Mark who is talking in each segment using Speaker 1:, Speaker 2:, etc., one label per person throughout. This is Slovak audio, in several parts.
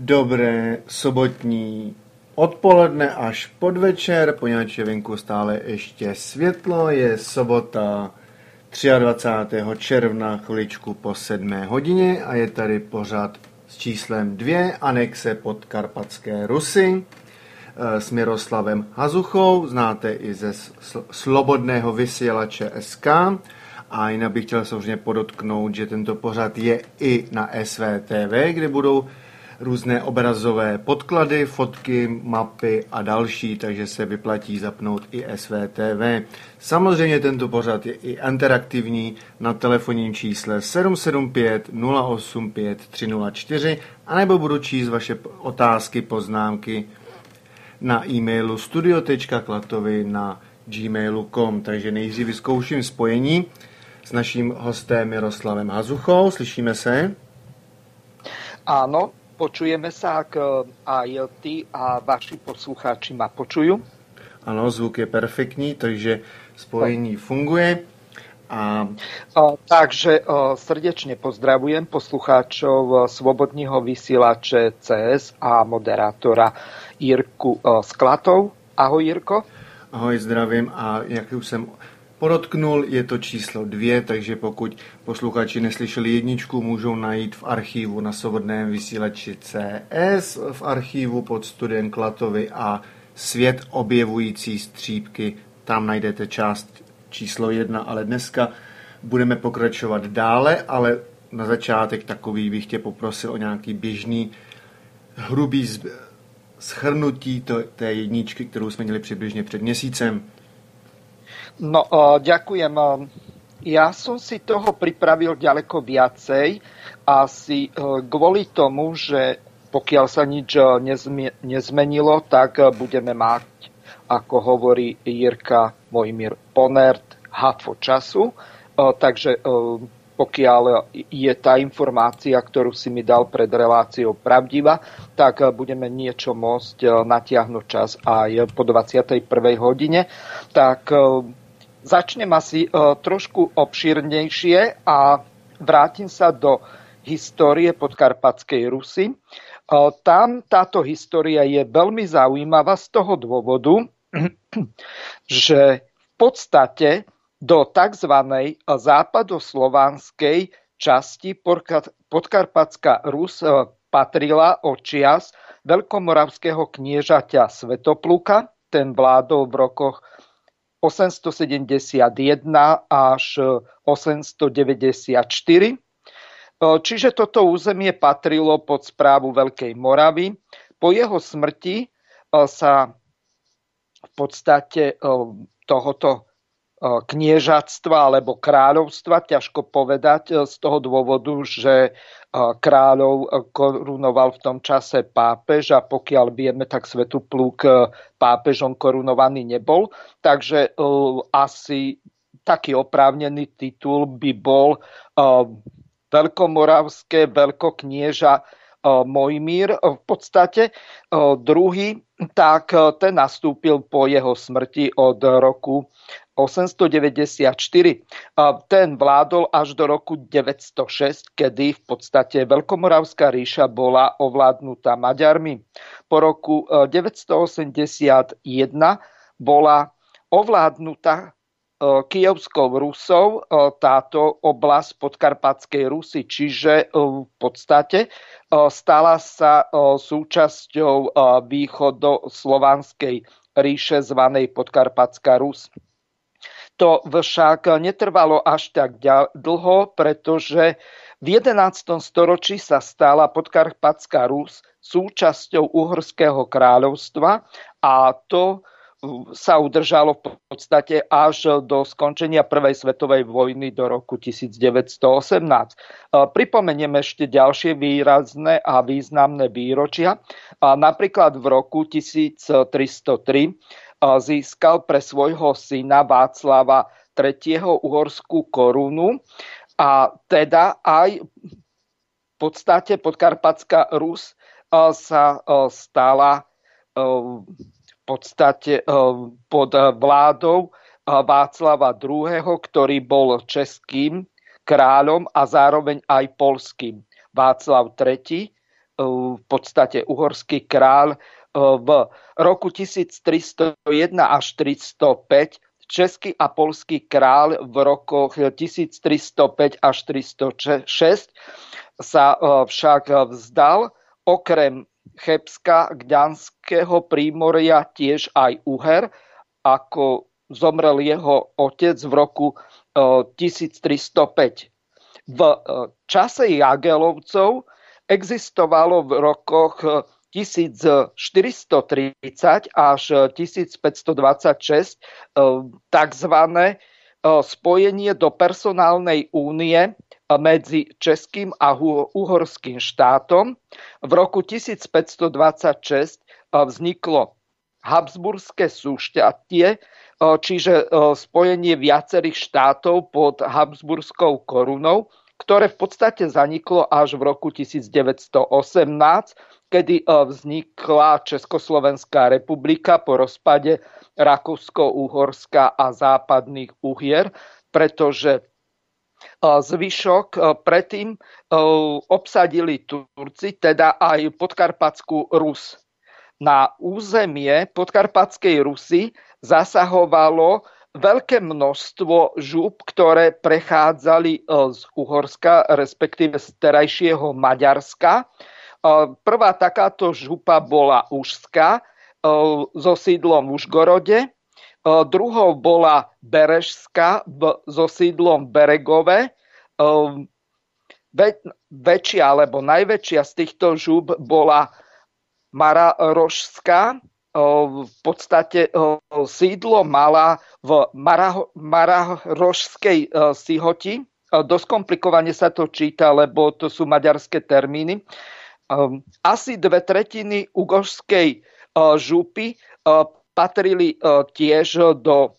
Speaker 1: Dobré sobotní odpoledne až podvečer, poněvadž je venku stále ještě světlo, je sobota 23. června, chviličku po 7 hodině a je tady pořad s číslem 2 anexe Podkarpatské Rusy s Miroslavem Hazuchou, znáte i ze Slobodného vysílače SK. A jinak bych chtěl samozřejmě podotknout, že tento pořad je i na SVTV, kde budou různé obrazové podklady, fotky, mapy a další, takže se vyplatí zapnout i SVTV. Samozřejmě tento pořad je i interaktivní na telefonním čísle 775 085 304, anebo budu číst vaše otázky, poznámky na e-mailu studio.klatovy@gmailu.com. Takže nejdřív vyzkouším spojení s naším hostem Miroslavem Hazuchou. Slyšíme se?
Speaker 2: Áno, počujeme sa, ak aj ty a vaši poslucháči ma počujú.
Speaker 1: Ano, zvuk je perfektní, takže spojení funguje.
Speaker 2: Takže srdečne pozdravujem poslucháčov Slobodného vysielače CS a moderátora Jirku Sklatov. Ahoj, Jirko.
Speaker 1: Ahoj, zdravím, a jak už jsem podotknul, je to číslo 2, takže pokud posluchači neslyšeli jedničku, můžou najít v archivu na Svobodném vysílači CS, v archivu pod studiem Klatovy a Svět objevující střípky, tam najdete část číslo 1, ale dneska budeme pokračovat dále, ale na začátek takový bych tě poprosil o nějaký běžný hrubý shrnutí té jedničky, kterou jsme měli přibližně před měsícem.
Speaker 2: No, ďakujem. Ja som si toho pripravil ďaleko viacej, asi kvôli tomu, že pokiaľ sa nič nezmenilo, tak budeme mať, ako hovorí Jirka Mojmír Ponert, hafo času. Takže pokiaľ je tá informácia, ktorú si mi dal pred reláciou, pravdivá, tak budeme niečo môcť natiahnuť čas aj po 21. hodine. Tak začnem asi trošku obšírnejšie a vrátim sa do histórie Podkarpatskej Rusy. Tam táto história je veľmi zaujímavá z toho dôvodu, že v podstate do tzv. Západoslovanskej časti Podkarpatská Rus patrila od čias veľkomoravského kniežaťa Svätopluka. Ten vládol v rokoch 871 až 894. Čiže toto územie patrilo pod správu Veľkej Moravy. Po jeho smrti sa v podstate tohoto kniežatstva alebo kráľovstva, ťažko povedať z toho dôvodu, že kráľov korunoval v tom čase pápež a pokiaľ vieme, tak Svätopluk pápežom korunovaný nebol. Takže asi taký oprávnený titul by bol veľkomoravské veľkoknieža Mojmír. V podstate druhý, tak ten nastúpil po jeho smrti od roku 894. Ten vládol až do roku 906, kedy v podstate Veľkomoravská ríša bola ovládnutá Maďarmi. Po roku 981 bola ovládnutá Kyjevskou Rusou táto oblasť Podkarpatskej Rusy, čiže v podstate stala sa súčasťou východoslovanskej ríše zvanej Podkarpatská Rus. To však netrvalo až tak dlho, pretože v 11. storočí sa stala Podkarpatská Rus súčasťou Uhorského kráľovstva a to sa udržalo v podstate až do skončenia Prvej svetovej vojny do roku 1918. Pripomeniem ešte ďalšie výrazné a významné výročia. Napríklad v roku 1303 získal pre svojho syna Václava III. Uhorskú korunu a teda aj v podstate Podkarpatská Rus sa stala v podstate pod vládou Václava II., ktorý bol českým kráľom a zároveň aj poľským. Václav III. v podstate uhorský kráľ v roku 1301 až 305, český a poľský kráľ v rokoch 1305 až 306 sa však vzdal okrem Chebska, Gdanského prímoria tiež aj Uher, ako zomrel jeho otec v roku 1305. V čase Jagelovcov existovalo v rokoch 1430 až 1526 tzv. Spojenie do personálnej únie medzi českým a uhorským štátom. V roku 1526 vzniklo Habsburské súšťatie, čiže spojenie viacerých štátov pod Habsburskou korunou, ktoré v podstate zaniklo až v roku 1918, kedy vznikla Československá republika po rozpade Rakúsko-Uhorska a západných Uhier, pretože zvyšok predtým obsadili Turci, teda aj Podkarpatskú Rus. Na územie Podkarpatskej Rusy zasahovalo veľké množstvo žúb, ktoré prechádzali z Uhorska, respektíve z terajšieho Maďarska. Prvá takáto župa bola Užská so sídlom v Užgorode. Druhou bola Berežská so sídlom v Beregove. Väčšia alebo najväčšia z týchto žúb bola Mararožská. V podstate sídlo mala v Mararožskej Sihoti. Dosť komplikovane sa to číta, lebo to sú maďarské termíny. Asi 2/3 ugožskej župy patrili tiež do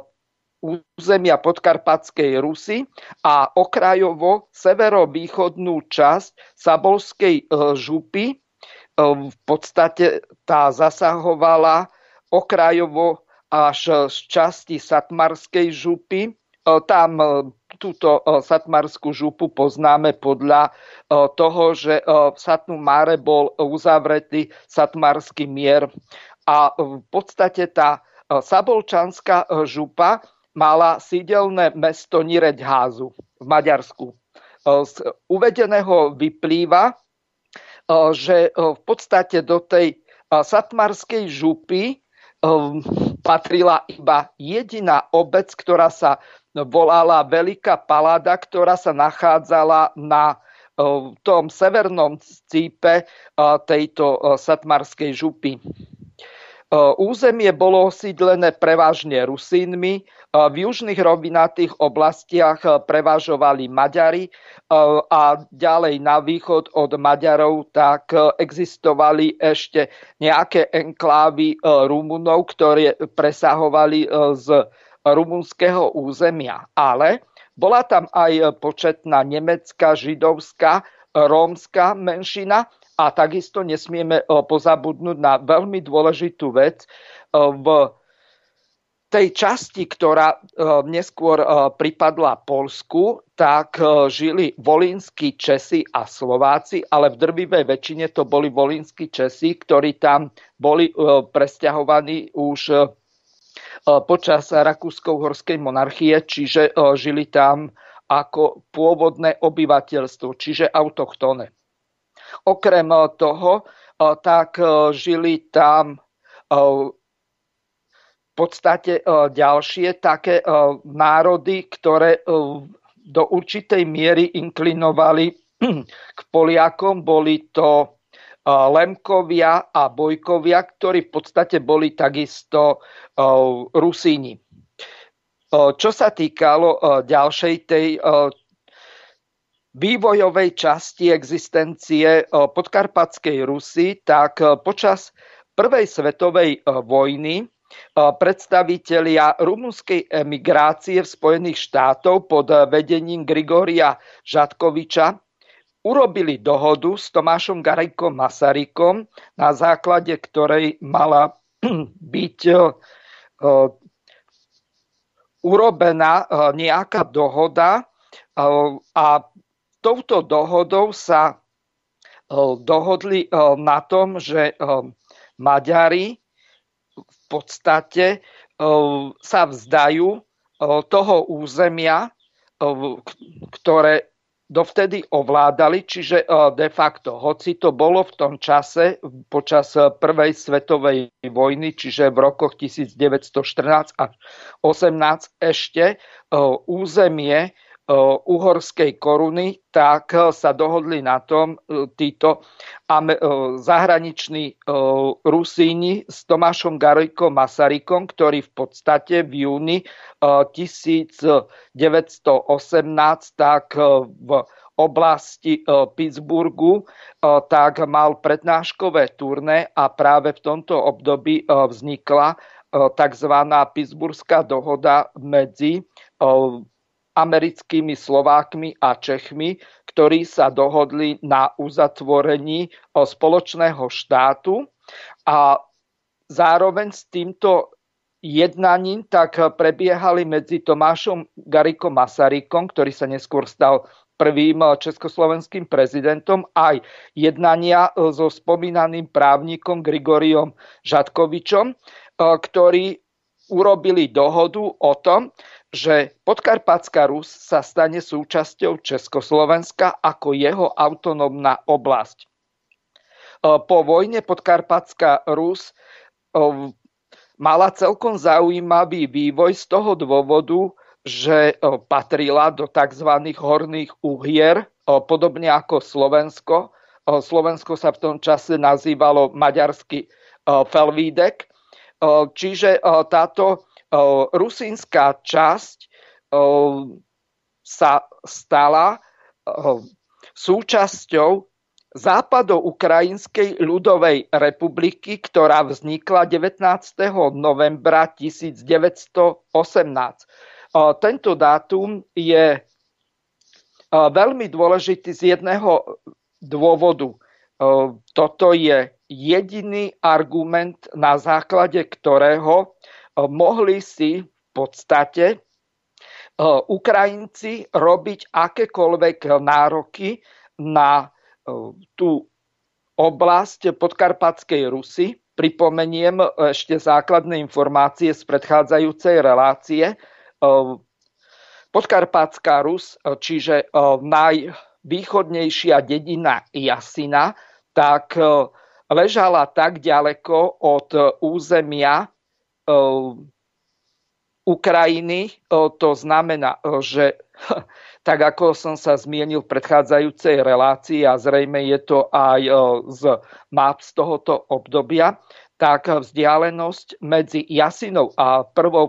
Speaker 2: územia Podkarpatskej Rusy a okrajovo severovýchodnú časť Sabolskej župy v podstate tá zasahovala okrajovo až z časti Satmarskej župy. Tam túto Satmarskú župu poznáme podľa toho, že v Satnu Máre bol uzavretý Satmarský mier. A v podstate tá Sabolčanská župa mala sídelné mesto Nireďházu v Maďarsku. Z uvedeného vyplýva, že v podstate do tej Satmarskej župy patrila iba jediná obec, ktorá sa volala Veľká Palada, ktorá sa nachádzala na tom severnom cípe tejto Satmarskej župy. Územie bolo osídlené prevažne Rusínmi, v južných rovinatých oblastiach prevažovali Maďari a ďalej na východ od Maďarov tak existovali ešte nejaké enklávy Rumunov, ktoré presahovali z rumunského územia. Ale bola tam aj početná nemecká, židovská, rómska menšina. A takisto nesmieme pozabudnúť na veľmi dôležitú vec. V tej časti, ktorá neskôr pripadla Poľsku, tak žili volínski Česi a Slováci, ale v drvivej väčšine to boli volínski Česi, ktorí tam boli presťahovaní už počas Rakúsko-Uhorskej monarchie, čiže žili tam ako pôvodné obyvateľstvo, čiže autochtóne. Okrem toho, tak žili tam v podstate ďalšie také národy, ktoré do určitej miery inklinovali k Poliakom. Boli to Lemkovia a Bojkovia, ktorí v podstate boli takisto Rusíni. Čo sa týkalo ďalšej tej vývojovej časti existencie Podkarpatskej Rusy, tak počas prvej svetovej vojny predstavitelia rumunskej emigrácie v Spojených štátov pod vedením Grigoria Žatkoviča urobili dohodu s Tomášom Garajkom Masarykom, na základe ktorej mala byť urobená nejaká dohoda a touto dohodou sa dohodli na tom, že Maďari v podstate sa vzdajú toho územia, ktoré dovtedy ovládali, čiže de facto, hoci to bolo v tom čase počas prvej svetovej vojny, čiže v rokoch 1914 až 18 ešte územie uhorskej koruny, tak sa dohodli na tom títo zahraniční Rusíni s Tomášom Garojkom Masarykom, ktorí v podstate v júni 1918 tak v oblasti Pittsburghu tak mal prednáškové turné a práve v tomto období vznikla tzv. Pittsburghská dohoda medzi americkými Slovákmi a Čechmi, ktorí sa dohodli na uzatvorení spoločného štátu a zároveň s týmto jednaním tak prebiehali medzi Tomášom Garrikom Masarykom, ktorý sa neskôr stal prvým československým prezidentom, aj jednania so spomínaným právnikom Grigoriom Žatkovičom, ktorí urobili dohodu o tom, že Podkarpatská Rus sa stane súčasťou Československa ako jeho autonómna oblasť. Po vojne Podkarpatská Rus mala celkom zaujímavý vývoj z toho dôvodu, že patrila do tzv. Horných Uhier, podobne ako Slovensko. Slovensko sa v tom čase nazývalo maďarský Felvídek. Čiže táto rusínska časť sa stala súčasťou Západoukrajinskej ľudovej republiky, ktorá vznikla 19. novembra 1918. Tento dátum je veľmi dôležitý z jedného dôvodu. Toto je jediný argument, na základe ktorého mohli si v podstate Ukrajinci robiť akékoľvek nároky na tú oblasť Podkarpatskej Rusy. Pripomeniem ešte základné informácie z predchádzajúcej relácie. Podkarpatská Rus, čiže najvýchodnejšia dedina Jasina, tak ležala tak ďaleko od územia Ukrajiny. To znamená, že tak ako som sa zmienil v predchádzajúcej relácii a zrejme je to aj z map z tohoto obdobia, tak vzdialenosť medzi Jasinou a prvou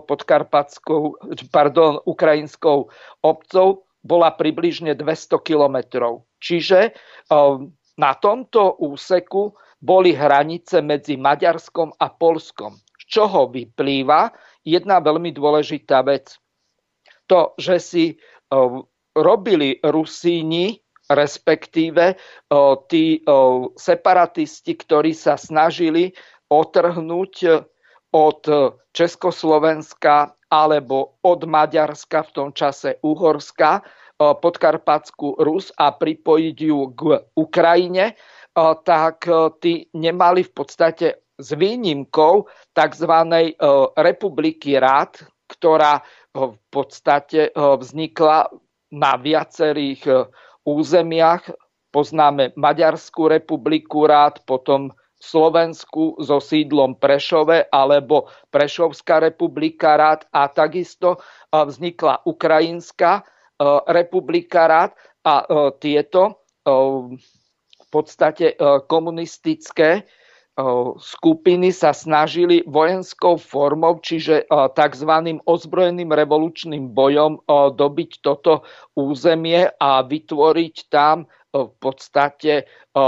Speaker 2: ukrajinskou obcov bola približne 200 kilometrov. Čiže na tomto úseku boli hranice medzi Maďarskom a Poľskom. Z čoho vyplýva jedna veľmi dôležitá vec. To, že si robili Rusíni, respektíve tí separatisti, ktorí sa snažili otrhnúť od Československa alebo od Maďarska, v tom čase Uhorska, Podkarpatskú Rus a pripojiť ju k Ukrajine, tak tí nemali v podstate s výnimkou tzv. Republiky Rád, ktorá v podstate vznikla na viacerých územiach. Poznáme Maďarskú republiku Rád, potom Slovensku so sídlom Prešove alebo Prešovská republika Rád a takisto vznikla Ukrajinská republika Rád a tieto v podstate komunistické skupiny sa snažili vojenskou formou, čiže tzv. Ozbrojeným revolučným bojom dobiť toto územie a vytvoriť tam v podstate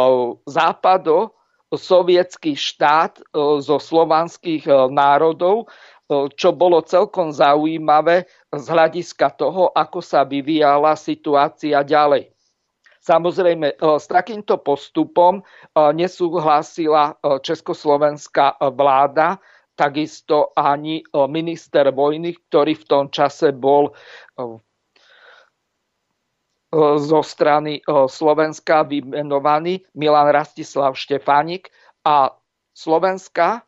Speaker 2: západosovietský štát zo slovanských národov, čo bolo celkom zaujímavé z hľadiska toho, ako sa vyvíjala situácia ďalej. Samozrejme, s takýmto postupom nesúhlasila československá vláda, takisto ani minister vojny, ktorý v tom čase bol zo strany Slovenska vymenovaný Milan Rastislav Štefánik a Slovenska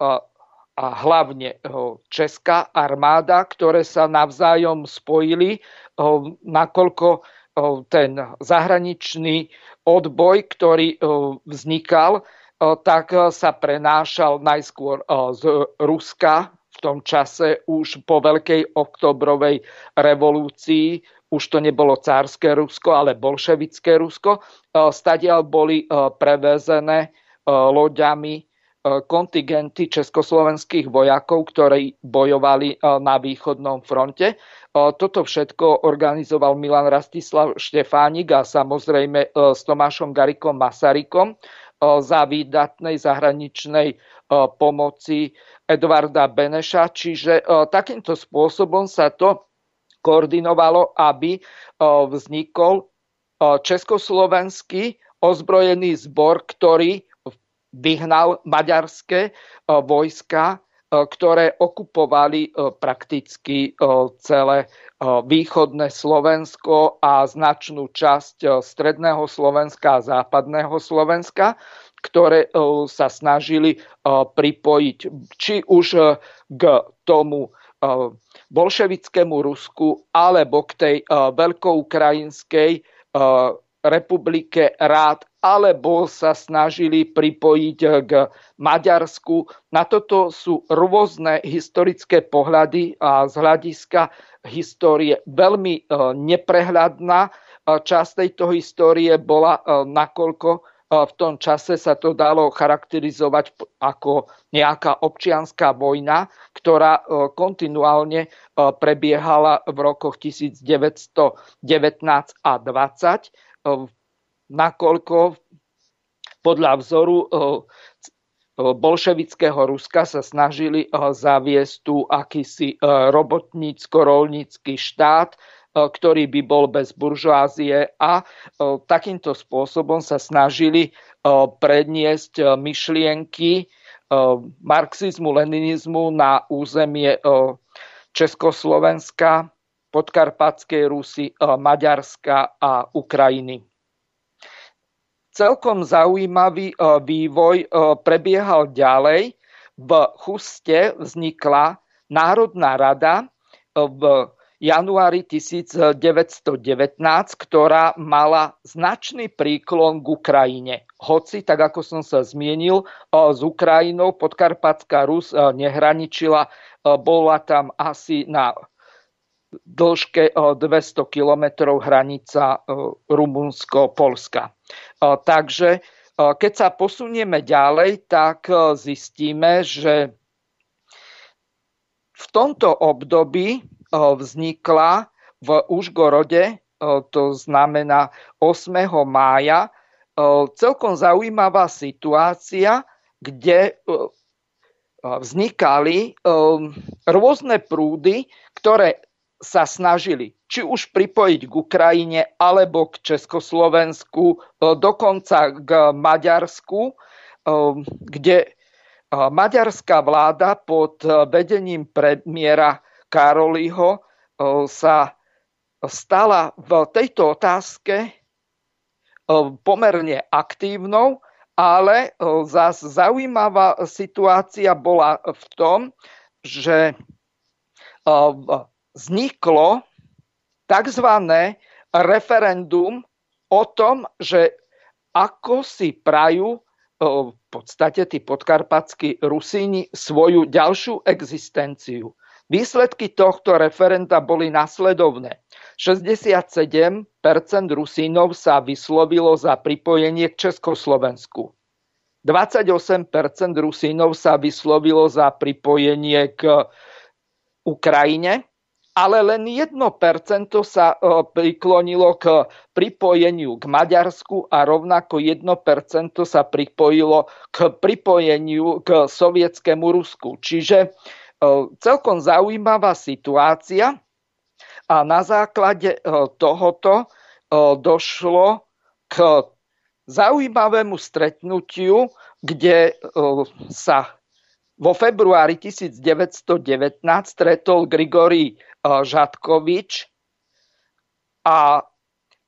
Speaker 2: a hlavne česká armáda, ktoré sa navzájom spojili, nakoľko ten zahraničný odboj, ktorý vznikal, tak sa prenášal najskôr z Ruska, v tom čase už po Veľkej oktobrovej revolúcii, už to nebolo cárske Rusko, ale bolševické Rusko. Stadiaľ boli prevezené loďami kontingenty československých vojakov, ktorí bojovali na východnom fronte. Toto všetko organizoval Milan Rastislav Štefánik a samozrejme s Tomášom Garriguom Masarykom za výdatnej zahraničnej pomoci Edvarda Beneša. Čiže takýmto spôsobom sa to koordinovalo, aby vznikol československý ozbrojený zbor, ktorý vyhnal maďarské vojska, ktoré okupovali prakticky celé východné Slovensko a značnú časť stredného Slovenska a západného Slovenska, ktoré sa snažili pripojiť či už k tomu bolševickému Rusku alebo k tej veľkoukrajinskej republike rád, alebo sa snažili pripojiť k Maďarsku. Na toto sú rôzne historické pohľady a z hľadiska histórie veľmi neprehľadná. Časť tejto histórie bola, nakoľko v tom čase sa to dalo charakterizovať ako nejaká občianská vojna, ktorá kontinuálne prebiehala v rokoch 1919 a 20, nakoľko podľa vzoru bolševického Ruska sa snažili zaviesť tu akýsi robotnícko-rolnícky štát, ktorý by bol bez buržoázie a takýmto spôsobom sa snažili predniesť myšlienky marxizmu, leninizmu na územie Československa, Podkarpatskej Rusy, Maďarska a Ukrajiny. Celkom zaujímavý vývoj prebiehal ďalej. V Chuste vznikla Národná rada v januári 1919, ktorá mala značný príklon k Ukrajine. Hoci, tak ako som sa zmienil, s Ukrajinou Podkarpatská Rus nehraničila, bola tam asi na dĺžke 200 kilometrov hranica Rumunsko-Polska. Takže keď sa posunieme ďalej, tak zistíme, že v tomto období vznikla v Užgorode, to znamená 8. mája, celkom zaujímavá situácia, kde vznikali rôzne prúdy, ktoré sa snažili či už pripojiť k Ukrajine alebo k Československu, dokonca k Maďarsku, kde maďarská vláda pod vedením premiéra Károliho sa stala v tejto otázke pomerne aktívnou, ale zase zaujímavá situácia bola v tom, že vzniklo tzv. Referendum o tom, že ako si prajú v podstate tí podkarpatskí Rusíni svoju ďalšiu existenciu. Výsledky tohto referenda boli nasledovné. 67% Rusínov sa vyslovilo za pripojenie k Československu. 28% Rusínov sa vyslovilo za pripojenie k Ukrajine, ale len 1% sa priklonilo k pripojeniu k Maďarsku a rovnako 1% sa pripojilo k pripojeniu k sovietskému Rusku. Čiže celkom zaujímavá situácia a na základe tohoto došlo k zaujímavému stretnutiu, kde sa vo februári 1919 stretol Grigorij Žatkovič a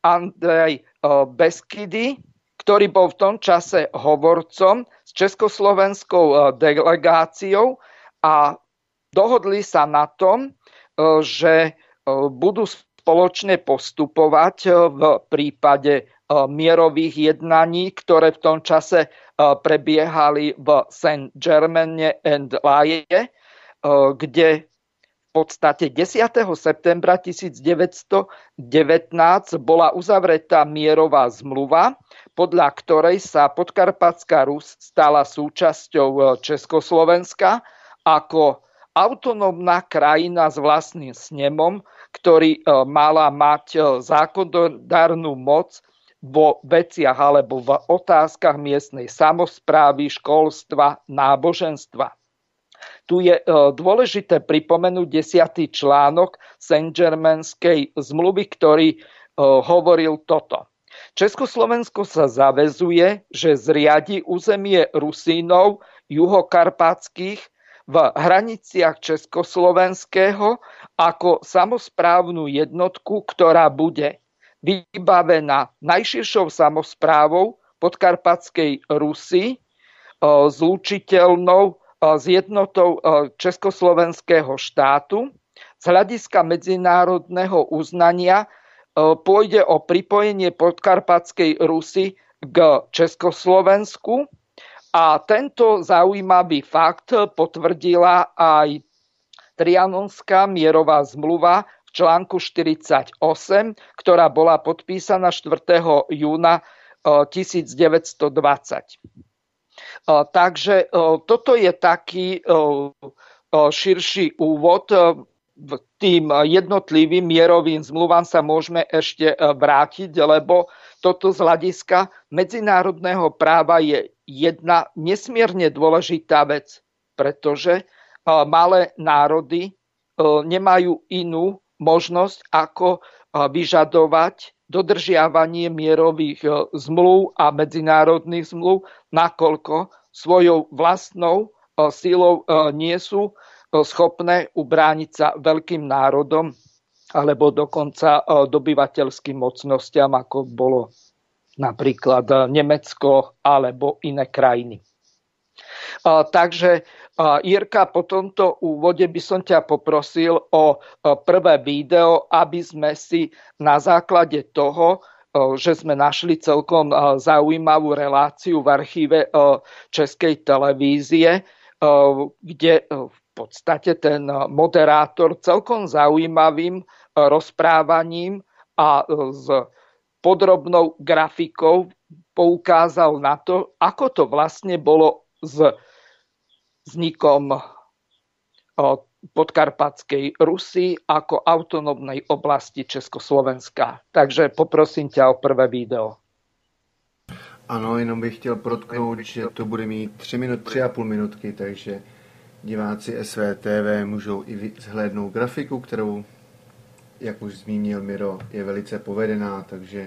Speaker 2: Andrej Beskydy, ktorý bol v tom čase hovorcom s československou delegáciou a dohodli sa na tom, že budú spoločne postupovať v prípade mierových jednaní, ktoré v tom čase prebiehali v Saint-Germain-en-Laye, kde v podstate 10. septembra 1919 bola uzavretá mierová zmluva, podľa ktorej sa Podkarpatská Rus stala súčasťou Československa ako autonómna krajina s vlastným snemom, ktorý mala mať zákonodárnu moc vo veciach alebo v otázkach miestnej samosprávy, školstva, náboženstva. Tu je dôležité pripomenúť 10. článok Saint-Germainskej zmluvy, ktorý hovoril toto. Československo sa zaväzuje, že zriadi územie Rusínov juhokarpatských v hraniciach Československého ako samosprávnu jednotku, ktorá bude vybavená najširšou samosprávou Podkarpatskej Rusy, zlučiteľnou s jednotou Československého štátu. Z hľadiska medzinárodného uznania pôjde o pripojenie Podkarpatskej Rusy k Československu a tento zaujímavý fakt potvrdila aj Trianonská mierová zmluva v článku 48, ktorá bola podpísaná 4. júna 1920. Takže toto je taký širší úvod. V tým jednotlivým mierovým zmluvám sa môžeme ešte vrátiť, lebo toto z hľadiska medzinárodného práva je jedna nesmierne dôležitá vec, pretože malé národy nemajú inú možnosť, ako vyžadovať dodržiavanie mierových zmluv a medzinárodných zmluv, nakoľko svojou vlastnou silou nie sú schopné ubrániť sa veľkým národom alebo dokonca dobyvateľským mocnostiam, ako bolo napríklad Nemecko alebo iné krajiny. Takže Jirka, po tomto úvode by som ťa poprosil o prvé video, aby sme si na základe toho, že sme našli celkom zaujímavú reláciu v archíve Českej televízie, kde v podstate ten moderátor celkom zaujímavým rozprávaním a s podrobnou grafikou poukázal na to, ako to vlastne bolo s vznikom Podkarpatskej Rusy ako autonómnej oblasti Československa. Takže poprosím ťa o prvé video.
Speaker 1: Ano, jenom bych chtěl protknout, že to bude mít 3,5 minutky, takže diváci SVTV můžou i zhlédnout grafiku, kterou, jak už zmínil Miro, je velice povedená, takže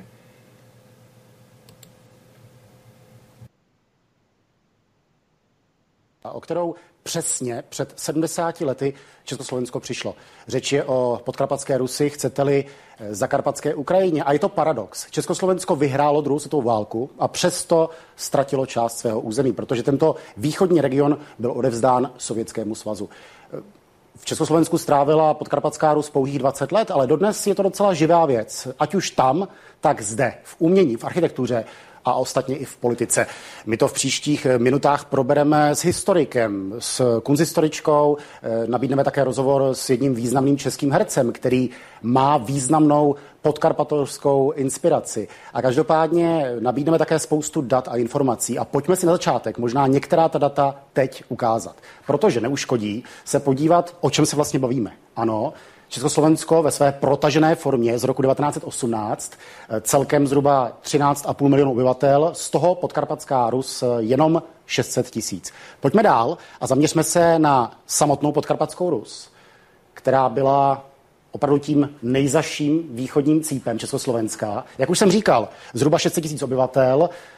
Speaker 3: o kterou přesně před 70 lety Československo přišlo. Řeč je o Podkarpatské Rusi, chcete-li zakarpatské Ukrajině. A je to paradox. Československo vyhrálo druhou světovou válku a přesto ztratilo část svého území, protože tento východní region byl odevzdán Sovětskému svazu. V Československu strávila Podkarpatská Rus pouhých 20 let, ale dodnes je to docela živá věc. Ať už tam, tak zde, v umění, v architektuře a ostatně i v politice. My to v příštích minutách probereme s historikem, s kunsthistoričkou, nabídneme také rozhovor s jedním významným českým hercem, který má významnou podkarpatorskou inspiraci. A každopádně nabídneme také spoustu dat a informací. A pojďme si na začátek možná některá ta data teď ukázat. Protože neuškodí se podívat, o čem se vlastně bavíme. Ano, Československo ve své protažené formě z roku 1918, celkem zhruba 13,5 milionu obyvatel, z toho Podkarpatská Rus jenom 600 tisíc. Pojďme dál a zaměřme se na samotnou Podkarpatskou Rus, která byla opravdu tím nejzaším východním cípem Československa. Jak už jsem říkal, zhruba 600 tisíc obyvatel,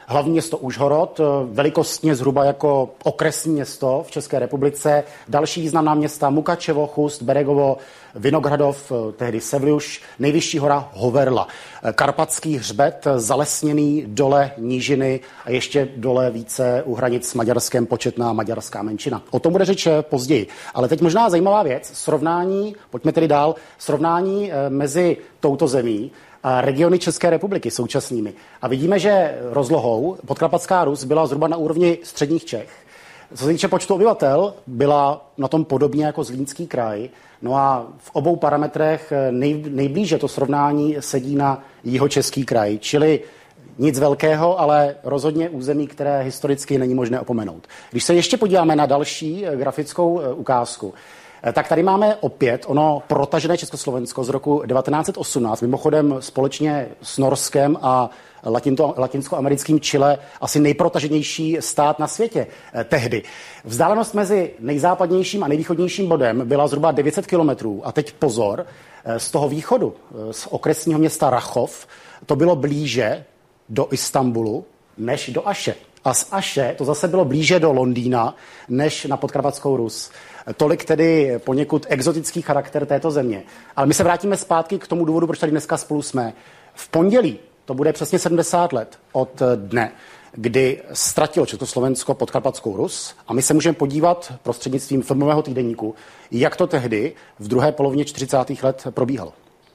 Speaker 3: hlavní město Užhorod, velikostně zhruba jako okresní město v České republice, další významná města Mukačevo, Chust, Beregovo, Vinogradov, tehdy Sevliuš, nejvyšší hora Hoverla, Karpatský hřbet, zalesněný, dole nížiny a ještě dole více u hranic s Maďarskem početná maďarská menšina. O tom bude řeč později. Ale teď možná zajímavá věc, srovnání, pojďme tedy dál, srovnání mezi touto zemí a regiony České republiky současnými. A vidíme, že rozlohou Podkarpatská Rus byla zhruba na úrovni středních Čech. Co se týče počtu obyvatel, byla na tom podobně jako Zlínský kraj. No a v obou parametrech nejblíže to srovnání sedí na Jihočeský kraj, čili nic velkého, ale rozhodně území, které historicky není možné opomenout. Když se ještě podíváme na další grafickou ukázku, tak tady máme opět ono protažené Československo z roku 1918, mimochodem společně s Norskem a latinskoamerickým Chile asi nejprotaženější stát na světě tehdy. Vzdálenost mezi nejzápadnějším a nejvýchodnějším bodem byla zhruba 900 kilometrů. A teď pozor, z toho východu, z okresního města Rachov, to bylo blíže do Istanbulu než do Aše. A z Aše to zase bylo blíže do Londýna než na Podkarpatskou Rus. Tolik tedy poněkud exotický charakter této země. Ale my se vrátíme zpátky k tomu důvodu, proč tady dneska spolu jsme. V pondělí to bude přesně 70 let od dne, kdy ztratilo Československo Podkarpatskou Rus a my se můžeme podívat prostřednictvím filmového týdeníku, jak to tehdy v druhé polovině 40. let probíhalo.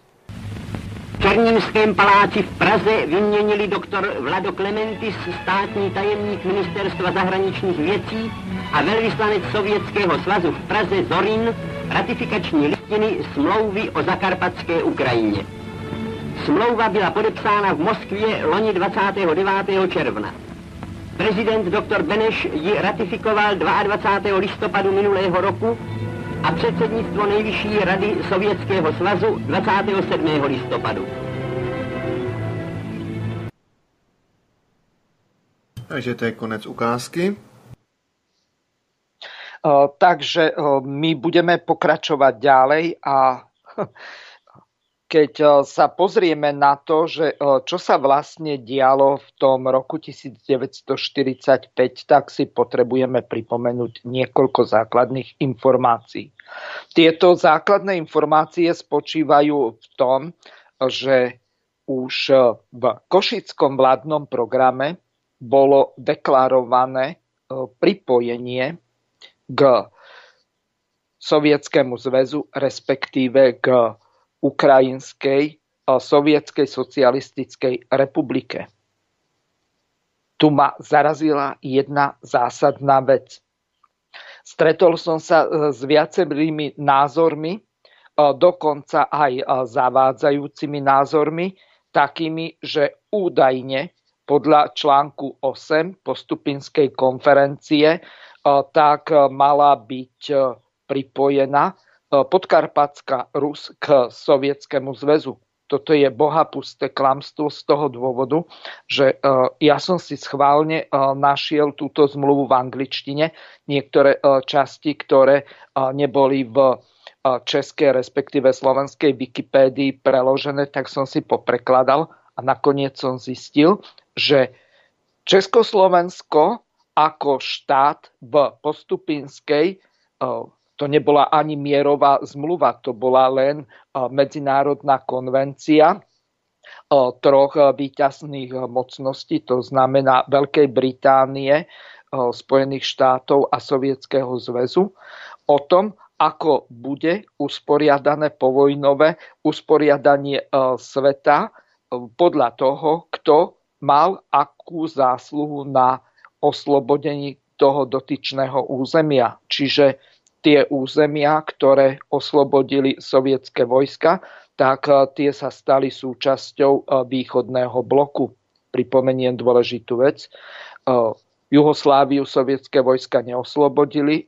Speaker 4: V Černínském paláci v Praze vyměnili doktor Vlado Klementis, státní tajemník Ministerstva zahraničních věcí, a velvyslanec Sovětského svazu v Praze Zorin ratifikační listiny smlouvy o zakarpatské Ukrajině. Smlouva byla podepsána v Moskvě loni 29. června. Prezident dr. Beneš ji ratifikoval 22. listopadu minulého roku a předsednictvo Nejvyšší rady Sovětského svazu 27. listopadu.
Speaker 1: Takže to je konec ukázky.
Speaker 2: Takže my budeme pokračovať ďalej a keď sa pozrieme na to, že čo sa vlastne dialo v tom roku 1945, tak si potrebujeme pripomenúť niekoľko základných informácií. Tieto základné informácie spočívajú v tom, že už v košickom vládnom programe bolo deklarované pripojenie k Sovietskému zväzu, respektíve k Ukrajinskej sovietskej socialistickej republike. Tu ma zarazila jedna zásadná vec. Stretol som sa s viacerými názormi, dokonca aj zavádzajúcimi názormi, takými, že údajne podľa článku 8 Postupinskej konferencie tak mala byť pripojená Podkarpatská Rus k Sovietskému zväzu. Toto je bohapusté klamstvo z toho dôvodu, že ja som si schválne našiel túto zmluvu v angličtine, niektoré časti, ktoré neboli v českej, respektíve slovenskej Wikipédii preložené, tak som si poprekladal a nakoniec som zistil, že Československo ako štát v Postupinskej, to nebola ani mierová zmluva, to bola len medzinárodná konvencia troch víťazných mocností, to znamená Veľkej Británie, Spojených štátov a Sovietskeho zväzu, o tom, ako bude usporiadané povojnové usporiadanie sveta podľa toho, kto mal akú zásluhu na oslobodení toho dotyčného územia. Čiže tie územia, ktoré oslobodili sovietské vojska, tak tie sa stali súčasťou východného bloku. Pripomeniem dôležitú vec. Jugosláviu sovietské vojska neoslobodili.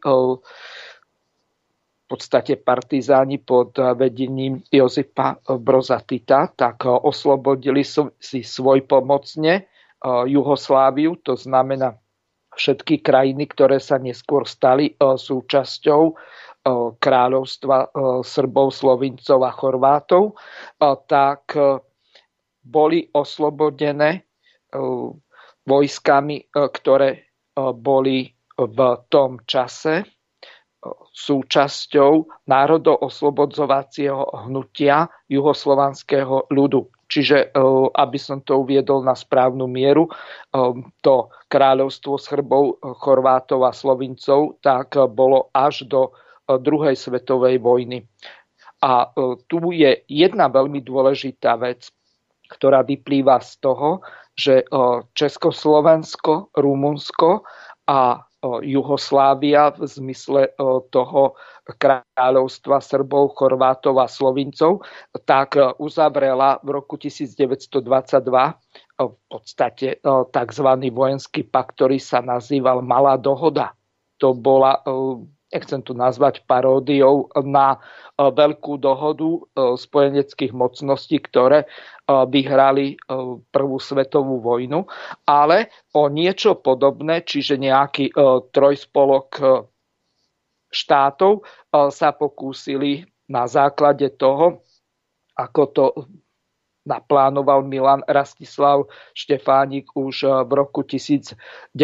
Speaker 2: V podstate partizáni pod vedením Josipa Broza Tita tak oslobodili si svojpomocne Jugosláviu, to znamená všetky krajiny, ktoré sa neskôr stali súčasťou kráľovstva Srbov, Slovincov a Chorvátov, tak boli oslobodené vojskami, ktoré boli v tom čase súčasťou národooslobodzovaciho hnutia juhoslovanského ľudu. Čiže, aby som to uviedol na správnu mieru, to kráľovstvo Srbov, Chorvátov a Slovincov tak bolo až do druhej svetovej vojny. A tu je jedna veľmi dôležitá vec, ktorá vyplýva z toho, že Československo, Rumunsko a Juhoslávia v zmysle toho kráľovstva Srbov, Chorvátov a Slovincov, tak uzavrela v roku 1922 v podstate tzv. Vojenský pakt, ktorý sa nazýval Malá dohoda. To bola, nechcem tu nazvať paródiou, na veľkú dohodu spojeneckých mocností, ktoré vyhrali prvú svetovú vojnu, ale o niečo podobné, čiže nejaký trojspolok štátov sa pokúsili na základe toho, ako to naplánoval Milan Rastislav Štefánik už v roku 1917,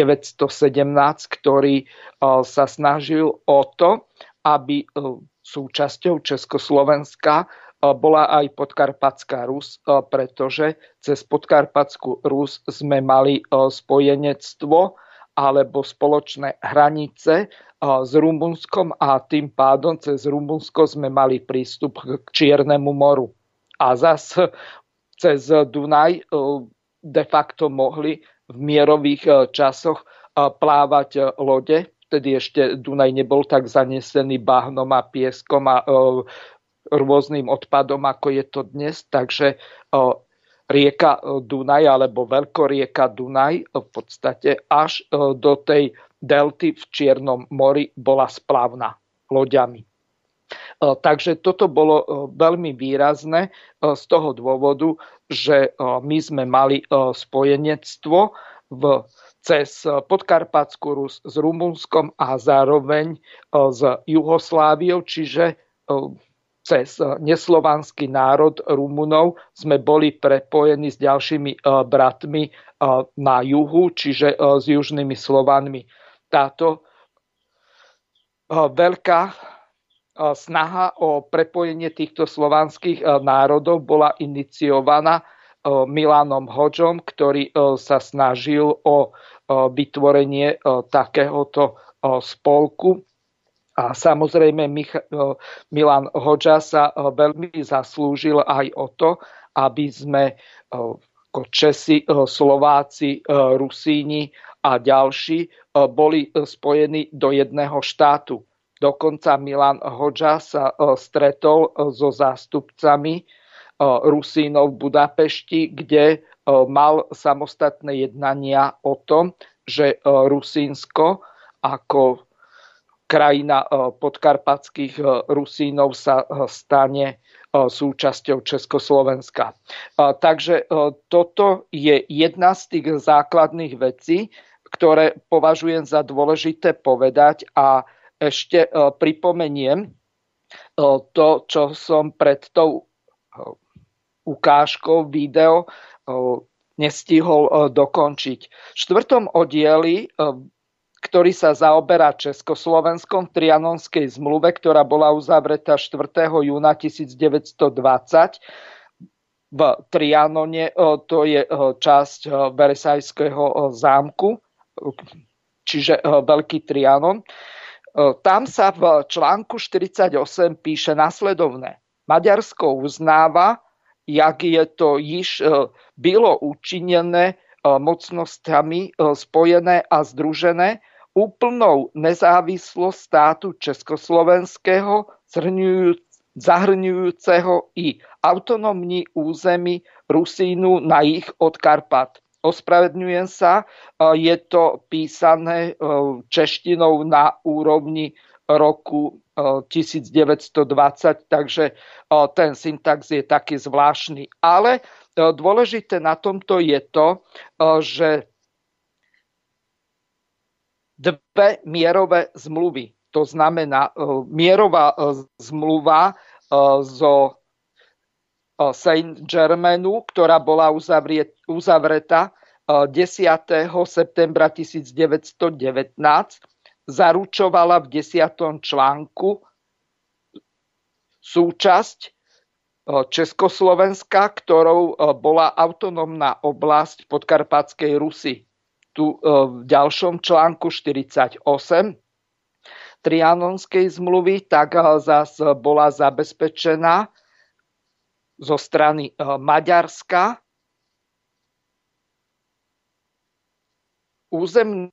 Speaker 2: ktorý sa snažil o to, aby súčasťou Československa bola aj Podkarpatská Rus, pretože cez Podkarpatskú Rus sme mali spojenectvo alebo spoločné hranice s Rumunskom a tým pádom cez Rumunsko sme mali prístup k Čiernemu moru. A zase cez Dunaj de facto mohli v mierových časoch plávať lode. Vtedy ešte Dunaj nebol tak zanesený bahnom a pieskom a rôznym odpadom, ako je to dnes. Takže rieka Dunaj alebo veľkorieka Dunaj v podstate až do tej delty v Čiernom mori bola splavná loďami. Takže toto bolo veľmi výrazné z toho dôvodu, že my sme mali spojenectvo cez Podkarpatskú Rus s Rumunskom a zároveň s Jugosláviou, čiže cez neslovanský národ Rumunov sme boli prepojení s ďalšími bratmi na juhu, čiže s južnými Slovanmi. Táto veľká snaha o prepojenie týchto slovanských národov bola iniciovaná Milanom Hodžom, ktorý sa snažil o vytvorenie takéhoto spolku. A samozrejme Milan Hodža sa veľmi zaslúžil aj o to, aby sme ako Česi, Slováci, Rusíni a ďalší boli spojení do jedného štátu. Dokonca Milan Hodža sa stretol so zástupcami Rusínov v Budapešti, kde mal samostatné jednania o tom, že Rusínsko ako krajina podkarpatských Rusínov sa stane súčasťou Československa. Takže toto je jedna z tých základných vecí, ktoré považujem za dôležité povedať a ešte pripomeniem to, čo som pred tou ukážkou video nestihol dokončiť. V 4. oddieli, ktorý sa zaoberá Československom v Trianonskej zmluve, ktorá bola uzavretá 4. júna 1920 v Trianone, to je časť Versajského zámku, čiže Veľký Trianon. Tam sa v článku 48 píše nasledovné. Maďarsko uznáva, jak je to již bylo učiněné mocnostami spojené a združené, úplnou nezávislosť státu Československého, zahrňujúceho i autonómní území Rusínu na jih od Karpat. Ospravedňujem sa, je to písané češtinou na úrovni roku 1920, takže ten syntax je taký zvláštny. Ale dôležité na tomto je to, že dve mierové zmluvy, to znamená mierová zmluva zo Saint-Germainu, ktorá bola uzavretá 10. septembra 1919 zaručovala v 10. článku súčasť Československa, ktorou bola autonómna oblasť Podkarpatskej Rusy. Tu v ďalšom článku 48 Trianonskej zmluvy tak zase bola zabezpečená zo strany Maďarska územný.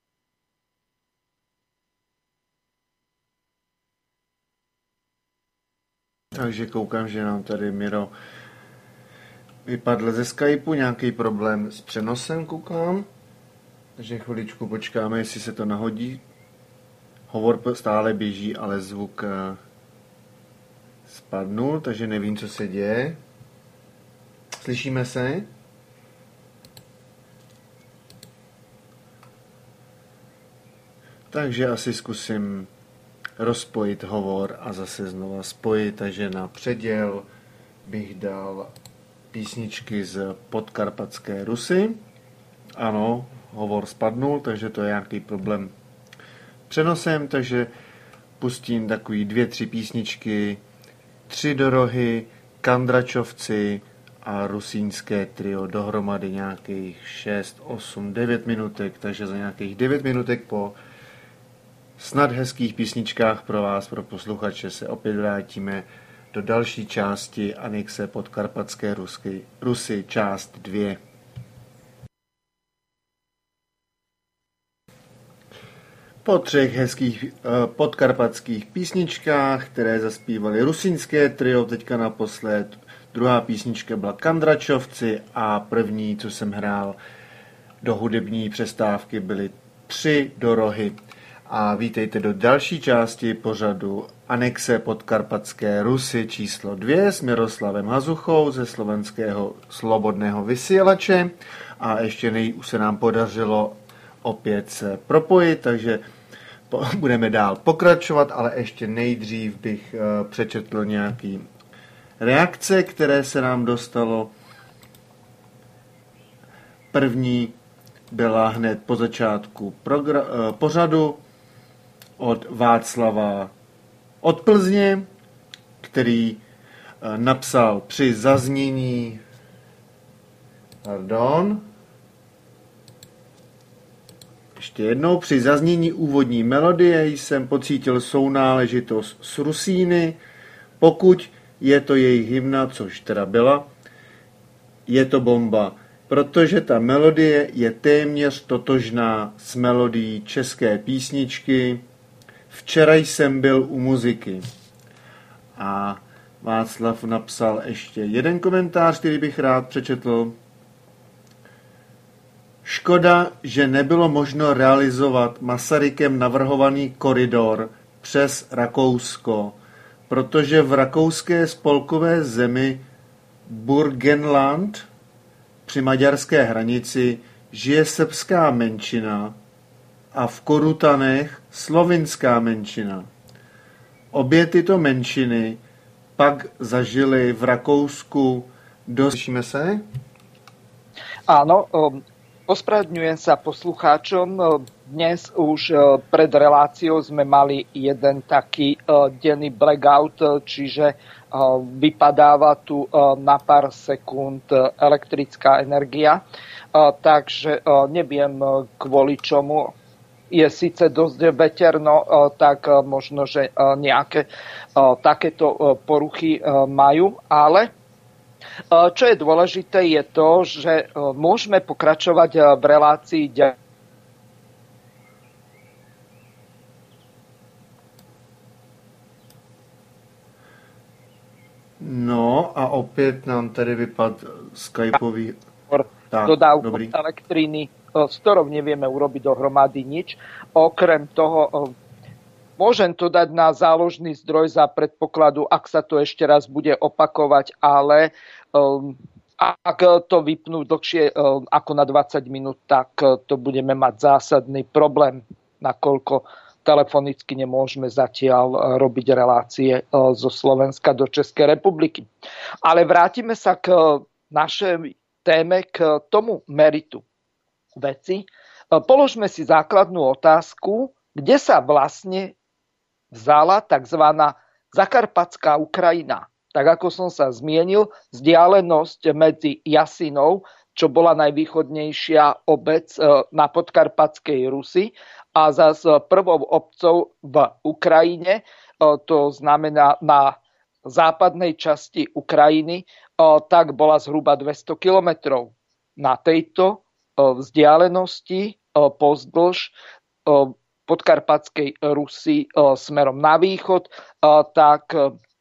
Speaker 1: Takže koukám, že nám tady Miro vypadl ze Skypeu, nějaký problém s přenosem, koukám. Takže chviličku počkáme, jestli se to nahodí. Hovor stále běží, ale zvuk spadnul, takže nevím, co se děje. Slyšíme se? Takže asi zkusím rozpojit hovor a zase znova spojit, takže na předěl bych dal písničky z Podkarpatské Rusy. Ano, hovor spadnul, takže to je nějaký problém přenosem, takže pustím takový 2-3 písničky, 3 dorohy, Kandračovci a rusínské trio, dohromady nějakých 6, 8, 9 minutek, takže za nějakých 9 minutek po snad hezkých písničkách pro vás, pro posluchače, se opět vrátíme do další části anexe Podkarpatské Rusy, část 2. Po 3 hezkých podkarpatských písničkách, které zaspívali rusínské trio, teďka naposled, druhá písnička byla Kandračovci a první, co jsem hrál do hudební přestávky, byly 3 dorohy. A vítejte do další části pořadu anexe Podkarpatské Rusy číslo 2 s Miroslavem Hazuchou ze slovenského slobodného vysílače. A ještě už se nám podařilo opět se propojit, takže budeme dál pokračovat, ale ještě nejdřív bych přečetl nějaký reakce, které se nám dostalo. První byla hned po začátku pořadu od Václava od Plzně, který napsal při zaznění ještě jednou, při zaznění úvodní melodie jsem pocítil sounáležitost s Rusíny, pokud je to jejich hymna, což teda byla, je to bomba, protože ta melodie je téměř totožná s melodií české písničky Včera jsem byl u muziky. A Václav napsal ještě jeden komentář, který bych rád přečetl. Škoda, že nebylo možno realizovat Masarykem navrhovaný koridor přes Rakousko, protože v rakouské spolkové zemi Burgenland při maďarské hranici žije srbská menšina a v Korutanech slovinská menšina. Obě tyto menšiny pak zažily v Rakousku Slyšíme se?
Speaker 2: Áno, ospravedlňujem sa poslucháčom. Dnes už pred reláciou sme mali jeden taký denný blackout, čiže vypadáva tu na pár sekúnd elektrická energia. Takže neviem kvôli čomu. Je síce dosť veterno, tak možno, že nejaké takéto poruchy majú, ale čo je dôležité je to, že môžeme pokračovať v relácii
Speaker 1: No a opět nám tady vypadl skypový
Speaker 2: dodávku elektriny, s ktorou nevieme urobiť dohromady nič. Okrem toho, môžem to dať na záložný zdroj za predpokladu, ak sa to ešte raz bude opakovať, ale ak to vypnú dlhšie ako na 20 minút, tak to budeme mať zásadný problém, nakoľko telefonicky nemôžeme zatiaľ robiť relácie zo Slovenska do Českej republiky. Ale vrátime sa k našej téme, k tomu meritu. veci. Položme si základnú otázku, kde sa vlastne vzala tzv. Zakarpatská Ukrajina. Tak ako som sa zmienil, vzdialenosť medzi Jasinou, čo bola najvýchodnejšia obec na podkarpatskej Rusi, a zase prvou obcou v Ukrajine, to znamená na západnej časti Ukrajiny, tak bola zhruba 200 kilometrov. Na tejto vzdialenosti pozdĺž podkarpatskej Rusy smerom na východ, tak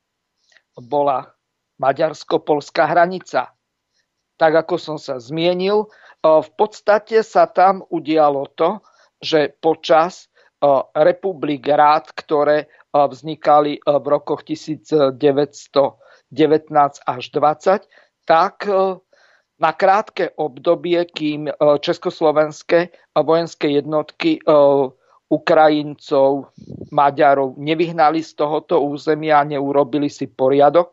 Speaker 2: bola maďarsko-polská hranica. Tak ako som sa zmienil, v podstate sa tam udialo to, že počas republik rád, ktoré vznikali v rokoch 1919 až 20, tak na krátke obdobie, kým československé vojenské jednotky Ukrajincov, Maďarov nevyhnali z tohoto územia a neurobili si poriadok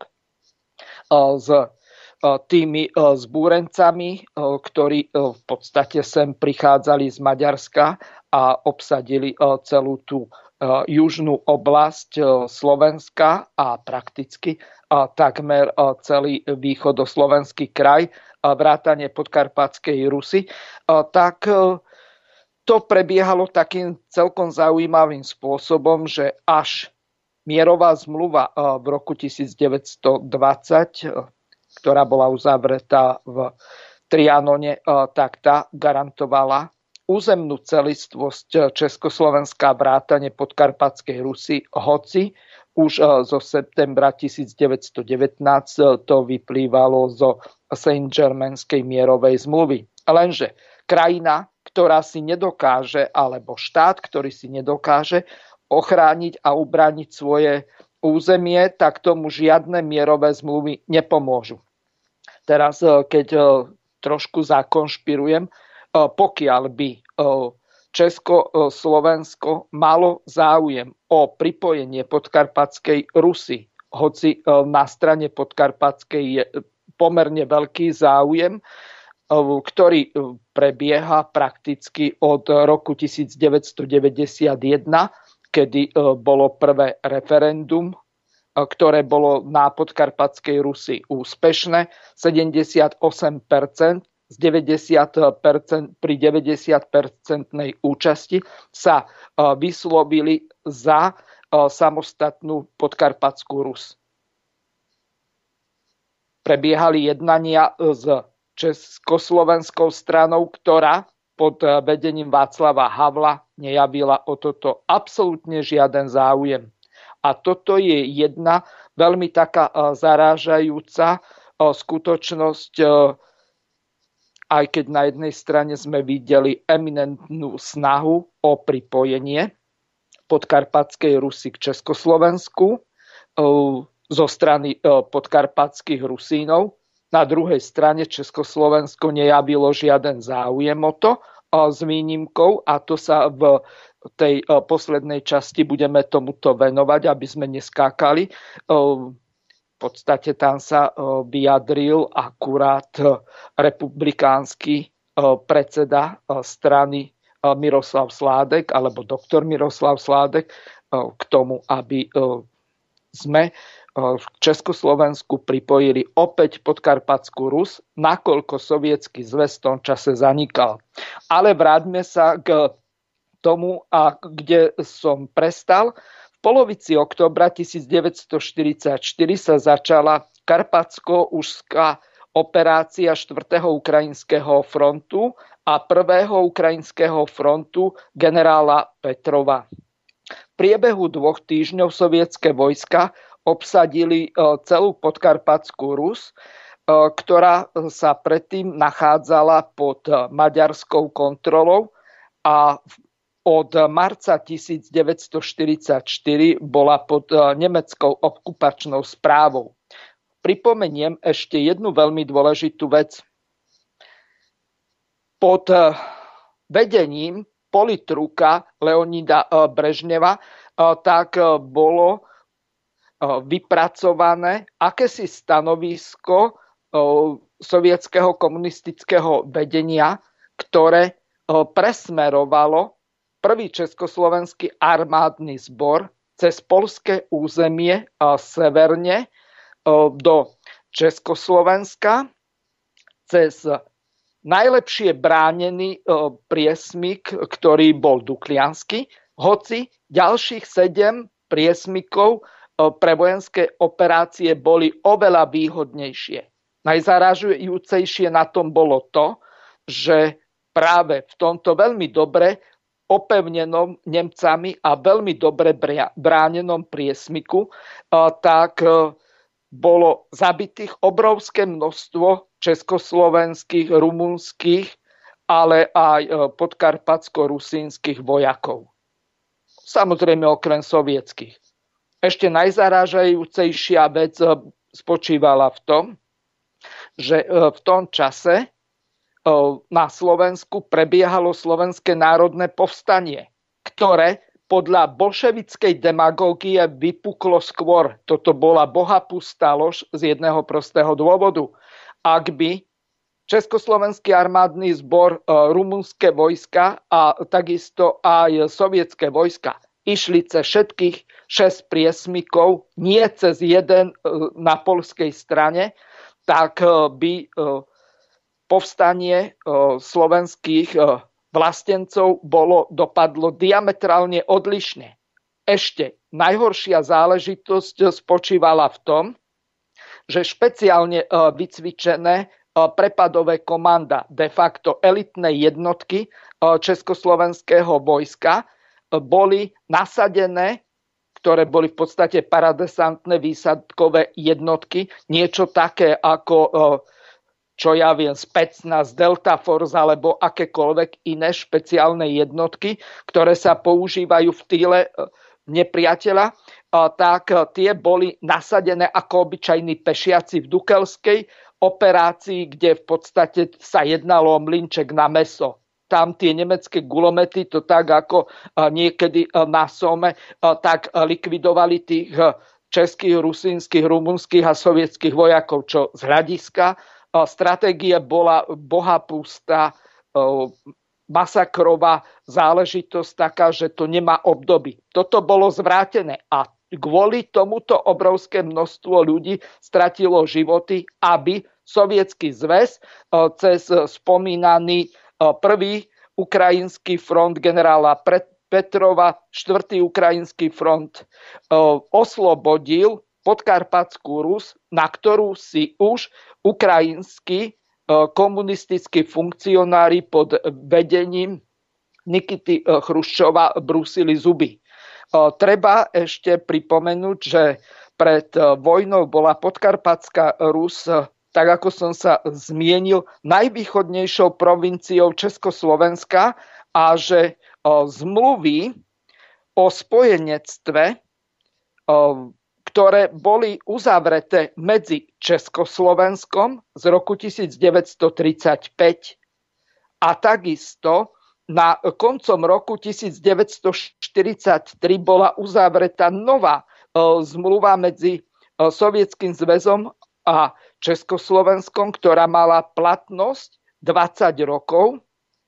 Speaker 2: s tými zbúrencami, ktorí v podstate sem prichádzali z Maďarska a obsadili celú tú južnú oblasť Slovenska a prakticky takmer celý východoslovenský kraj, vrátane podkarpatskej Rusy, tak to prebiehalo takým celkom zaujímavým spôsobom, že až mierová zmluva v roku 1920, ktorá bola uzavretá v Trianone, tak tá garantovala územnú celistvosť Československa vrátane podkarpatskej Rusy, hoci už zo septembra 1919 to vyplývalo zo Saint-Germainskej mierovej zmluvy. Lenže krajina, ktorá si nedokáže, alebo štát, ktorý si nedokáže ochrániť a ubrániť svoje územie, tak tomu žiadne mierové zmluvy nepomôžu. Teraz, keď trošku zakonšpirujem, pokiaľ by Československo malo záujem o pripojenie podkarpatskej Rusy, hoci na strane podkarpatskej je pomerne veľký záujem, ktorý prebieha prakticky od roku 1991, kedy bolo prvé referendum, ktoré bolo na podkarpatskej Rusi úspešné. 78% z 90% pri 90% účasti sa vyslovili za samostatnú podkarpatskú Rus. Prebiehali jednania s československou stranou, ktorá pod vedením Václava Havla nejavila o toto absolútne žiaden záujem. A toto je jedna veľmi taká zarážajúca skutočnosť, aj keď na jednej strane sme videli eminentnú snahu o pripojenie podkarpatskej Rusy k Československu zo strany podkarpatských Rusínov. Na druhej strane Československo nejavilo žiaden záujem o to, s výnimkou, a to sa v tej poslednej časti budeme tomuto venovať, aby sme neskákali. V podstate tam sa vyjadril akurát republikánsky predseda strany Miroslav Sládek, alebo doktor Miroslav Sládek, k tomu, aby sme v Československu pripojili opäť podkarpatskú Rus, nakoľko sovietský zväz v tom čase zanikal. Ale vráťme sa k tomu, kde som prestal. V polovici októbra 1944 sa začala Karpatsko-Užská operácia 4. ukrajinského frontu a 1. ukrajinského frontu generála Petrova. V priebehu 2 týždňov sovietske vojska obsadili celú podkarpatskú Rus, ktorá sa predtým nachádzala pod maďarskou kontrolou a od marca 1944 bola pod nemeckou okupačnou správou. Pripomeniem ešte jednu veľmi dôležitú vec. Pod vedením politruka Leonida Brežneva tak bolo vypracované akési stanovisko sovietskeho komunistického vedenia, ktoré presmerovalo prvý československý armádny zbor cez poľské územie severne do Československa cez najlepšie bránený priesmik, ktorý bol Dukliansky, hoci ďalších 7 priesmikov pre vojenské operácie boli oveľa výhodnejšie. Najzarážujúcejšie na tom bolo to, že práve v tomto veľmi dobre opevnenom Nemcami a veľmi dobre bránenom priesmiku tak bolo zabitých obrovské množstvo československých, rumunských, ale aj podkarpatsko-rusínskych vojakov. Samozrejme okrem sovietských. Ešte najzarážajúcejšia vec spočívala v tom, že v tom čase na Slovensku prebiehalo Slovenské národné povstanie, ktoré podľa bolševickej demagógie vypuklo skôr. Toto bola bohapustá lož z jedného prostého dôvodu. Ak by Československý armádny zbor, rumunské vojska a takisto aj sovietské vojska išli cez všetkých 6 priesmikov, nie cez jeden na poľskej strane, tak by povstanie slovenských vlastencov dopadlo diametrálne odlišne. Ešte najhoršia záležitosť spočívala v tom, že špeciálne vycvičené prepadové komanda, de facto elitné jednotky československého vojska, boli nasadené, ktoré boli v podstate paradesantné výsadkové jednotky, niečo také ako čo ja viem, Specnaz, Delta Force alebo akékoľvek iné špeciálne jednotky, ktoré sa používajú v týle nepriateľa, tak tie boli nasadené ako obyčajní pešiaci v Dukelskej operácii, kde v podstate sa jednalo o mlynček na mäso. Tam tie nemecké gulomety, to tak ako niekedy na Somme, tak likvidovali tých českých, rusínskych, rumunských a sovietských vojakov, čo z hľadiska stratégie bola bohapustá, masakrová záležitosť taká, že to nemá obdoby. Toto bolo zvrátené a kvôli tomuto obrovské množstvo ľudí stratilo životy, aby Sovietsky zväz cez spomínaný prvý ukrajinský front generála Petrova, 4. ukrajinský front oslobodil Podkarpatskú Rus, na ktorú si už ukrajinskí komunistickí funkcionári pod vedením Nikity Chruščova brúsili zuby. Treba ešte pripomenúť, že pred vojnou bola Podkarpatská Rus, tak ako som sa zmienil, najvýchodnejšou provinciou Československa a že zmluvy o spojenectve, ktoré boli uzavreté medzi Československom z roku 1935 a takisto na koncom roku 1943 bola uzavretá nová zmluva medzi Sovietským zväzom a Československom, ktorá mala platnosť 20 rokov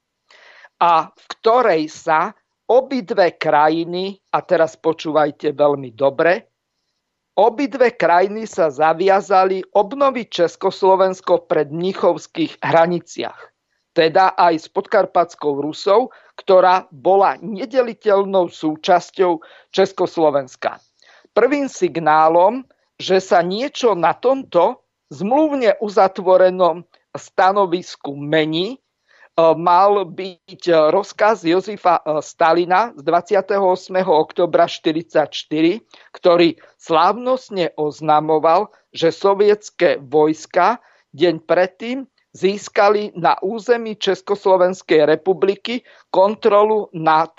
Speaker 2: a v ktorej sa obidve krajiny, a teraz počúvajte veľmi dobre, obidve krajiny sa zaviazali obnoviť Československo pred mnichovských hraniciach, teda aj s Podkarpatskou Rusou, ktorá bola nedeliteľnou súčasťou Československa. Prvým signálom, že sa niečo na tomto zmluvne uzatvorenom stanovisku mení, mal byť rozkaz Jozefa Stalina z 28. októbra 1944, ktorý slávnostne oznamoval, že sovietské vojska deň predtým získali na území Československej republiky kontrolu nad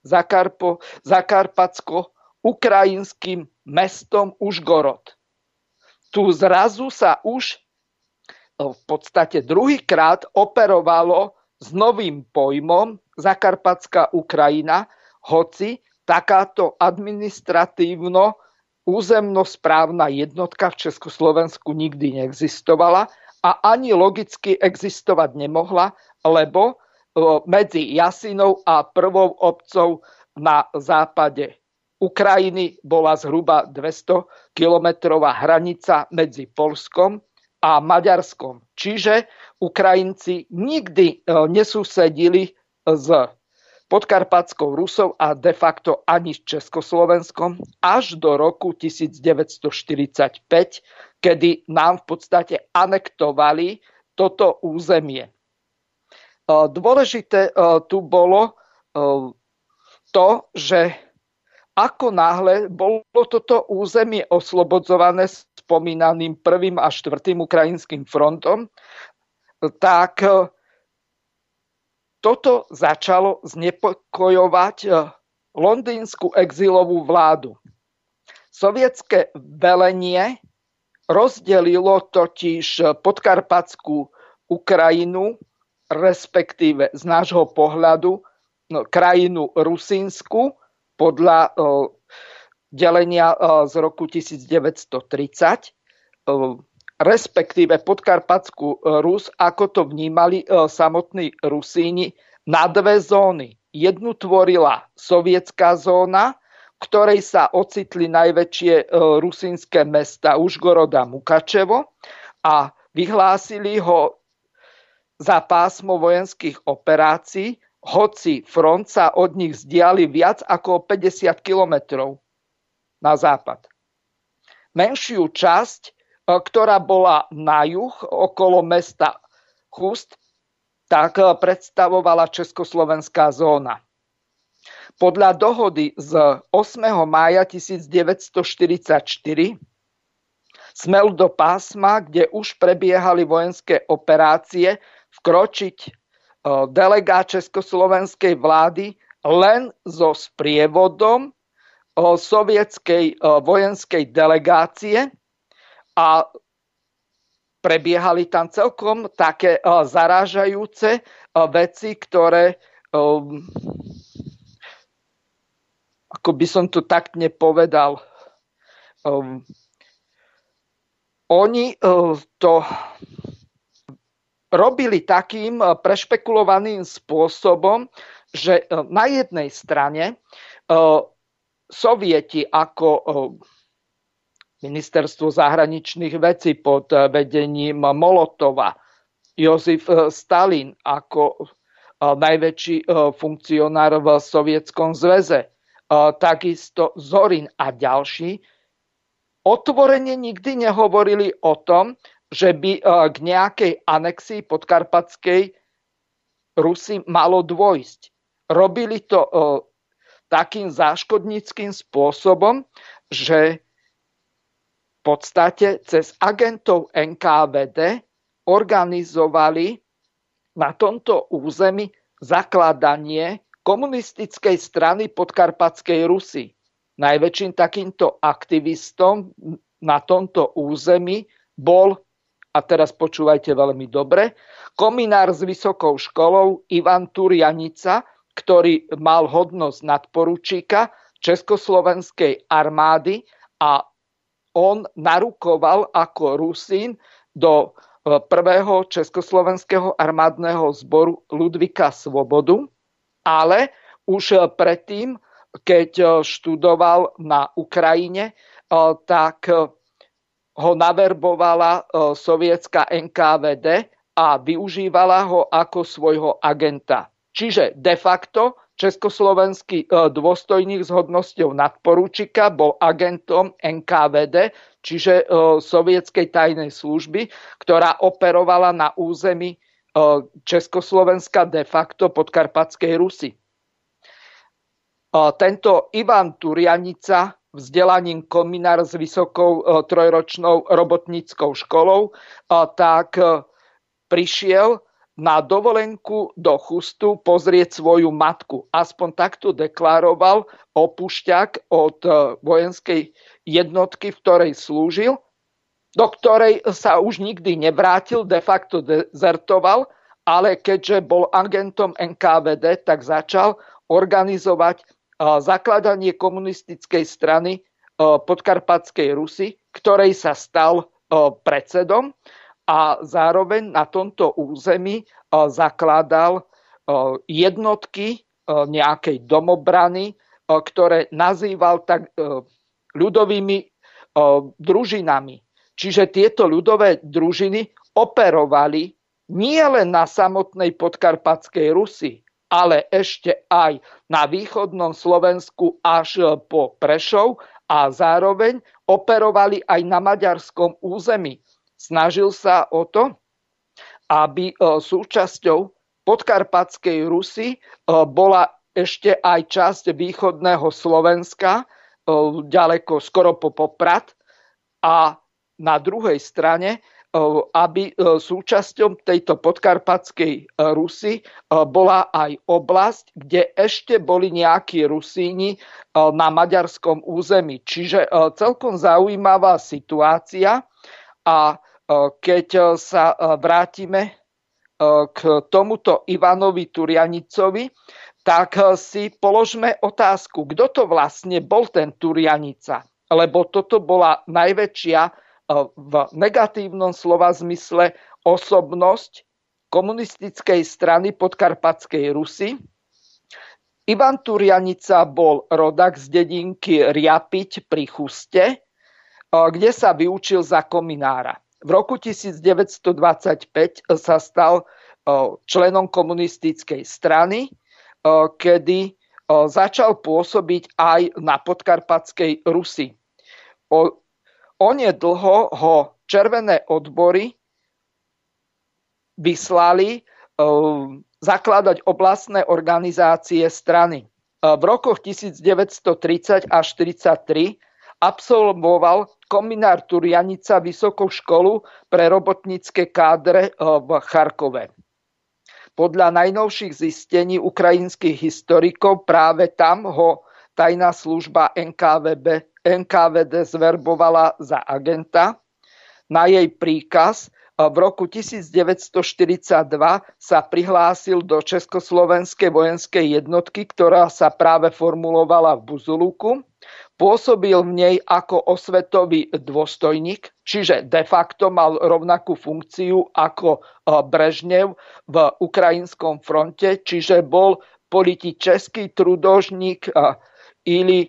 Speaker 2: zakarpatsko-ukrajinským mestom Užgorod. Tu zrazu sa už v podstate druhýkrát operovalo s novým pojmom Zakarpatská Ukrajina, hoci takáto administratívno územnosprávna jednotka v Československu nikdy neexistovala a ani logicky existovať nemohla, lebo medzi Jasinou a prvou obcov na západe Ukrajiny bola zhruba 200-kilometrová hranica medzi Poľskom a Maďarskom. Čiže Ukrajinci nikdy nesúsedili s Podkarpatskou Rusou a de facto ani s Československom až do roku 1945, kedy nám v podstate anektovali toto územie. Dôležité tu bolo to, že ako náhle bolo toto územie oslobodzované spomínaným 1. a 4. ukrajinským frontom, tak toto začalo znepokojovať londýnsku exilovú vládu. Sovietské velenie rozdelilo totiž podkarpatskú Ukrajinu, respektíve z nášho pohľadu krajinu Rusínsku, podľa delenia z roku 1930, respektíve Podkarpatskú Rus, ako to vnímali samotní Rusíni, na dve zóny. Jednu tvorila sovietská zóna, v ktorej sa ocitli najväčšie rusínske mesta Užgorod a Mukačevo a vyhlásili ho za pásmo vojenských operácií, hoci front sa od nich vzdiali viac ako 50 kilometrov na západ. Menšiu časť, ktorá bola na juh okolo mesta Chust, tak predstavovala československá zóna. Podľa dohody z 8. mája 1944 smel do pásma, kde už prebiehali vojenské operácie, vkročiť delegát československej vlády len so sprievodom sovietskej vojenskej delegácie a prebiehali tam celkom také zarážajúce veci, ktoré, ako by som to tak nepovedal, oni to robili takým prešpekulovaným spôsobom, že na jednej strane Sovieti ako ministerstvo zahraničných vecí pod vedením Molotova, Jozef Stalin ako najväčší funkcionár v Sovietskom zväze, takisto Zorin a ďalší, otvorene nikdy nehovorili o tom, že by k nejakej anexii podkarpatskej Rusy malo dôjsť. Robili to takým záškodníckým spôsobom, že v podstate cez agentov NKVD organizovali na tomto území zakladanie komunistickej strany Podkarpatskej Rusy. Najväčším takýmto aktivistom na tomto území bol, a teraz počúvajte veľmi dobre, kominár s vysokou školou Ivan Turjanica, ktorý mal hodnosť nadporučíka Československej armády a on narukoval ako Rusín do prvého Československého armádneho zboru Ludvíka Svobodu, ale už predtým, keď študoval na Ukrajine, tak ho naverbovala sovietská NKVD a využívala ho ako svojho agenta. Čiže de facto československý dôstojník s hodnosťou nadporučíka bol agentom NKVD, čiže sovietskej tajnej služby, ktorá operovala na území Československa de facto Podkarpatskej Rusy. Tento Ivan Turjanica, vzdelaním kominár s vysokou trojročnou robotníckou školou, tak prišiel na dovolenku do Chustu pozrieť svoju matku. Aspoň takto deklaroval opušťak od vojenskej jednotky, v ktorej slúžil, do ktorej sa už nikdy nevrátil, de facto dezertoval, ale keďže bol agentom NKVD, tak začal organizovať zakladanie komunistickej strany Podkarpatskej Rusy, ktorej sa stal predsedom a zároveň na tomto území zakladal jednotky nejakej domobrany, ktoré nazýval tak ľudovými družinami. Čiže tieto ľudové družiny operovali nie len na samotnej podkarpatskej Rusi, ale ešte aj na východnom Slovensku až po Prešov a zároveň operovali aj na maďarskom území. Snažil sa o to, aby súčasťou podkarpatskej Rusy bola ešte aj časť východného Slovenska, ďaleko skoro po Poprad, a na druhej strane, aby súčasťou tejto podkarpatskej Rusy bola aj oblasť, kde ešte boli nejakí Rusíni na maďarskom území. Čiže celkom zaujímavá situácia. A keď sa vrátime k tomuto Ivanovi Turianicovi, tak si položme otázku, kto to vlastne bol ten Turianica. Lebo toto bola najväčšia v negatívnom slova zmysle osobnosť komunistickej strany Podkarpatskej Rusy. Ivan Turianica bol rodak z dedinky Riapiť pri Chuste, kde sa vyučil za kominára. V roku 1925 sa stal členom komunistickej strany, kedy začal pôsobiť aj na Podkarpatskej Rusi. Onedlho ho červené odbory vyslali zakladať oblastné organizácie strany. V rokoch 1930 až 1943 absolvoval kominár Turianica vysokú školu pre robotnícke kádre v Charkove. Podľa najnovších zistení ukrajinských historikov práve tam ho tajná služba NKVD zverbovala za agenta. Na jej príkaz v roku 1942 sa prihlásil do Československej vojenskej jednotky, ktorá sa práve formulovala v Buzuluku. Pôsobil v nej ako osvetový dôstojník, čiže de facto mal rovnakú funkciu ako Brežnev v ukrajinskom fronte, čiže bol politický trudožník ili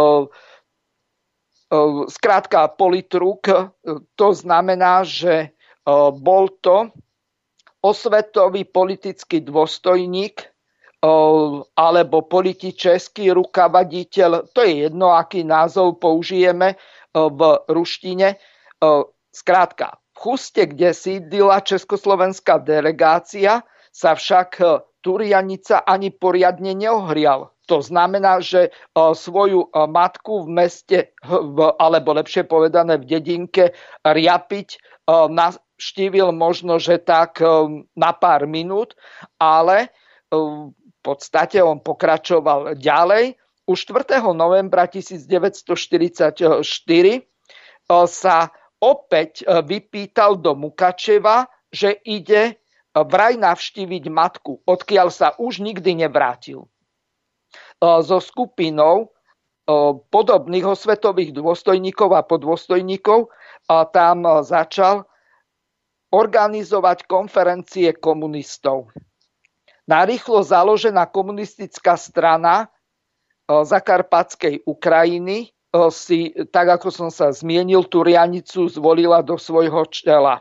Speaker 2: skrátka politruk. To znamená, že bol to osvetový politický dôstojník alebo politický rukovoditeľ, to je jedno, aký názov použijeme v ruštine. Skrátka, v Chuste, kde sídlila československá delegácia, sa však Turianica ani poriadne neohrial. To znamená, že svoju matku v meste, alebo lepšie povedané v dedinke Riapiť, navštívil možno, že tak na pár minút, ale v podstate on pokračoval ďalej. Už 4. novembra 1944 sa opäť vypýtal do Mukačeva, že ide vraj navštíviť matku, odkiaľ sa už nikdy nevrátil. So skupinou podobných osvetových dôstojníkov a podôstojníkov tam začal organizovať konferencie komunistov. Narýchlo založená komunistická strana Zakarpatskej Ukrajiny si, tak ako som sa zmienil, Turianicu zvolila do svojho čela.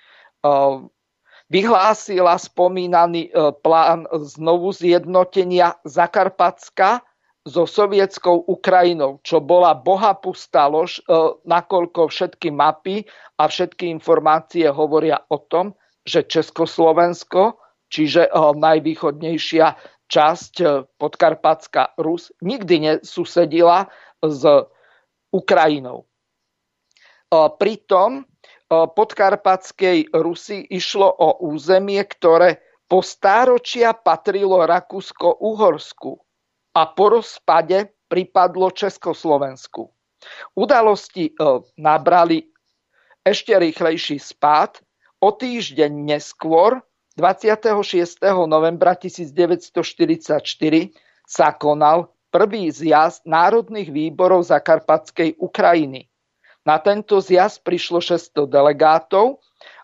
Speaker 2: Vyhlásila spomínaný plán znovu zjednotenia Zakarpatska so sovietskou Ukrajinou, čo bola bohapustá lož, nakoľko všetky mapy a všetky informácie hovoria o tom, že Československo, čiže najvýchodnejšia časť Podkarpatská Rus, nikdy nesusedila s Ukrajinou. Pritom Podkarpatskej Rusi išlo o územie, ktoré po stáročia patrilo Rakúsko-Uhorsku a po rozpade pripadlo Československu. Udalosti nabrali ešte rýchlejší spád. O týždeň neskôr, 26. novembra 1944, sa konal prvý zjazd národných výborov Zakarpatskej Ukrajiny. Na tento zjazd prišlo 600 delegátov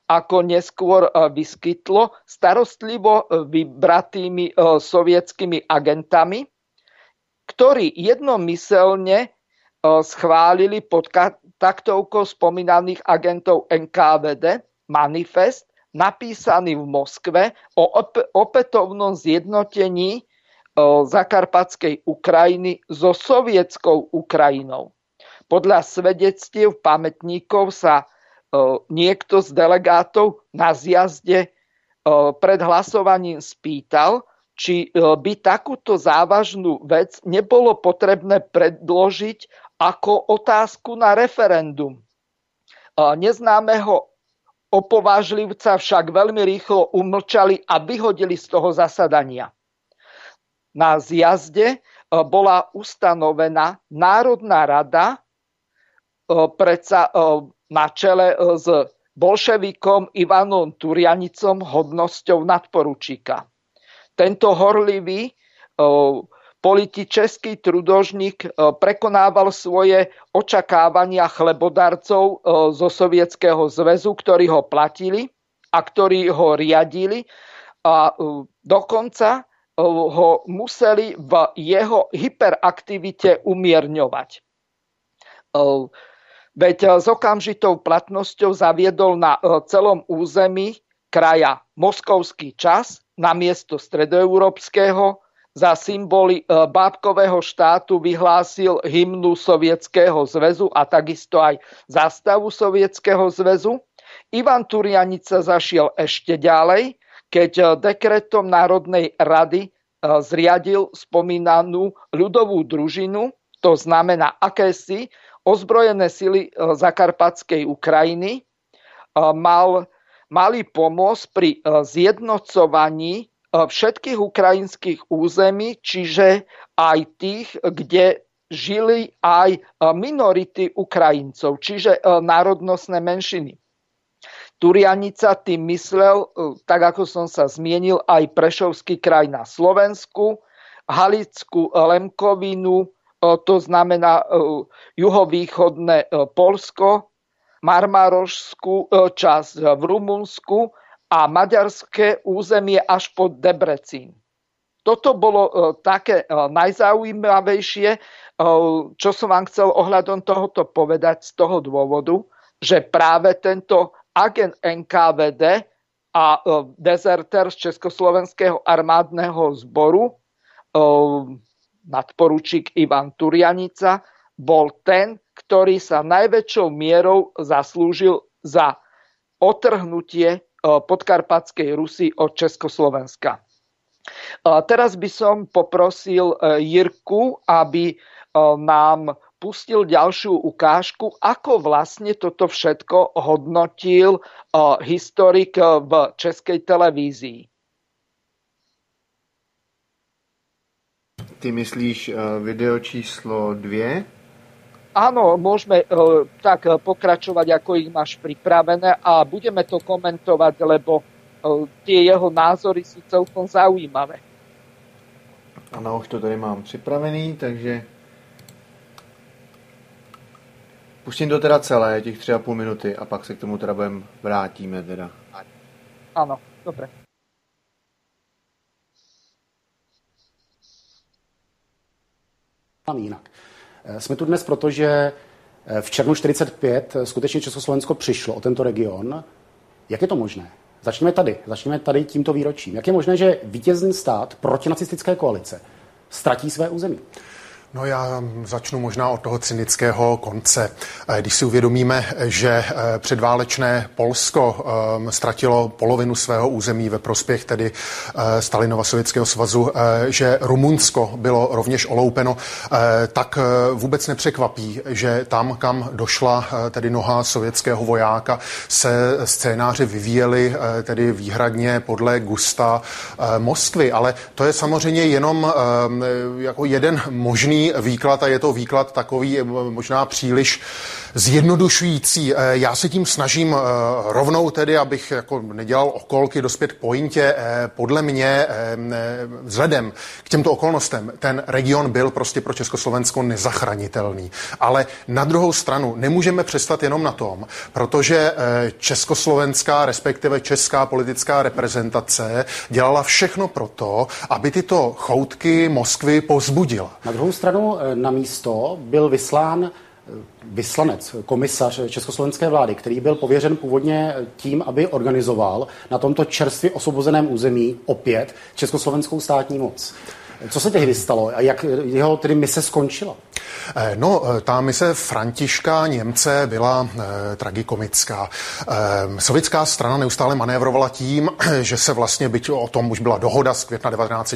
Speaker 2: ako neskôr vyskytlo, starostlivo vybratými sovietskými agentami, ktorí jednomyselne schválili pod taktovkou spomínaných agentov NKVD manifest napísaný v Moskve o opätovnom zjednotení Zakarpatskej Ukrajiny so sovietskou Ukrajinou. Podľa svedectiev pamätníkov sa niekto z delegátov na zjazde pred hlasovaním spýtal, či by takúto závažnú vec nebolo potrebné predložiť ako otázku na referendum. Neznámeho opovážlivca však veľmi rýchlo umlčali a vyhodili z toho zasadania. Na zjazde bola ustanovená Národná rada, predsa na čele s bolševikom Ivanom Turjanicom hodnosťou nadporučíka. Tento horlivý český trudožník prekonával svoje očakávania chlebodarcov zo Sovietskeho zväzu, ktorí ho platili a ktorí ho riadili a dokonca ho museli v jeho hyperaktivite umierňovať. Veď s okamžitou platnosťou zaviedol na celom území kraja moskovský čas namiesto stredoeurópskeho, za symboly bábkového štátu vyhlásil hymnu Sovietskeho zväzu a takisto aj zástavu Sovietskeho zväzu. Ivan Turjanica zašiel ešte ďalej, keď dekretom Národnej rady zriadil spomínanú ľudovú družinu, to znamená akési ozbrojené sily Zakarpatskej Ukrajiny, mali pomôcť pri zjednocovaní všetkých ukrajinských území, čiže aj tých, kde žili aj minority Ukrajincov, čiže národnostné menšiny. Turjanica tým myslel, tak ako som sa zmienil, aj Prešovský kraj na Slovensku, Halickú Lemkovinu, to znamená juhovýchodné Poľsko, Marmarošskú časť v Rumunsku a maďarské územie až po Debrecín. Toto bolo také najzaujímavejšie, čo som vám chcel ohľadom tohoto povedať z toho dôvodu, že práve tento agent NKVD a dezertér z Československého armádneho zboru, nadporučík Ivan Turjanica, bol ten, ktorý sa najväčšou mierou zaslúžil za otrhnutie Podkarpatskej Rusy od Československa. Teraz by som poprosil Jirku, aby nám pustil ďalšiu ukážku, ako vlastne toto všetko hodnotil historik v Českej televízii.
Speaker 1: Ty myslíš video číslo 2?
Speaker 2: Áno, môžeme tak pokračovať, ako ich máš pripravené a budeme to komentovať, lebo tie jeho názory sú celkom zaujímavé.
Speaker 1: Ano, už to tady mám připravený, takže pustím to teda celé, těch 3,5 minuty a pak se k tomu teda vrátíme teda.
Speaker 2: Áno, dobre.
Speaker 3: Jinak. Jsme tu dnes proto, že v červnu 1945 skutečně Československo přišlo o tento region. Jak je to možné? Začněme tady tímto výročím. Jak je možné, že vítězný stát protinacistické koalice ztratí své území?
Speaker 5: No já začnu možná od toho cynického konce. Když si uvědomíme, že předválečné Polsko ztratilo polovinu svého území ve prospěch tedy Stalinova Sovětského svazu, že Rumunsko bylo rovněž oloupeno, tak vůbec nepřekvapí, že tam, kam došla tedy noha sovětského vojáka, se scénáře vyvíjely tedy výhradně podle gusta Moskvy. Ale to je samozřejmě jenom jako jeden možný výklad a je to výklad takový možná příliš zjednodušující. Já se tím snažím rovnou tedy, abych jako nedělal okolky, dospět k pointě. Podle mě vzhledem k těmto okolnostem ten region byl prostě pro Československo nezachranitelný. Ale na druhou stranu nemůžeme přestat jenom na tom, protože československá, respektive česká politická reprezentace dělala všechno proto, aby tyto choutky Moskvy povzbudila.
Speaker 3: Na druhou stranu na místo byl vyslanec, komisař československé vlády, který byl pověřen původně tím, aby organizoval na tomto čerstvě osvobozeném území opět československou státní moc. Co se tehdy stalo a jak jeho tedy mise skončila?
Speaker 5: No, ta mise Františka Němce byla tragikomická. Sovětská strana neustále manévrovala tím, že se vlastně, byť o tom už byla dohoda z května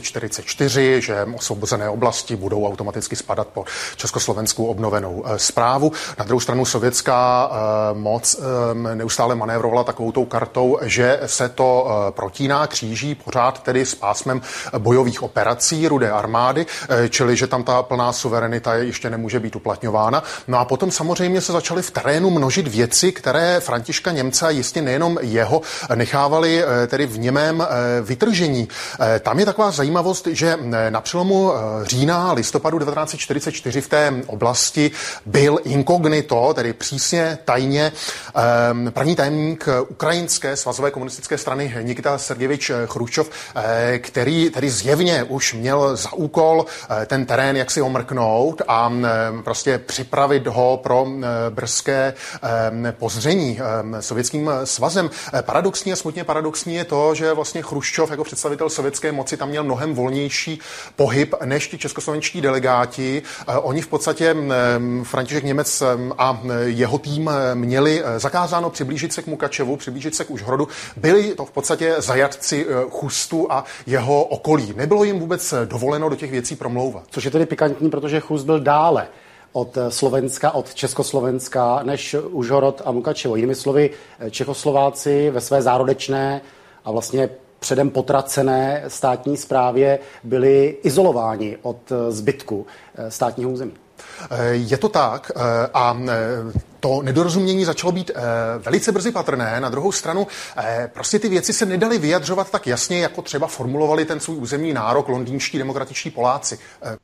Speaker 5: 1944, že osvobozené oblasti budou automaticky spadat pod československou obnovenou správu. Na druhou stranu sovětská moc neustále manévrovala takovou tou kartou, že se to protíná, kříží pořád tedy s pásmem bojových operací Rudé armády, čili že tam ta plná suverenita ještě nemůže být uplatňována. No a potom samozřejmě se začaly v terénu množit věci, které Františka Němce a jistě nejenom jeho nechávali tedy v němém vytržení. Tam je taková zajímavost, že na přelomu října a listopadu 1944 v té oblasti byl inkognito, tedy přísně tajně, první tajemník ukrajinské svazové komunistické strany Nikita Sergejevič Chruščov, který tedy zjevně už měl za úkol ten terén jaksi omrknout a prostě připravit ho pro brzké pozření Sovětským svazem. Paradoxní a smutně paradoxní je to, že vlastně Chruščov jako představitel sovětské moci tam měl mnohem volnější pohyb než ti českoslovenští delegáti. Oni v podstatě František Němec a jeho tým měli zakázáno přiblížit se k Mukačevu, přiblížit se k Užhorodu. Byli to v podstatě zajatci Chustu a jeho okolí. Nebylo jim vůbec dovoleno do těch věcí promlouvat.
Speaker 3: Což je tedy pikantní, protože Chust byl dále od Slovenska, od Československa, než Užhorod a Mukačevo. Jinými slovy, Čechoslováci ve své zárodečné a vlastně předem potracené státní správě byli izolováni od zbytku státního území.
Speaker 5: Je to tak a to nedorozumění začalo být velice brzy patrné. Na druhou stranu prostě ty věci se nedaly vyjadřovat tak jasně, jako třeba formulovali ten svůj územní nárok londýnští demokratičtí Poláci.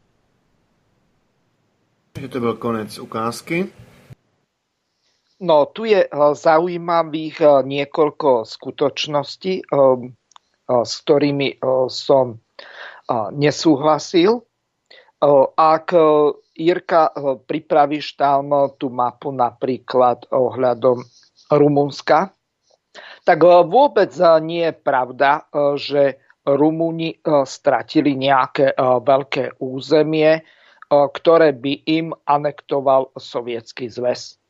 Speaker 1: Že to byl konec ukázky.
Speaker 2: No, tu je zaujímavých niekoľko skutočností, s ktorými som nesúhlasil. Ak Jirka, pripravíš tam tú mapu napríklad ohľadom Rumunska, tak vôbec nie je pravda, že Rumúni stratili nejaké veľké územie, ktoré by im anektoval Sovietsky zväz.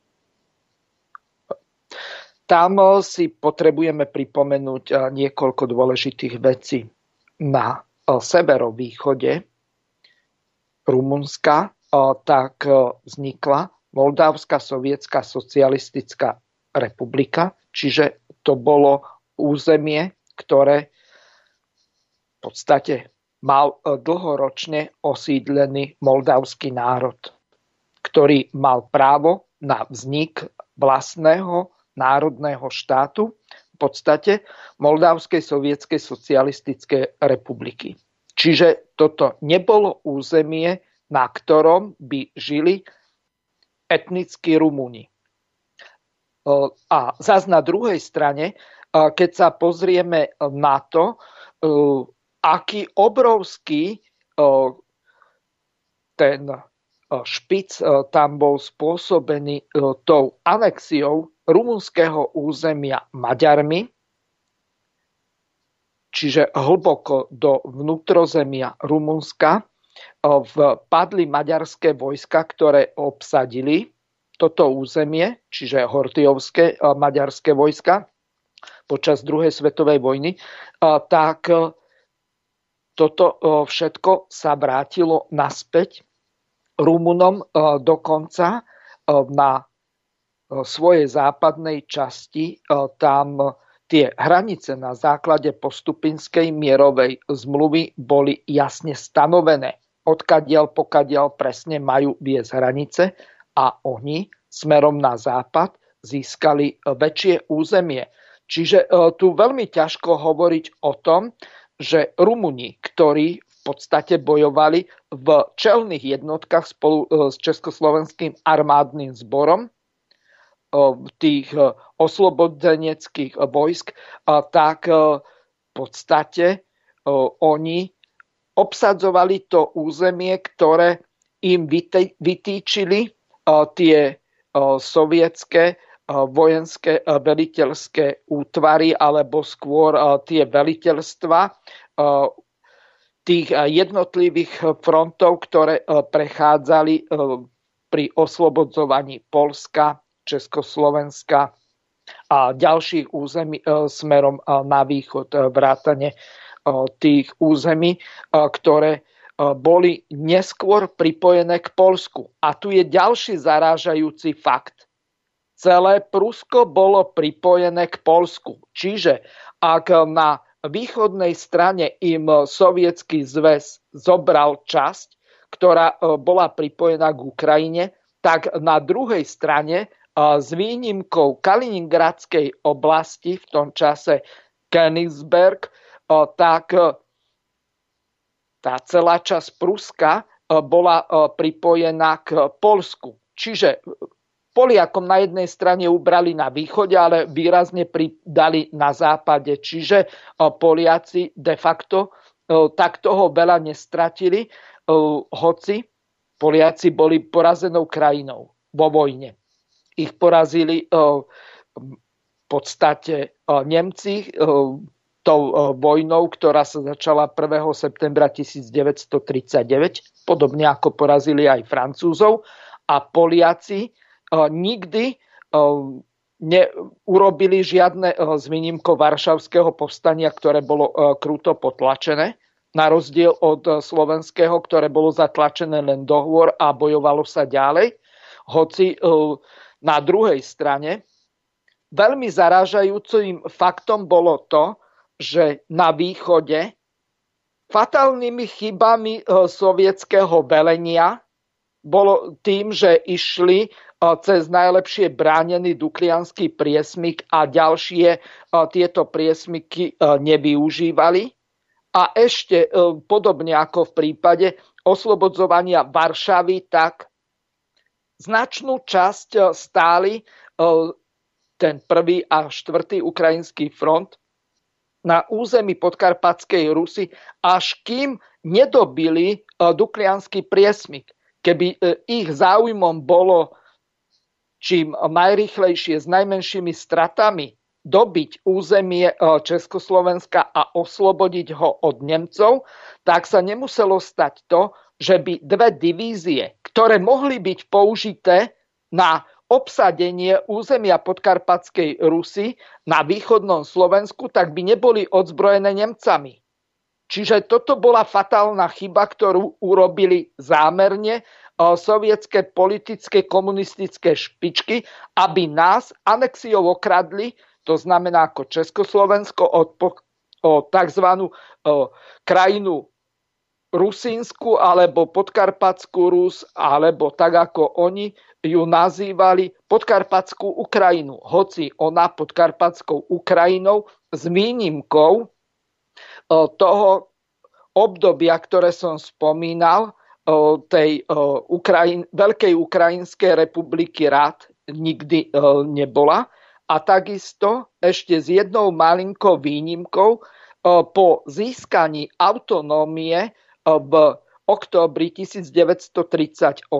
Speaker 2: Tam si potrebujeme pripomenúť niekoľko dôležitých vecí. Na severovýchode Rumunska tak vznikla Moldavská sovietská socialistická republika, čiže to bolo územie, ktoré v podstate mal dlhoročne osídlený moldavský národ, ktorý mal právo na vznik vlastného národného štátu, v podstate Moldavskej sovietskej socialistickej republiky. Čiže toto nebolo územie, na ktorom by žili etnickí Rumúni. A zas na druhej strane, keď sa pozrieme na to, aký obrovský ten špic tam bol spôsobený tou anexiou rumunského územia Maďarmi, čiže hlboko do vnútrozemia Rumunska, vpadli maďarské vojska, ktoré obsadili toto územie, čiže hortijovské maďarské vojska počas druhej svetovej vojny, tak toto všetko sa vrátilo naspäť Rumunom, dokonca na svojej západnej časti. Tam tie hranice na základe Postupinskej mierovej zmluvy boli jasne stanovené. Odkiaľ pokadiaľ presne majú viesť hranice a oni smerom na západ získali väčšie územie. Čiže tu veľmi ťažko hovoriť o tom, že Rumuni, ktorí v podstate bojovali v čelných jednotkách spolu s československým armádnym zborom tých oslobodeneckých vojsk, tak v podstate oni obsadzovali to územie, ktoré im vytýčili tie sovietské vojenské veliteľské útvary alebo skôr tie veliteľstva tých jednotlivých frontov, ktoré prechádzali pri oslobodzovaní Poľska, Československa a ďalších území smerom na východ, vrátane tých území, ktoré boli neskôr pripojené k Poľsku. A tu je ďalší zarážajúci fakt. Celé Prusko bolo pripojené k Poľsku. Čiže ak na východnej strane im Sovietsky zväz zobral časť, ktorá bola pripojená k Ukrajine, tak na druhej strane s výnimkou Kaliningradskej oblasti, v tom čase Königsberg, tak tá celá časť Pruska bola pripojená k Poľsku. Čiže Poliakom na jednej strane ubrali na východe, ale výrazne pridali na západe. Čiže Poliaci de facto tak toho veľa nestratili, hoci Poliaci boli porazenou krajinou vo vojne. Ich porazili v podstate Nemci tou vojnou, ktorá sa začala 1. septembra 1939, podobne ako porazili aj Francúzov, a Poliaci nikdy neurobili žiadne s výnimkou Varšavského povstania, ktoré bolo kruto potlačené, na rozdiel od slovenského, ktoré bolo zatlačené len do hôr a bojovalo sa ďalej. Hoci na druhej strane veľmi zarážajúcim faktom bolo to, že na východe fatálnymi chybami sovietskeho velenia bolo tým, že išli cez najlepšie bránený Dukliansky priesmyk a ďalšie tieto priesmyky nevyužívali. A ešte podobne ako v prípade oslobodzovania Varšavy, tak značnú časť stáli ten 1. a 4. ukrajinský front na území Podkarpatskej Rusy, až kým nedobili Dukliansky priesmyk. Keby ich záujmom bolo čím najrýchlejšie s najmenšími stratami dobiť územie Československa a oslobodiť ho od Nemcov, tak sa nemuselo stať to, že by dve divízie, ktoré mohli byť použité na obsadenie územia Podkarpatskej Rusy na východnom Slovensku, tak by neboli odzbrojené Nemcami. Čiže toto bola fatálna chyba, ktorú urobili zámerne sovietské politické komunistické špičky, aby nás anexiou okradli, to znamená ako Československo, o tzv. Krajinu Rusínsku alebo Podkarpatskú Rus, alebo tak ako oni ju nazývali Podkarpatskú Ukrajinu. Hoci ona Podkarpatskou Ukrajinou s výnimkou toho obdobia, ktoré som spomínal, tej Veľkej Ukrajinskej republiky rád nikdy nebola. A takisto ešte s jednou malinkou výnimkou po získaní autonómie v októbri 1938,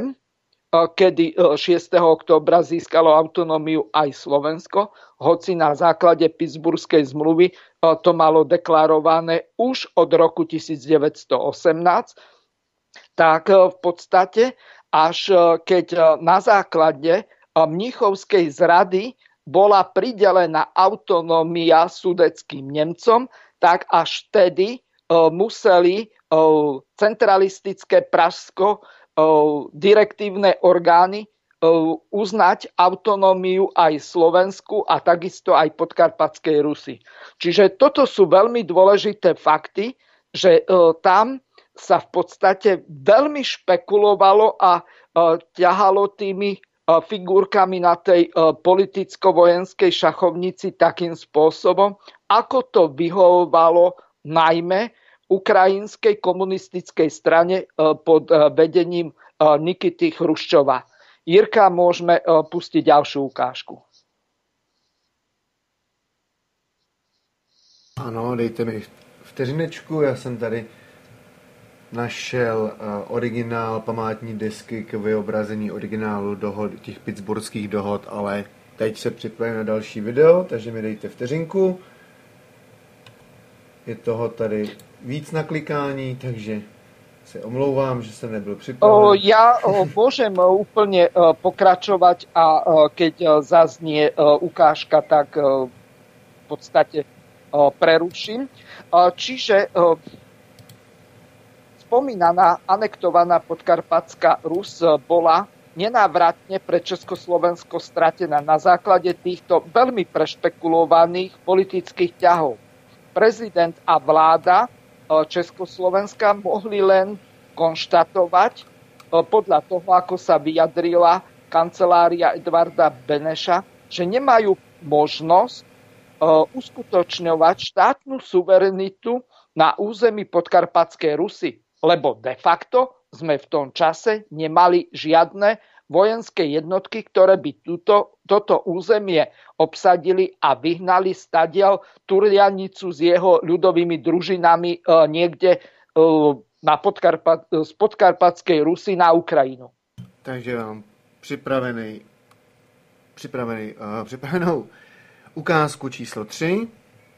Speaker 2: kedy 6. októbra získalo autonómiu aj Slovensko, hoci na základe Pittsburghskej zmluvy to malo deklarované už od roku 1918, tak v podstate až keď na základe Mníchovskej zrady bola pridelená autonómia sudeckým Nemcom, tak až vtedy museli centralistické pražsko direktívne orgány uznať autonómiu aj Slovensku a takisto aj Podkarpatskej Rusy. Čiže toto sú veľmi dôležité fakty, že tam sa v podstate veľmi špekulovalo a ťahalo tými figurkami na tej politicko-vojenskej šachovnici takým spôsobom, ako to vyhovovalo najmä ukrajinskej komunistickej strane pod vedením Nikity Chruščova. Jirka, môžeme pustiť ďalšiu ukážku.
Speaker 1: Ano, dejte mi vteřinečku, já jsem tady našel originál památní desky k vyobrazení originálu těch pittsburghských dohod, ale teď se připojím na další video, takže mi dejte vteřinku. Je toho tady víc na klikání, takže se omlouvám, že jsem nebyl připraven.
Speaker 2: Ja môžem úplne pokračovať a keď zaznie ukážka, tak v podstate preruším. Čiže spomínaná anektovaná Podkarpatská Rus bola nenávratne pre Československo stratená na základe týchto veľmi prešpekulovaných politických ťahov. Prezident a vláda Československa mohli len konštatovať podľa toho, ako sa vyjadrila kancelária Edvarda Beneša, že nemajú možnosť uskutočňovať štátnu suverenitu na území Podkarpatskej Rusy, lebo de facto sme v tom čase nemali žiadne vojenské jednotky, ktoré by toto územie obsadili a vyhnali stadiaľ Turjanicu s jeho ľudovými družinami niekde z Podkarpatskej Rusy na Ukrajinu.
Speaker 1: Takže mám připravenou ukázku číslo 3.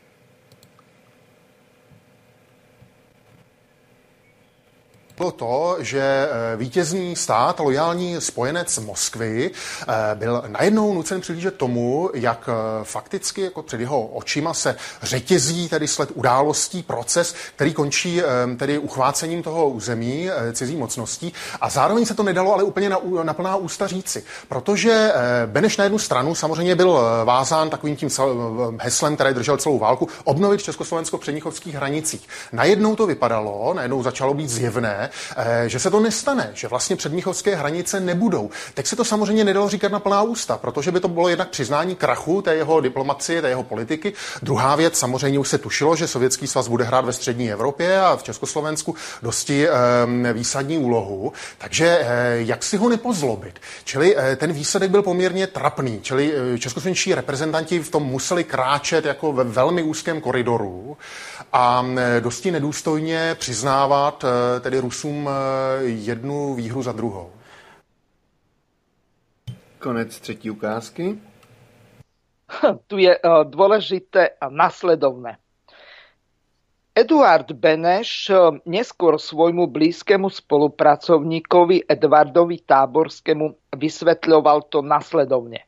Speaker 5: Bylo to, že vítězný stát, lojální spojenec Moskvy, byl najednou nucen přihlížet tomu, jak fakticky jako před jeho očima se řetězí tedy sled událostí proces, který končí tedy uchvácením toho území cizí mocností. A zároveň se to nedalo ale úplně na plná ústa říci, protože Beneš na jednu stranu samozřejmě byl vázán takovým tím heslem, které držel celou válku, obnovit Československo v předmnichovských hranicích. Najednou to vypadalo, najednou začalo být zjevné, že se to nestane, že vlastně předmnichovské hranice nebudou. Teď se to samozřejmě nedalo říkat na plná ústa, protože by to bylo jednak přiznání krachu té jeho diplomacie, té jeho politiky. Druhá věc, samozřejmě už se tušilo, že Sovětský svaz bude hrát ve střední Evropě a v Československu dosti výsadní úlohu. Takže jak si ho nepozlobit? Čili ten výsledek byl poměrně trapný, čili českoslovenští reprezentanti v tom museli kráčet jako ve velmi úzkém koridoru a dosti nedůstojně přiznávat tedy Rusům jednu výhru za druhou.
Speaker 1: Konec třetí ukázky.
Speaker 2: Tu je dôležité a nasledovné. Eduard Beneš neskôr svojmu blízkému spolupracovníkovi Edvardovi Táborskému vysvetľoval to nasledovne.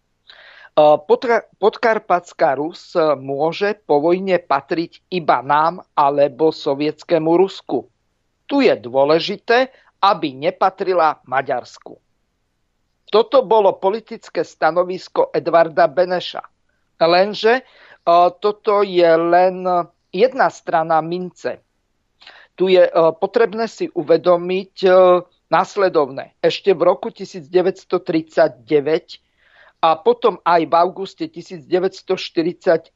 Speaker 2: Podkarpatská Rus môže po vojne patriť iba nám alebo sovietskému Rusku. Tu je dôležité, aby nepatrila Maďarsku. Toto bolo politické stanovisko Edvarda Beneša. Lenže toto je len jedna strana mince. Tu je potrebné si uvedomiť nasledovné. Ešte v roku 1939 a potom aj v auguste 1941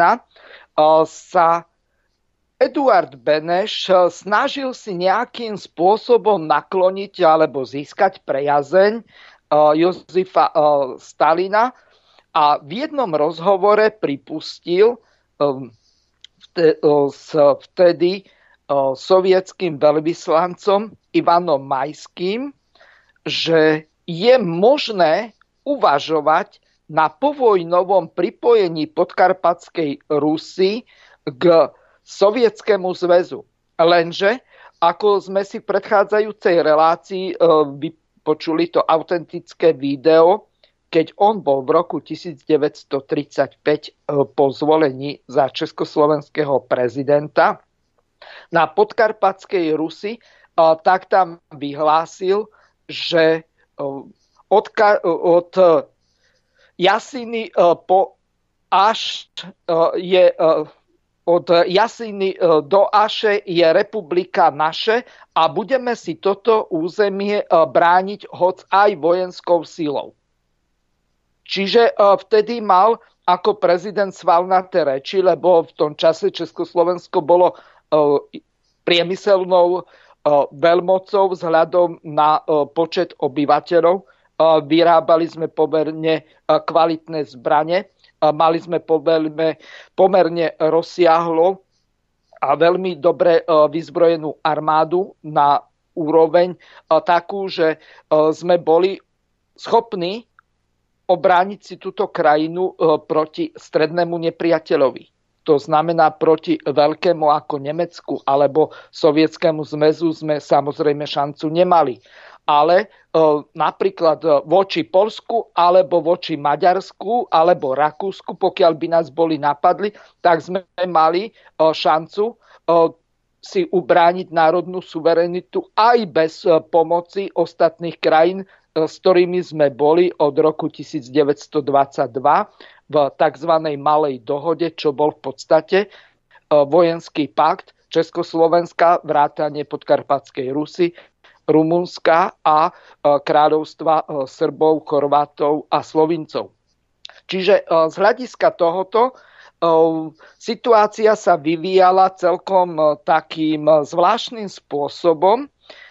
Speaker 2: sa Eduard Beneš snažil si nejakým spôsobom nakloniť alebo získať priazeň Jozefa Stalina a v jednom rozhovore pripustil vtedy sovietským veľvyslancom Ivanom Majským, že je možné uvažovať na povojnovom pripojení Podkarpatskej Rusy k Sovietskému zväzu. Lenže, ako sme si v predchádzajúcej relácii vypočuli to autentické video, keď on bol v roku 1935 po zvolení za československého prezidenta na Podkarpatskej Rusi, tak tam vyhlásil, že od Jasiny po až je od Jasiny do Aše je republika naše a budeme si toto územie brániť hoc aj vojenskou silou. Čiže vtedy mal ako prezident svalnaté reči, lebo v tom čase Československo bolo priemyselnou veľmocou vzhľadom na počet obyvateľov. Vyrábali sme pomerne kvalitné zbrane. Mali sme pomerne rozsiahlo a veľmi dobre vyzbrojenú armádu na úroveň takú, že sme boli schopní obrániť si túto krajinu proti strednému nepriateľovi. To znamená proti veľkému ako Nemecku alebo Sovietskému zväzu sme samozrejme šancu nemali. Ale napríklad voči Poľsku alebo voči Maďarsku alebo Rakúsku, pokiaľ by nás boli napadli, tak sme mali šancu si ubrániť národnú suverenitu aj bez pomoci ostatných krajín, s ktorými sme boli od roku 1922 v tzv. Malej dohode, čo bol v podstate vojenský pakt Československa, vrátane Podkarpatskej Rusy, Rumunska a kráľovstva Srbov, Chorvátov a Slovincov. Čiže z hľadiska tohoto situácia sa vyvíjala celkom takým zvláštnym spôsobom,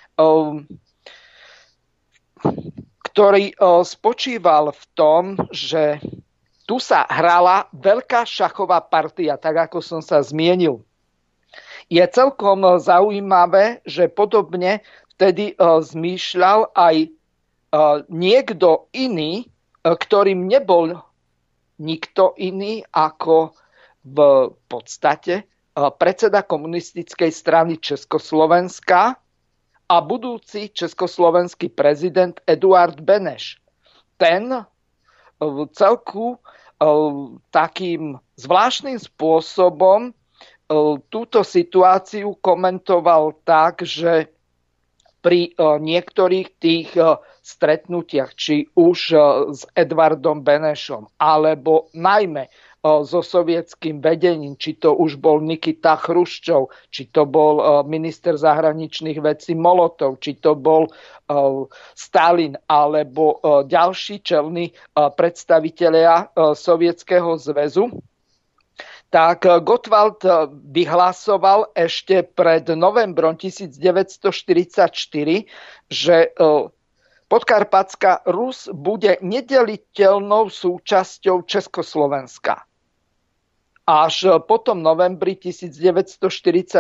Speaker 2: ktorý spočíval v tom, že tu sa hrala veľká šachová partia, tak ako som sa zmienil. Je celkom zaujímavé, že podobne vtedy zmýšľal aj niekto iný, ktorým nebol nikto iný ako v podstate predseda komunistickej strany Československa a budúci československý prezident Eduard Beneš. Ten v celku takým zvláštnym spôsobom túto situáciu komentoval tak, že pri niektorých tých stretnutiach, či už s Edvardom Benešom, alebo najmä so sovietským vedením, či to už bol Nikita Chruščov, či to bol minister zahraničných vecí Molotov, či to bol Stalin, alebo ďalší čelní predstavitelia Sovietskeho zväzu, tak Gottwald vyhlasoval ešte pred novembrom 1944, že Podkarpatská Rus bude nedeliteľnou súčasťou Československa. Až potom novembri 1944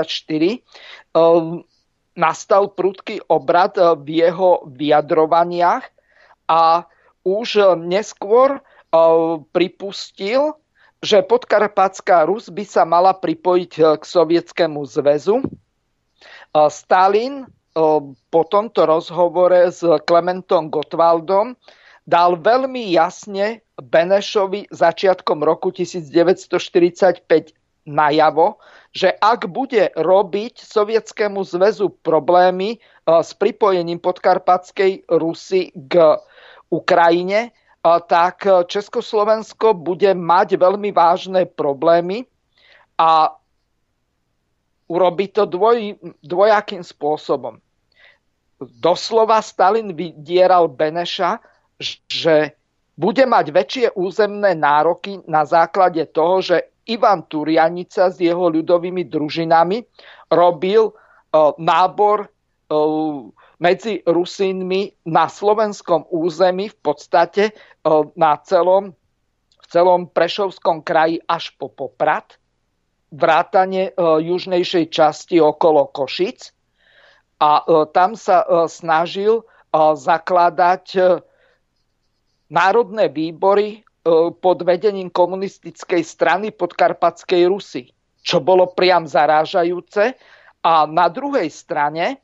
Speaker 2: nastal prudký obrad v jeho vyjadrovaniach a už neskôr pripustil, že Podkarpatská Rus by sa mala pripojiť k Sovietskému zväzu. Stalin po tomto rozhovore s Klementom Gottwaldom dal veľmi jasne Benešovi začiatkom roku 1945 najavo, že ak bude robiť Sovietskému zväzu problémy s pripojením Podkarpatskej Rusy k Ukrajine, tak Československo bude mať veľmi vážne problémy a urobí to dvojakým spôsobom. Doslova Stalin vydieral Beneša, že bude mať väčšie územné nároky na základe toho, že Ivan Turjanica s jeho ľudovými družinami robil nábor medzi Rusínmi na slovenskom území v podstate v celom Prešovskom kraji až po Poprad, vrátane južnejšej časti okolo Košic. A tam sa snažil zakladať národné výbory pod vedením komunistickej strany Podkarpatskej Rusy, čo bolo priam zarážajúce. A na druhej strane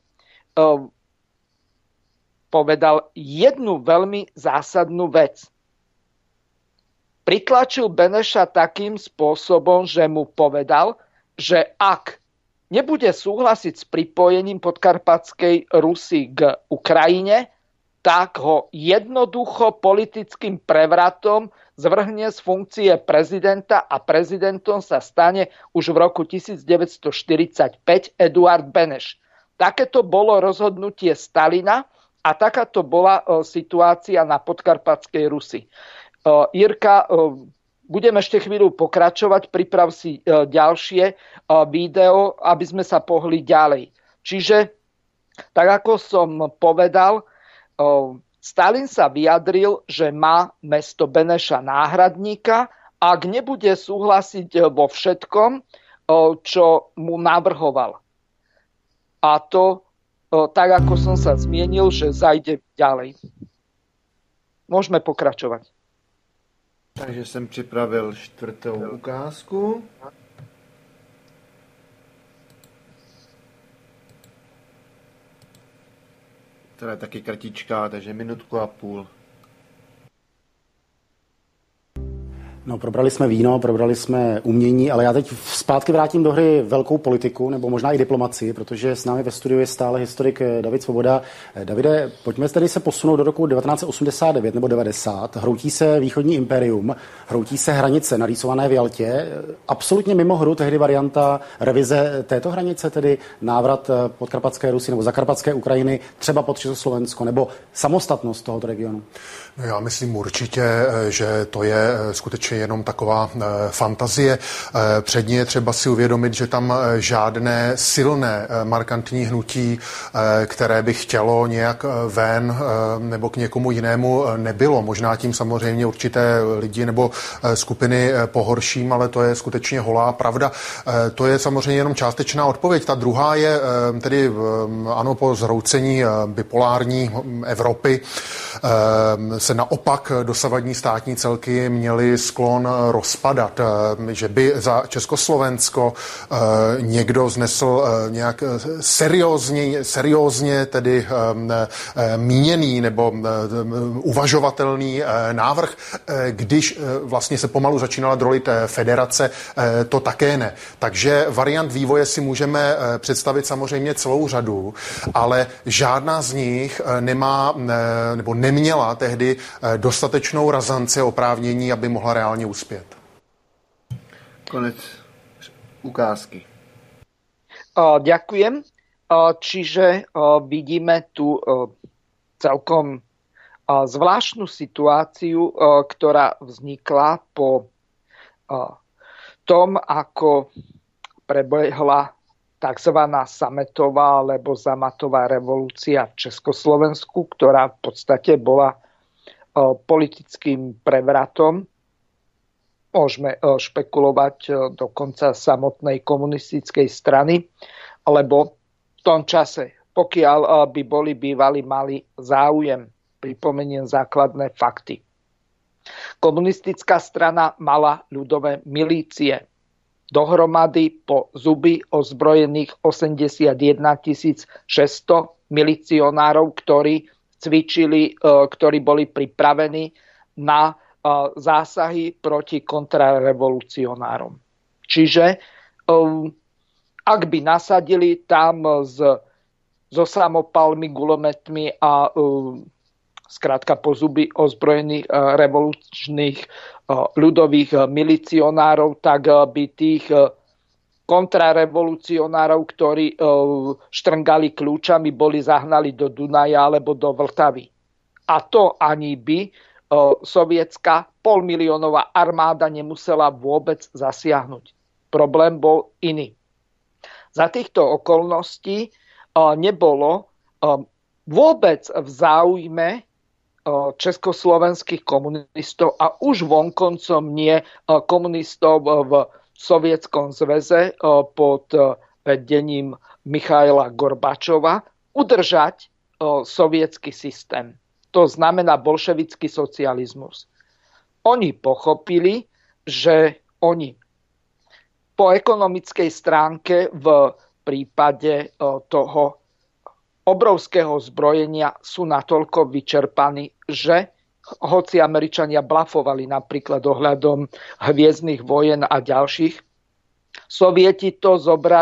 Speaker 2: povedal jednu veľmi zásadnú vec. Pritlačil Beneša takým spôsobom, že mu povedal, že ak nebude súhlasiť s pripojením Podkarpatskej Rusy k Ukrajine, tak ho jednoducho politickým prevratom zvrhne z funkcie prezidenta a prezidentom sa stane už v roku 1945 Eduard Beneš. Takéto bolo rozhodnutie Stalina a takáto bola situácia na Podkarpatskej Rusi. Jirka, budem ešte chvíľu pokračovať, priprav si ďalšie video, aby sme sa pohli ďalej. Čiže, tak ako som povedal, Stalin sa vyjadril, že má mesto Beneša náhradníka, ak nebude súhlasiť vo všetkom, čo mu navrhoval. A to, tak ako som sa zmienil, že zajde ďalej. Môžeme pokračovať.
Speaker 1: Takže jsem připravil 4. ukázku. To je taky kratičká, takže 1,5 minuty.
Speaker 3: No, probrali jsme víno, probrali jsme umění, ale já teď zpátky vrátím do hry velkou politiku, nebo možná i diplomacii, protože s námi ve studiu je stále historik David Svoboda. Davide, pojďme tedy se posunout do roku 1989 nebo 90. Hroutí se východní imperium, hroutí se hranice narýsované v Jaltě. Absolutně mimo hru tehdy varianta revize této hranice, tedy návrat Podkarpatské Rusy nebo Zakarpatské Ukrajiny třeba pod Československo, nebo samostatnost tohoto regionu.
Speaker 5: No, já myslím určitě, že to je skutečně jenom taková fantazie. Předně je třeba si uvědomit, že tam žádné silné markantní hnutí, které by chtělo nějak ven nebo k někomu jinému, nebylo. Možná tím samozřejmě určité lidi nebo skupiny pohorším, ale to je skutečně holá pravda. To je samozřejmě jenom částečná odpověď. Ta druhá je tedy ano, po zhroucení bipolární Evropy se naopak dosavadní státní celky měly sklon rozpadat, že by za Československo někdo vznesl nějak seriózně tedy míněný nebo uvažovatelný návrh, když vlastně se pomalu začínala drolit federace, to také ne. Takže variant vývoje si můžeme představit samozřejmě celou řadu, ale žádná z nich nemá nebo neměla tehdy dostatečnou razanci a oprávnění, aby mohla reálně uspět.
Speaker 1: Konec ukázky.
Speaker 2: Ďakujem. Čiže vidíme tu celkom zvláštnu situáciu, ktorá vznikla po tom, ako prebehla tzv. Sametová alebo Zamatová revolúcia v Československu, ktorá v podstate bola politickým prevratom. Môžeme špekulovať dokonca samotnej komunistickej strany, lebo v tom čase, pokiaľ by boli bývali mali záujem, pripomeniem základné fakty. Komunistická strana mala ľudové milície. Dohromady po zuby ozbrojených 81 600 milicionárov, ktorí cvičili, ktorí boli pripravení na zásahy proti kontrarevolucionárom. Čiže ak by nasadili tam so samopalmi, gulometmi a skrátka po zuby ozbrojených revolučných ľudových milicionárov, tak by tých kontrarevolucionárov, ktorí štrngali kľúčami, boli zahnali do Dunaja alebo do Vltavy. A to ani by sovietská polmiliónová armáda nemusela vôbec zasiahnuť. Problém bol iný. Za týchto okolností nebolo vôbec v záujme československých komunistov a už vonkoncom nie komunistov v Sovietskom zväze pod vedením Michaila Gorbačova udržať sovietsky systém. To znamená bolševický socializmus. Oni pochopili, že oni po ekonomickej stránke v prípade toho obrovského zbrojenia sú natoľko vyčerpaní, že hoci Američania blafovali napríklad ohľadom hviezdnych vojen a ďalších, Sovieti to zobrali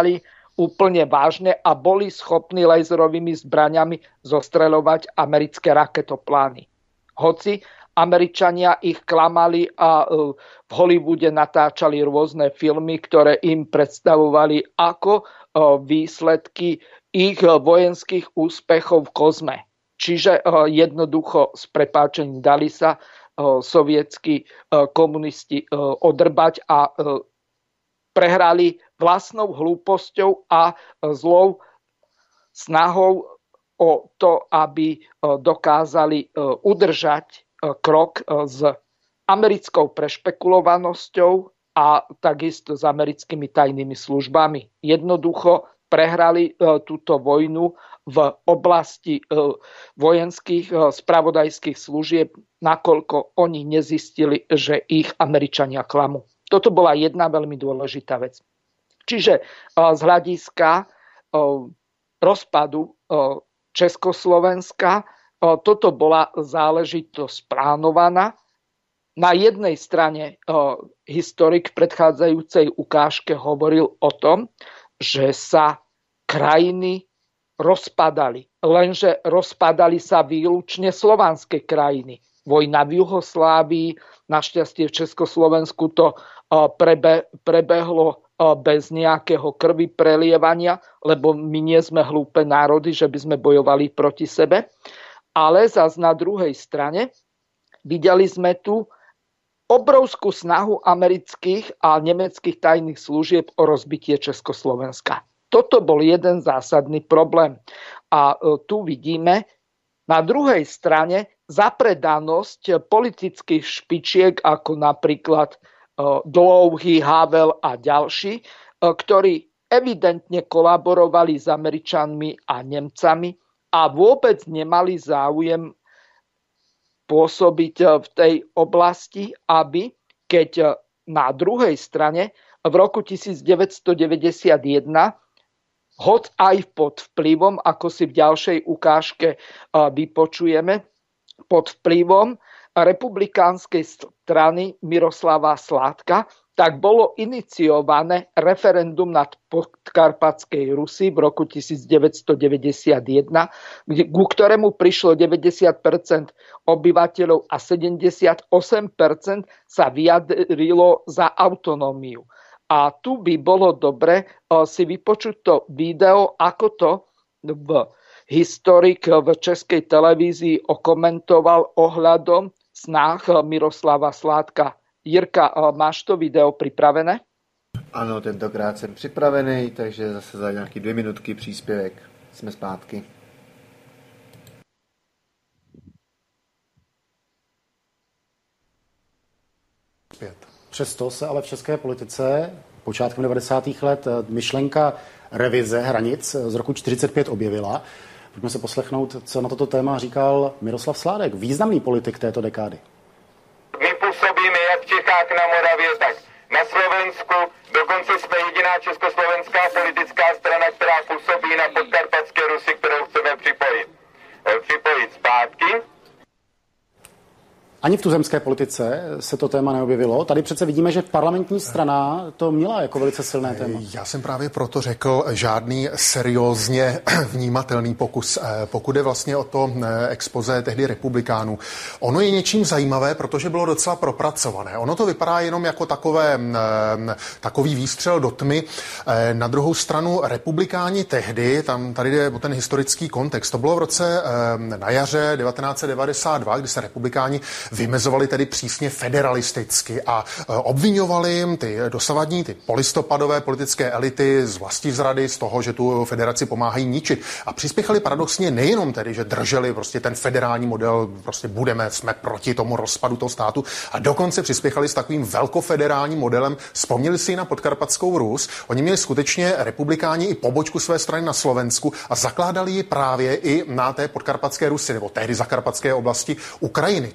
Speaker 2: úplne vážne a boli schopní laserovými zbraňami zostreľovať americké raketoplány. Hoci Američania ich klamali a v Hollywoode natáčali rôzne filmy, ktoré im predstavovali ako výsledky ich vojenských úspechov v kozme. Čiže jednoducho s prepáčením dali sa sovietskí komunisti odrbať a prehrali vlastnou hlúposťou a zlou snahou o to, aby dokázali udržať krok s americkou prešpekulovanosťou a takisto s americkými tajnými službami. Jednoducho prehrali túto vojnu v oblasti vojenských spravodajských služieb, nakoľko oni nezistili, že ich Američania klamú. Toto bola jedna veľmi dôležitá vec. Čiže z hľadiska rozpadu Československa toto bola záležitosť plánovaná. Na jednej strane historik v predchádzajúcej ukážke hovoril o tom, že sa krajiny rozpadali. Lenže rozpadali sa výlučne slovanské krajiny. Vojna v Juhoslávii, našťastie v Československu to prebehlo bez nejakého krvi prelievania, lebo my nie sme hlúpe národy, že by sme bojovali proti sebe. Ale zas na druhej strane videli sme tu obrovskú snahu amerických a nemeckých tajných služieb o rozbitie Československa. Toto bol jeden zásadný problém. A tu vidíme na druhej strane zapredanosť politických špičiek, ako napríklad Dlouhý, Havel a ďalší, ktorí evidentne kolaborovali s Američanmi a Nemcami a vôbec nemali záujem pôsobiť v tej oblasti, aby keď na druhej strane v roku 1991, hoď aj pod vplyvom, ako si v ďalšej ukážke vypočujeme, pod vplyvom republikánskej strany Miroslava Sládka, tak bolo iniciované referendum nad Podkarpatskej Rusi v roku 1991, ku ktorému prišlo 90% obyvateľov a 78% sa vyjadrilo za autonómiu. A tu by bolo dobre si vypočuť to video, ako to historik v Českej televízii okomentoval ohľadom snách Miroslava Sládka. Jirka, máš to video připravené?
Speaker 1: Ano, tentokrát jsem připravený, takže zase za nějaký 2 minutky příspěvek. Jsme zpátky.
Speaker 3: Přesto se ale v české politice počátkem 90. let myšlenka revize hranic z roku 1945 objevila. Pojďme se poslechnout, co na toto téma říkal Miroslav Sládek, významný politik této dekády.
Speaker 6: My působíme jak v Čechách, na Moravě, tak na Slovensku. Dokonce jsme jediná československá politická strana, která působí na Podkarpatské Rusi, kterou chceme připojit zpátky.
Speaker 3: Ani v tuzemské politice se to téma neobjevilo. Tady přece vidíme, že parlamentní strana to měla jako velice silné téma.
Speaker 5: Já jsem právě proto řekl žádný seriózně vnímatelný pokus. Pokud je vlastně o to expoze tehdy republikánů. Ono je něčím zajímavé, protože bylo docela propracované. Ono to vypadá jenom jako takový výstřel do tmy. Na druhou stranu republikáni tehdy, tady jde o ten historický kontext, to bylo v roce na jaře 1992, kdy se republikáni vymezovali tedy přísně federalisticky a obviňovali ty dosavadní, ty polistopadové politické elity z vlastizrady, z toho, že tu federaci pomáhají ničit. A přispěchali paradoxně nejenom tedy, že drželi prostě ten federální model, prostě jsme proti tomu rozpadu toho státu, a dokonce přispěchali s takovým velkofederálním modelem. Vzpomněli si na Podkarpatskou Rus. Oni měli skutečně republikáni i pobočku své strany na Slovensku a zakládali ji právě i na té Podkarpatské Rusi, nebo tehdy zakarpatské oblasti Ukrajiny. Čili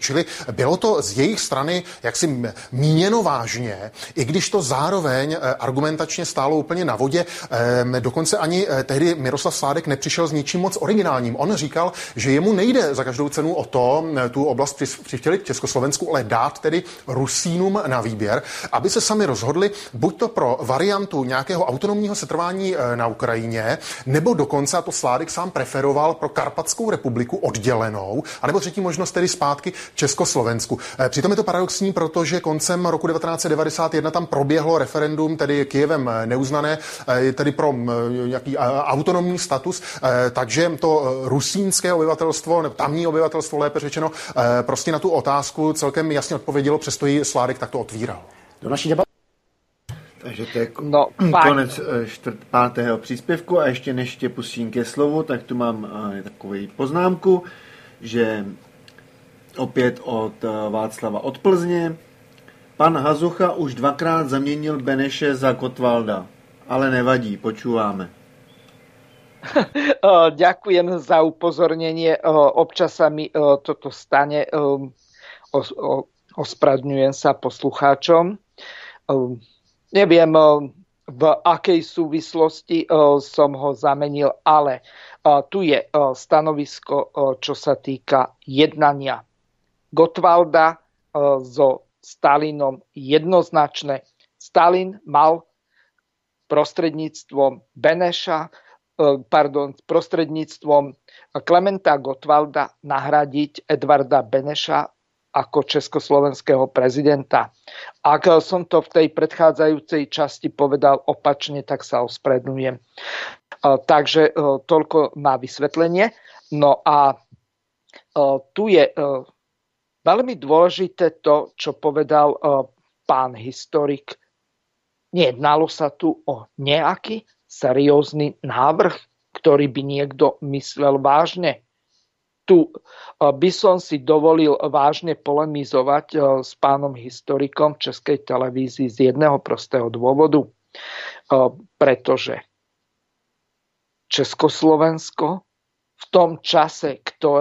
Speaker 5: Bylo to z jejich strany jaksi míněno vážně, i když to zároveň argumentačně stálo úplně na vodě. Dokonce ani tehdy Miroslav Sládek nepřišel s ničím moc originálním. On říkal, že jemu nejde za každou cenu o to tu oblast přivtělit Československu, ale dát tedy Rusínům na výběr, aby se sami rozhodli buď to pro variantu nějakého autonomního setrvání na Ukrajině, nebo dokonce, a to Sládek sám preferoval, pro Karpatskou republiku oddělenou, anebo třetí možnost tedy zpátky Československu. Přitom je to paradoxní, protože koncem roku 1991 tam proběhlo referendum, tedy Kyjevem neuznané, tedy pro nějaký autonomní status, takže to rusínské obyvatelstvo, nebo tamní obyvatelstvo, lépe řečeno, prostě na tu otázku celkem jasně odpovědělo, přesto ji Sládek takto otvíral.
Speaker 3: Do naší debaty.
Speaker 1: Takže to je konec pátého příspěvku a ještě než tě pustím ke slovu, tak tu mám takovou poznámku, že opět od Václava od Plzně. Pan Hazucha už dvakrát zaměnil Beneše za Gottwalda, ale nevadí, počúváme.
Speaker 2: Ďakujem za upozornenie. Občas sa mi toto stane. Ospravedlňujem sa poslucháčom. Neviem, v akej súvislosti som ho zamenil, ale tu je stanovisko, čo sa týka jednania Gottwalda so Stalinom jednoznačné. Stalin mal prostredníctvom Klementa Gottwalda nahradiť Edvarda Beneša ako československého prezidenta. Ak som to v tej predchádzajúcej časti povedal opačne, tak sa ospravedlňujem. Takže toľko na vysvetlenie. No a tu je veľmi dôležité to, čo povedal pán historik. Nejednalo sa tu o nejaký seriózny návrh, ktorý by niekto myslel vážne. Tu by som si dovolil vážne polemizovať s pánom historikom v Českej televízii z jedného prostého dôvodu. Pretože Československo v tom čase,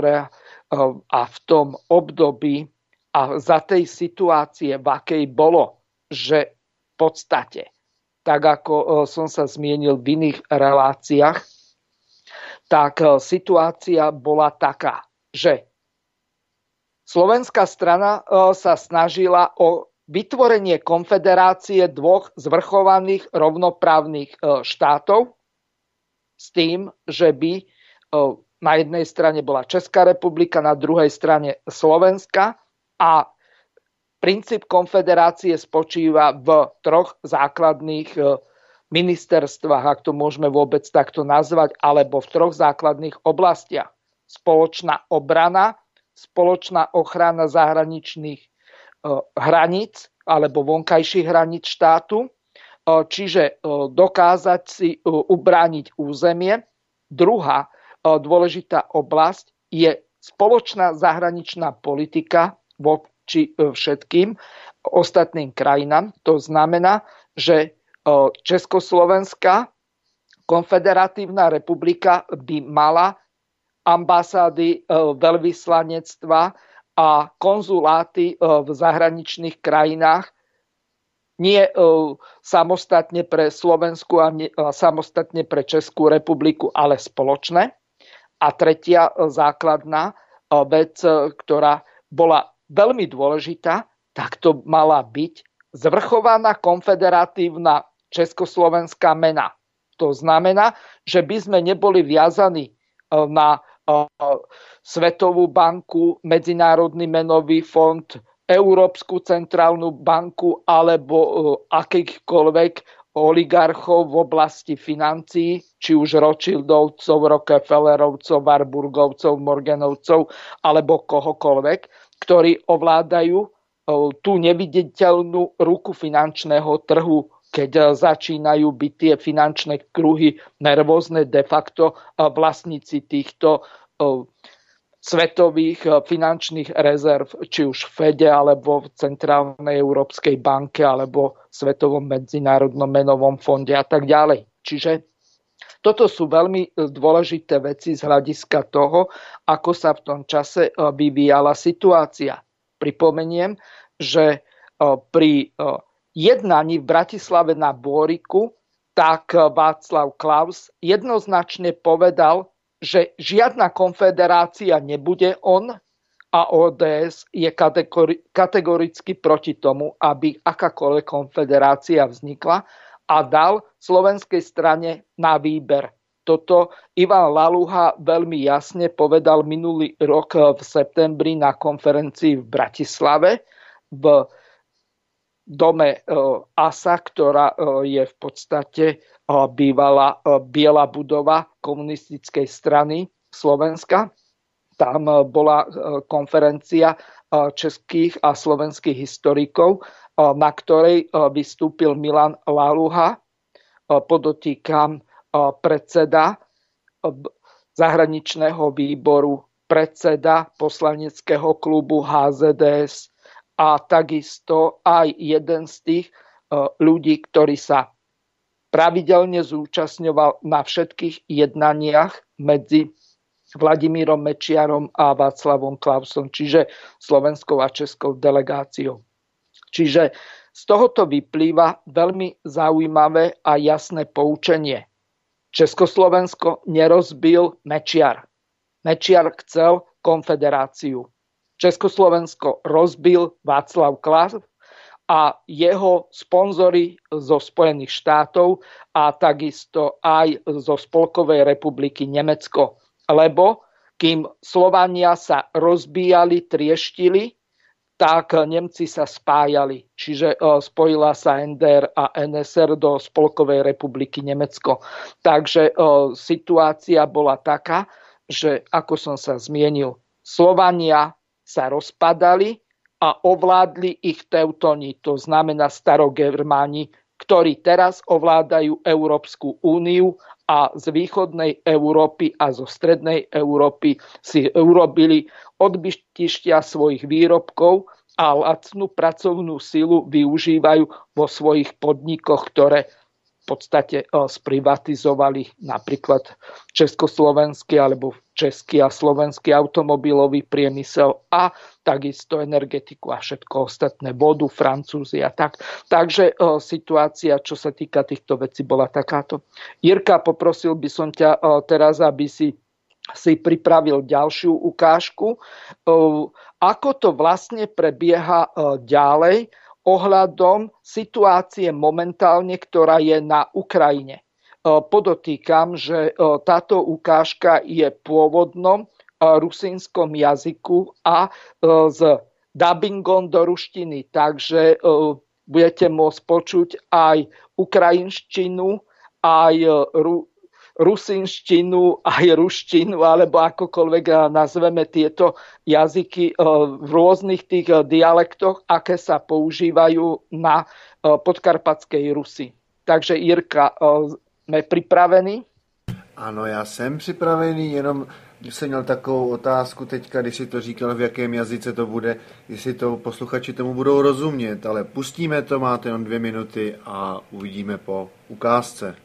Speaker 2: a v tom období a za tej situácie, v akej bolo, že v podstate, tak ako som sa zmienil v iných reláciách, tak situácia bola taká, že slovenská strana sa snažila o vytvorenie konfederácie dvoch zvrchovaných rovnoprávnych štátov s tým, že by na jednej strane bola Česká republika, na druhej strane Slovenska a princíp konfederácie spočíva v troch základných ministerstvách, ak to môžeme vôbec takto nazvať, alebo v troch základných oblastiach. Spoločná obrana, spoločná ochrana zahraničných hraníc alebo vonkajších hraníc štátu, čiže dokázať si ubrániť územie. Druhá dôležitá oblasť je spoločná zahraničná politika voči všetkým ostatným krajinám. To znamená, že Československá konfederatívna republika by mala ambasády, veľvyslanectva a konzuláty v zahraničných krajinách nie samostatne pre Slovensku a samostatne pre Českú republiku, ale spoločné. A tretia základná vec, ktorá bola veľmi dôležitá, tak to mala byť zvrchovaná konfederatívna československá mena. To znamená, že by sme neboli viazaní na Svetovú banku, Medzinárodný menový fond, Európsku centrálnu banku alebo akýchkoľvek oligarchov v oblasti financií, či už Rothschildovcov, Rockefellerovcov, Warburgovcov, Morganovcov alebo kohokoľvek, ktorí ovládajú tú neviditeľnú ruku finančného trhu, keď začínajú byť tie finančné kruhy nervózne, de facto vlastníci týchto svetových finančných rezerv, či už v Fede, alebo v Centrálnej Európskej banke, alebo Svetovom medzinárodnom menovom fonde a tak ďalej. Čiže toto sú veľmi dôležité veci z hľadiska toho, ako sa v tom čase vyvíjala situácia. pripomeniem, že pri jednaní v Bratislave na Bôriku tak Václav Klaus jednoznačne povedal, že žiadna konfederácia nebude on a ODS je kategoricky proti tomu, aby akákoľvek konfederácia vznikla a dal slovenskej strane na výber. Toto Ivan Laluha veľmi jasne povedal minulý rok v septembri na konferencii v Bratislave v dome ASA, ktorá je v podstate bývalá biela budova komunistickej strany Slovenska. Tam bola konferencia českých a slovenských historikov, na ktorej vystúpil Milan Laluha, podotýkam predseda zahraničného výboru, predseda poslaneckého klubu HZDS a takisto aj jeden z tých ľudí, ktorý sa pravidelne zúčastňoval na všetkých jednaniach medzi Vladimírom Mečiarom a Václavom Klausom, čiže slovenskou a českou delegáciou. Čiže z tohoto vyplýva veľmi zaujímavé a jasné poučenie. Československo nerozbil Mečiar. Mečiar chcel konfederáciu. Československo rozbil Václav Klaus a jeho sponzori zo Spojených štátov a takisto aj zo Spolkovej republiky Nemecko. Lebo kým Slovania sa rozbíjali, trieštili, tak Nemci sa spájali. Čiže spojila sa NDR a NSR do Spolkovej republiky Nemecko. Takže situácia bola taká, že ako som sa zmienil, Slovania sa rozpadali a ovládli ich Teutoni, to znamená Starogermáni, ktorí teraz ovládajú Európsku úniu a z východnej Európy a zo strednej Európy si urobili odbytištia svojich výrobkov a lacnú pracovnú silu využívajú vo svojich podnikoch, ktoré v podstate sprivatizovali napríklad československý alebo český a slovenský automobilový priemysel a takisto energetiku a všetko ostatné, vodu, Francúzi a tak. Takže situácia, čo sa týka týchto vecí, bola takáto. Jirka, poprosil by som ťa teraz, aby si pripravil ďalšiu ukážku. Ako to vlastne prebieha ďalej ohľadom situácie momentálne, ktorá je na Ukrajine. Podotýkam, že táto ukážka je pôvodnom rusínskom jazyku a s dubbingom do ruštiny. Takže budete môcť počuť aj ukrajinštinu, aj rusínštinu, aj ruštinu, alebo akokoľvek nazveme tieto jazyky v rôznych tých dialektoch, aké sa používajú na podkarpatskej Rusi. Takže Jirka, jsme připraveni?
Speaker 1: Ano, já jsem připravený, jenom jsem měl takovou otázku teďka, když si to říkal, v jakém jazyce to bude, jestli to posluchači tomu budou rozumět, ale pustíme to, máte jen 2 minuty a uvidíme po ukázce.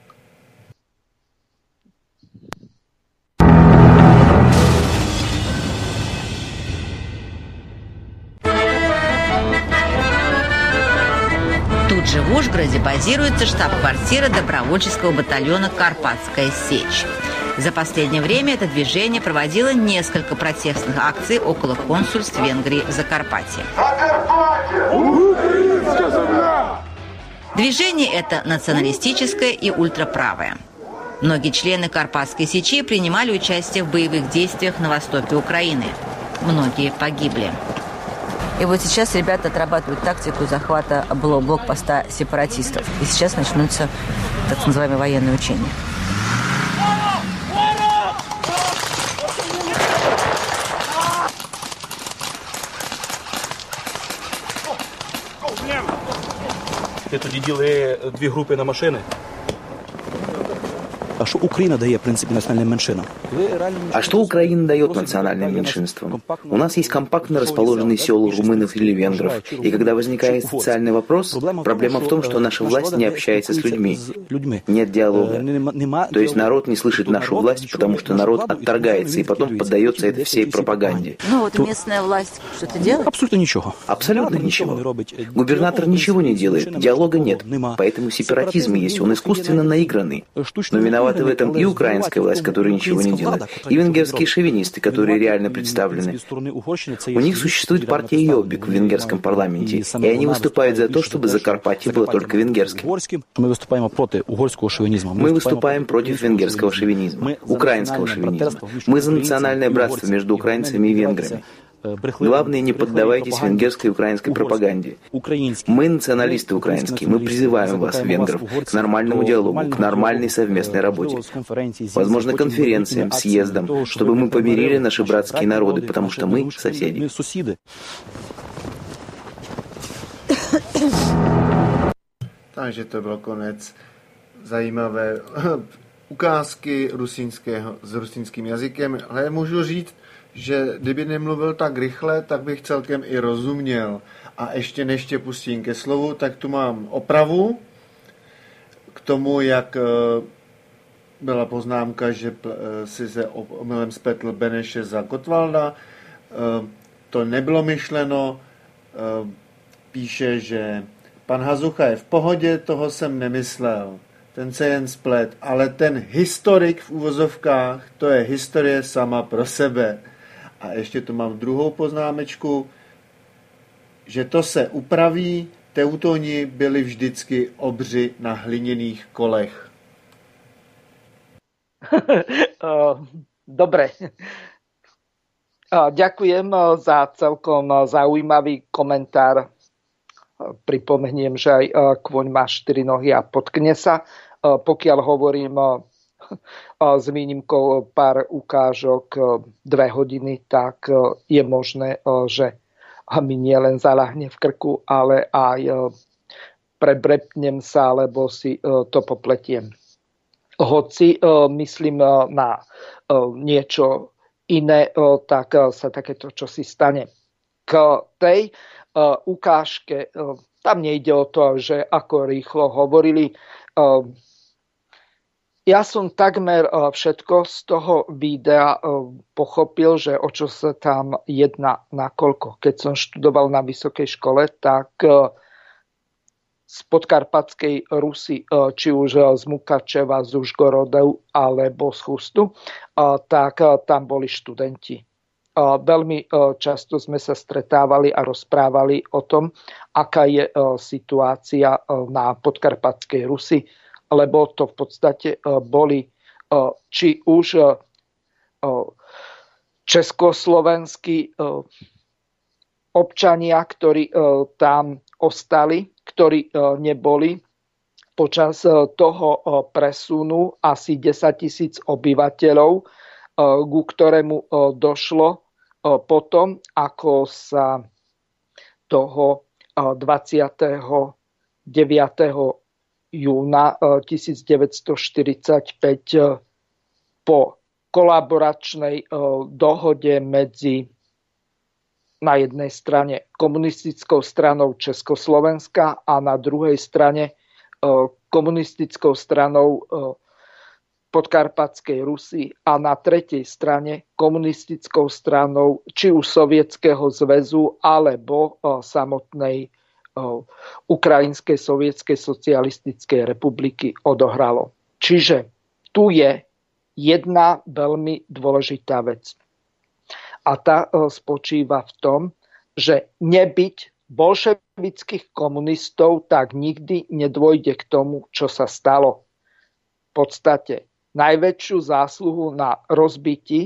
Speaker 7: Тут же в Ужгороде базируется штаб-квартира добровольческого батальона «Карпатская сечь». За последнее время это движение проводило несколько протестных акций около консульств Венгрии в Закарпатье. Движение это националистическое и ультраправое. Многие члены Карпатской сечи принимали участие в боевых действиях на востоке Украины. Многие погибли.
Speaker 8: И вот сейчас ребята отрабатывают тактику захвата блокпоста сепаратистов. И сейчас начнутся так называемые военные учения.
Speaker 9: Ти тоді діли 2 групи на машини. А что Украина дает, в принципе, национальным меньшинам?
Speaker 10: А что Украина дает национальным меньшинствам? У нас есть компактно расположенные села румынов или венгров. И когда возникает социальный вопрос, проблема в том, что наша власть не общается с людьми. Нет диалога. То есть народ не слышит нашу власть, потому что народ отторгается и потом поддается этой всей пропаганде.
Speaker 8: Ну вот местная власть что-то делает?
Speaker 9: Абсолютно ничего.
Speaker 10: Абсолютно ничего. Губернатор ничего не делает, диалога нет. Поэтому сепаратизм есть, он искусственно наигранный. Но виноваты в этом и украинская власть, которая ничего не делает, и венгерские шовинисты, которые реально представлены. У них существует партия Йобик в венгерском парламенте, и они выступают за то, чтобы Закарпатье было только венгерским.
Speaker 9: Мы выступаем против угорского шовинизма.
Speaker 10: Мы выступаем против венгерского шовинизма, украинского шовинизма. Мы за национальное братство между украинцами и венграми. Главное, не поддавайтесь венгерской и украинской пропаганде. Мы националисты украинские, мы призываем вас, венгров, к нормальному диалогу, к нормальной совместной работе. Возможно, конференциям, съездам, чтобы мы помирили наши братские народы, потому что мы соседи.
Speaker 1: Takže to byl konec zajímavé ukázky s rusínským jazykem. Ale můžu říct, že kdyby nemluvil tak rychle, tak bych celkem i rozuměl. A ještě než tě pustím ke slovu, tak tu mám opravu k tomu, jak byla poznámka, že si se omylem spletl Beneše za Gottwalda. To nebylo myšleno. Píše, že pan Hazucha je v pohodě, toho jsem nemyslel. Ten se jen splet, ale ten historik v úvozovkách, to je historie sama pro sebe. A ještě tu mám druhou poznámečku, že to se upraví, Teutoni byli vždycky obři na hliněných kolech.
Speaker 2: Dobre. Ďakujem za celkom zaujímavý komentár. Pripomeniem, že aj kôň má 4 nohy a potkne sa. Pokiaľ hovorím s výnimkou pár ukážok 2 hodiny, tak je možné, že mi nielen zaľahne v krku, ale aj prebrepnem sa, alebo si to popletiem. Hoci myslím na niečo iné, tak sa takéto čosi stane. K tej ukážke, tam nejde o to, že ako rýchlo hovorili. Ja som takmer všetko z toho videa pochopil, že o čo sa tam jedná, nakoľko. Keď som študoval na vysokej škole, tak z podkarpatskej Rusy, či už z Mukačeva, z Užgorodu alebo z Chustu, tak tam boli študenti. Veľmi často sme sa stretávali a rozprávali o tom, aká je situácia na podkarpatskej Rusi, lebo to v podstate boli či už československí občania, ktorí tam ostali, ktorí neboli počas toho presunu asi 10 000 obyvateľov, ku ktorému došlo potom, ako sa toho 29. júna 1945 po kolaboračnej dohode medzi na jednej strane komunistickou stranou Československa a na druhej strane komunistickou stranou Podkarpatskej Rusy a na tretej strane komunistickou stranou či už Sovietskeho zväzu alebo samotnej Ukrajinskej sovietskej socialistickej republiky odohralo. Čiže tu je jedna veľmi dôležitá vec. A tá spočíva v tom, že nebyť bolševických komunistov, tak nikdy nedôjde k tomu, čo sa stalo. V podstate najväčšiu zásluhu na rozbití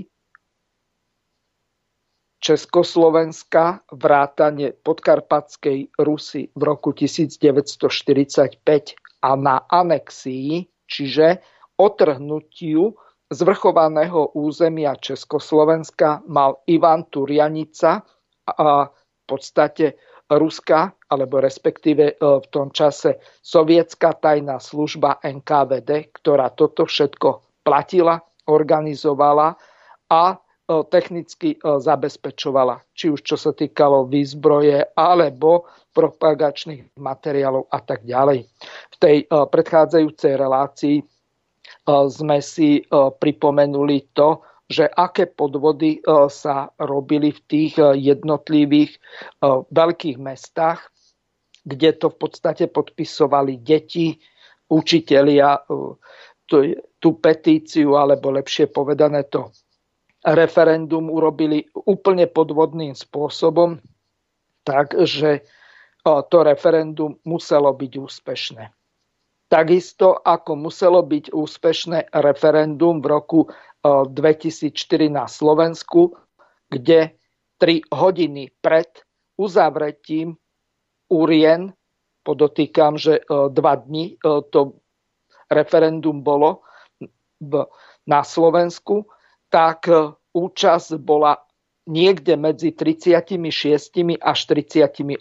Speaker 2: Československa, vrátane Podkarpatskej Rusy v roku 1945 a na anexii, čiže otrhnutiu zvrchovaného územia Československa, mal Ivan Turjanica a v podstate ruská, alebo respektíve v tom čase sovietská tajná služba NKVD, ktorá toto všetko platila, organizovala a technicky zabezpečovala. Či už čo sa týkalo výzbroje alebo propagačných materiálov a tak ďalej. V tej predchádzajúcej relácii sme si pripomenuli to, že aké podvody sa robili v tých jednotlivých veľkých mestách, kde to v podstate podpisovali deti, učitelia, tú petíciu, alebo lepšie povedané to referendum urobili úplne podvodným spôsobom, takže to referendum muselo byť úspešné. Takisto ako muselo byť úspešné referendum v roku 2004 na Slovensku, kde 3 hodiny pred uzavretím urien, podotýkam, že 2 dni to referendum bolo na Slovensku, tak účasť bola niekde medzi 36 až 38%.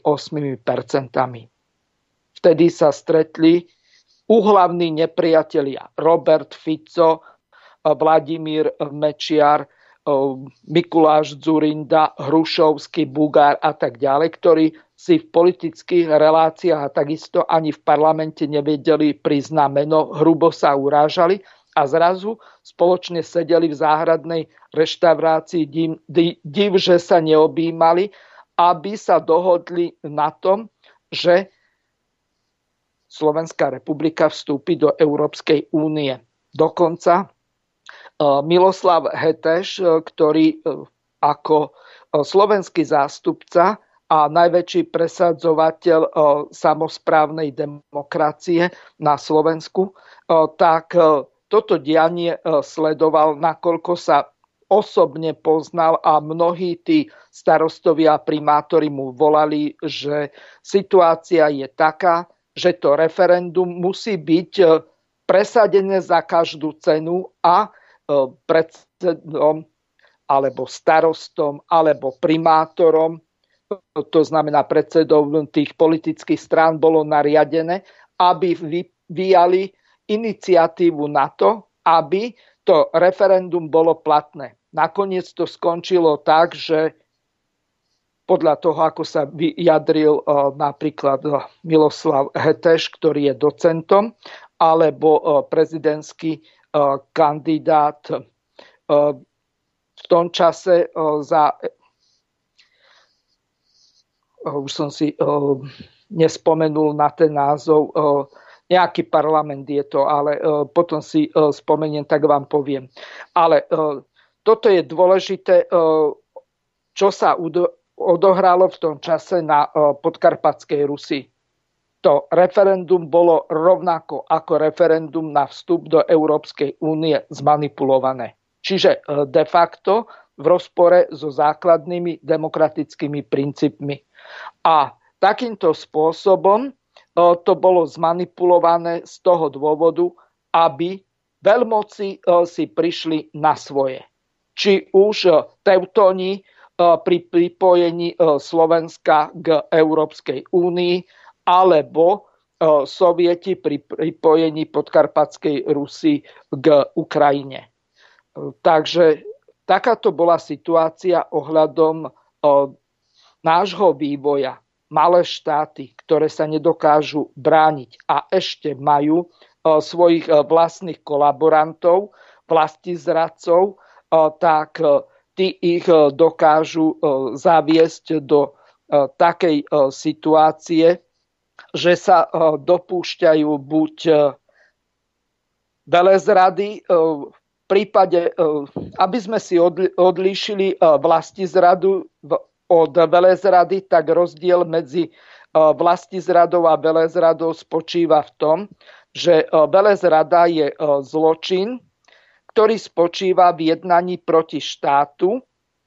Speaker 2: Vtedy sa stretli úhlavní nepriatelia Robert Fico, Vladimír Mečiar, Mikuláš Dzurinda, Hrušovský, Bugár a tak ďalej, ktorí si v politických reláciách a takisto ani v parlamente nevedeli priznať meno, hrubo sa urážali a zrazu spoločne sedeli v záhradnej reštaurácii div, že sa neobjímali, aby sa dohodli na tom, že Slovenská republika vstúpi do Európskej únie. Dokonca Miloslav Heteš, ktorý ako slovenský zástupca a najväčší presadzovateľ samosprávnej demokracie na Slovensku, tak toto dianie sledoval, nakoľko sa osobne poznal a mnohí tí starostovia a primátori mu volali, že situácia je taká, že to referendum musí byť presadené za každú cenu a predsedom alebo starostom alebo primátorom, to znamená predsedom tých politických strán, bolo nariadené, aby vyvíjali iniciatívu na to, aby to referendum bolo platné. Nakoniec to skončilo tak, že podľa toho, ako sa vyjadril napríklad Miloslav Heteš, ktorý je docentom, alebo prezidentský kandidát v tom čase už som si nespomenul na ten názov, nejaký parlament je to, ale potom si spomeniem, tak vám poviem. Ale toto je dôležité, čo sa odohralo v tom čase na Podkarpatskej Rusi. To referendum bolo rovnako ako referendum na vstup do Európskej únie zmanipulované. Čiže de facto v rozpore so základnými demokratickými princípmi. A takýmto spôsobom to bolo zmanipulované z toho dôvodu, aby veľmoci si prišli na svoje. Či už Teutóni pri pripojení Slovenska k Európskej únii, alebo Sovieti pri pripojení Podkarpatskej Rusy k Ukrajine. Takže takáto bola situácia ohľadom nášho vývoja. Malé štáty, ktoré sa nedokážu brániť a ešte majú svojich vlastných kolaborantov, vlastizradcov, tak tí ich dokážu zaviesť do takej situácie, že sa dopúšťajú buď velezrady, v prípade, aby sme si odlíšili vlastizradu od velezrady, tak rozdiel medzi vlastizradou a velezradou spočíva v tom, že velezrada je zločin, ktorý spočíva v jednaní proti štátu,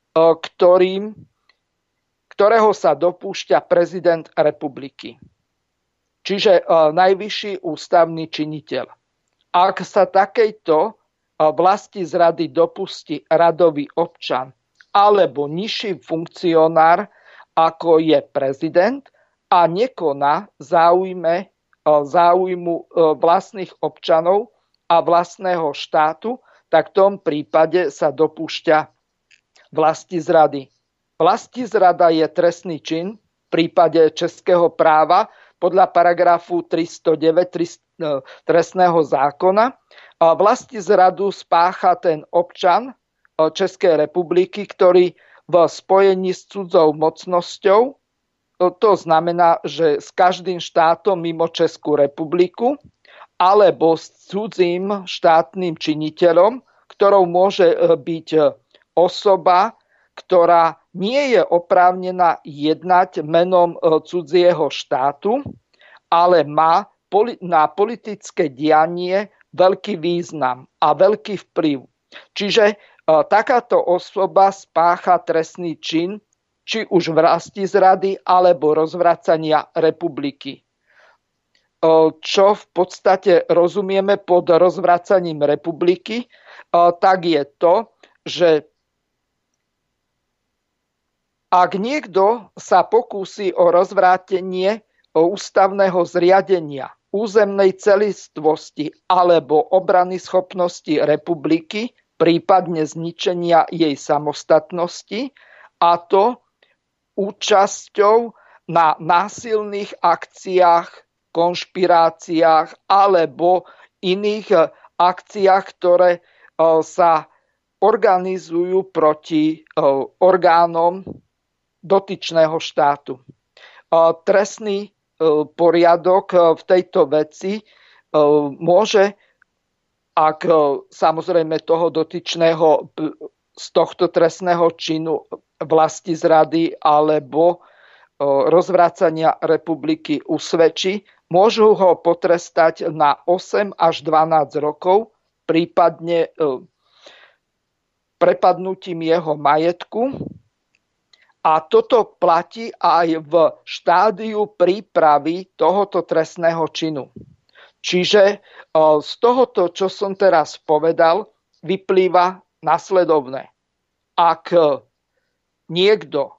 Speaker 2: ktorého sa dopúšťa prezident republiky. Čiže najvyšší ústavný činiteľ. Ak sa takejto vlastizrady dopustí radový občan alebo nižší funkcionár, ako je prezident, a nekoná záujmu vlastných občanov a vlastného štátu, tak v tom prípade sa dopúšťa vlastizrady. Vlastizrada je trestný čin v prípade českého práva podľa paragrafu 309 trestného zákona. Vlastizradu spácha ten občan Českej republiky, ktorý v spojení s cudzou mocnosťou, to znamená, že s každým štátom mimo Českú republiku, alebo s cudzím štátnym činiteľom, ktorou môže byť osoba, ktorá nie je oprávnená jednať menom cudzieho štátu, ale má na politické dianie veľký význam a veľký vplyv. Čiže takáto osoba spácha trestný čin, či už vlastizrady alebo rozvracania republiky. Čo v podstate rozumieme pod rozvracaním republiky, tak je to, že ak niekto sa pokúsi o rozvrátenie ústavného zriadenia, územnej celistvosti alebo obrany schopnosti republiky, prípadne zničenia jej samostatnosti, a to účasťou na násilných akciách, konšpiráciách alebo iných akciách, ktoré sa organizujú proti orgánom dotyčného štátu. Trestný poriadok v tejto veci môže, ak samozrejme toho dotyčného z tohto trestného činu vlastizrady alebo rozvracania republiky usvedčí, môžu ho potrestať na 8 až 12 rokov, prípadne prepadnutím jeho majetku. A toto platí aj v štádiu prípravy tohoto trestného činu. Čiže z tohoto, čo som teraz povedal, vyplýva nasledovné. Ak niekto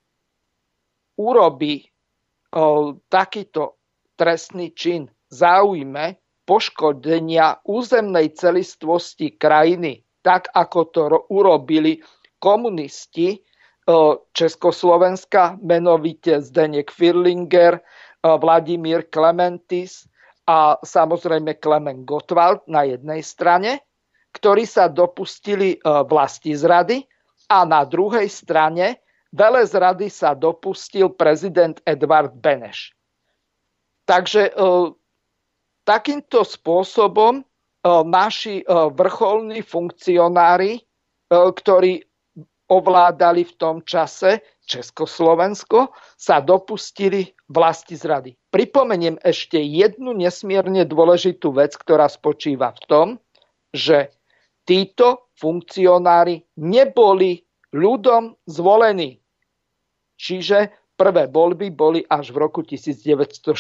Speaker 2: urobí takýto trestný čin v záujme poškodenia územnej celistvosti krajiny, tak ako to urobili komunisti Československa, menovite Zdeněk Firlinger, Vladimír Klementis a samozrejme Klement Gottwald na jednej strane, ktorí sa dopustili vlastizrady, a na druhej strane velezrady sa dopustil prezident Edvard Beneš. Takže takýmto spôsobom naši vrcholní funkcionári, ktorí ovládali v tom čase Československo, sa dopustili vlastizrady. Pripomeniem ešte jednu nesmierne dôležitú vec, ktorá spočíva v tom, že títo funkcionári neboli ľudom zvolení. Čiže prvé voľby boli až v roku 1946.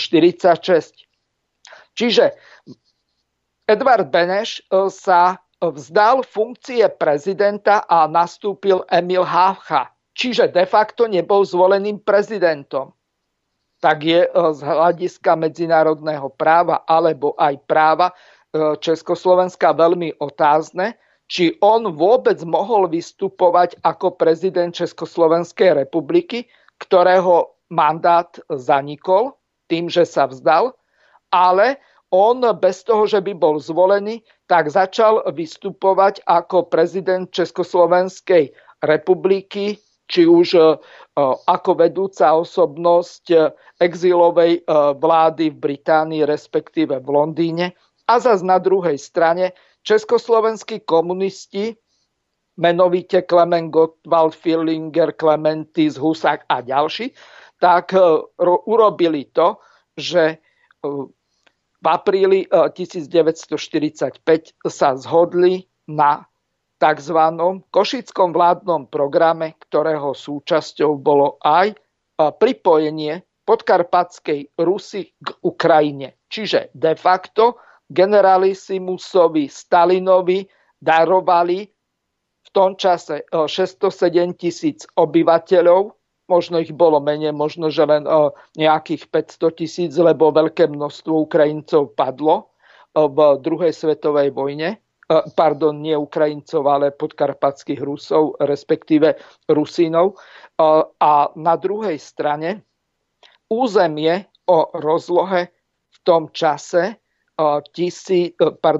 Speaker 2: Čiže Edvard Beneš sa vzdal funkcie prezidenta a nastúpil Emil Hácha. Čiže de facto nebol zvoleným prezidentom. Tak je z hľadiska medzinárodného práva alebo aj práva Československa veľmi otázne, či on vôbec mohol vystupovať ako prezident Československej republiky, ktorého mandát zanikol tým, že sa vzdal, ale on bez toho, že by bol zvolený, tak začal vystupovať ako prezident Československej republiky, či už ako vedúca osobnosť exilovej vlády v Británii, respektíve v Londýne. A zas na druhej strane československí komunisti, menovite Klement Gottwald, Firlinger, Klementis, Husák a ďalší, tak urobili to, že v apríli 1945 sa zhodli na tzv. Košickom vládnom programe, ktorého súčasťou bolo aj pripojenie Podkarpatskej Rusy k Ukrajine. Čiže de facto generalisimusovi Stalinovi darovali v tom čase 607 000 obyvateľov, možno ich bolo menej, možno že len nejakých 500 000, lebo veľké množstvo Ukrajincov padlo v druhej svetovej vojne nie Ukrajincov, ale podkarpatských Rusov, respektíve Rusínov. A na druhej strane územie o rozlohe v tom čase 12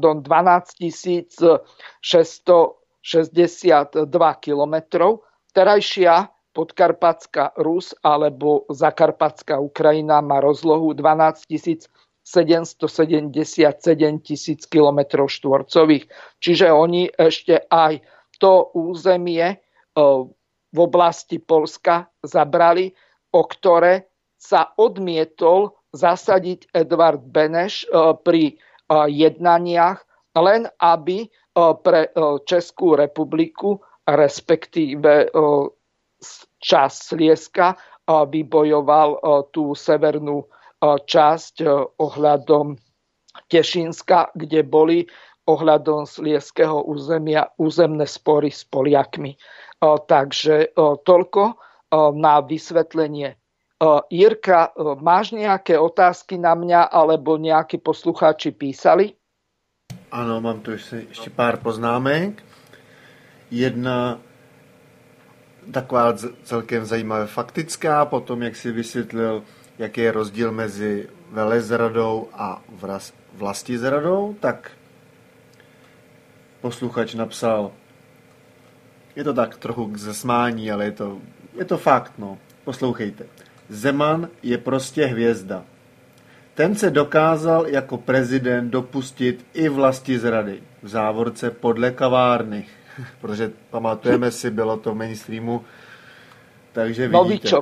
Speaker 2: 662 kilometrov. Terajšia podkarpatská Rus alebo zakarpatská Ukrajina má rozlohu 12 777 tisíc kilometrov štvorcových. Čiže oni ešte aj to územie v oblasti Poľska zabrali, o ktoré sa odmietol zasadiť Edvard Beneš pri jednaniach, len aby pre Českú republiku, respektíve časť Slieska, vybojoval tú severnú časť ohľadom Tešínska, kde boli ohľadom slieského územia územné spory s Poliakmi. Takže toľko na vysvetlenie. Jirka, máš nejaké otázky na mňa, alebo nejakí poslucháči písali?
Speaker 1: Ano, mám tu ještě pár poznámek. Jedna taková celkem zajímavá faktická, potom jak si vysvětlil, jaký je rozdíl mezi velezradou a vlastizradou, tak posluchač napsal, je to tak trochu k zasmání, ale je to fakt, no. Poslouchejte. Zeman je prostě hvězda. Ten se dokázal jako prezident dopustit i vlastizrady, v závorce podle kavárny. Protože pamatujeme si, bylo to v mainstreamu, takže vidíte.
Speaker 2: Novičok.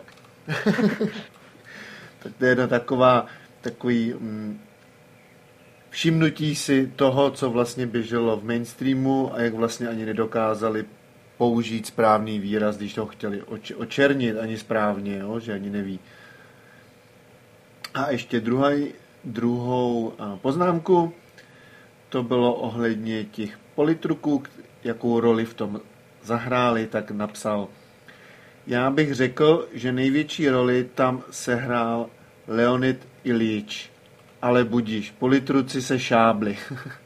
Speaker 1: Tak to je jedna takový všimnutí si toho, co vlastně běželo v mainstreamu a jak vlastně ani nedokázali použít správný výraz, když to chtěli očernit ani správně, jo, že ani neví. A ještě druhou poznámku, to bylo ohledně těch politruků, jakou roli v tom zahráli, tak napsal, já bych řekl, že největší roli tam sehrál Leonid Iljič, ale budíš, politruci se šábli.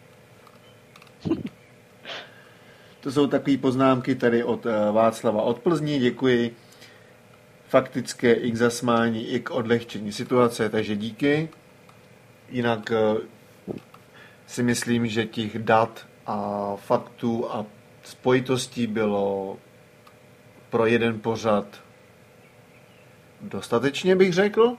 Speaker 1: To jsou takové poznámky tady od Václava od Plzní, děkuji. Faktické i k zasmání, i k odlehčení situace, takže díky. Jinak si myslím, že těch dat a faktů a spojitostí bylo pro jeden pořad dostatečně, bych řekl.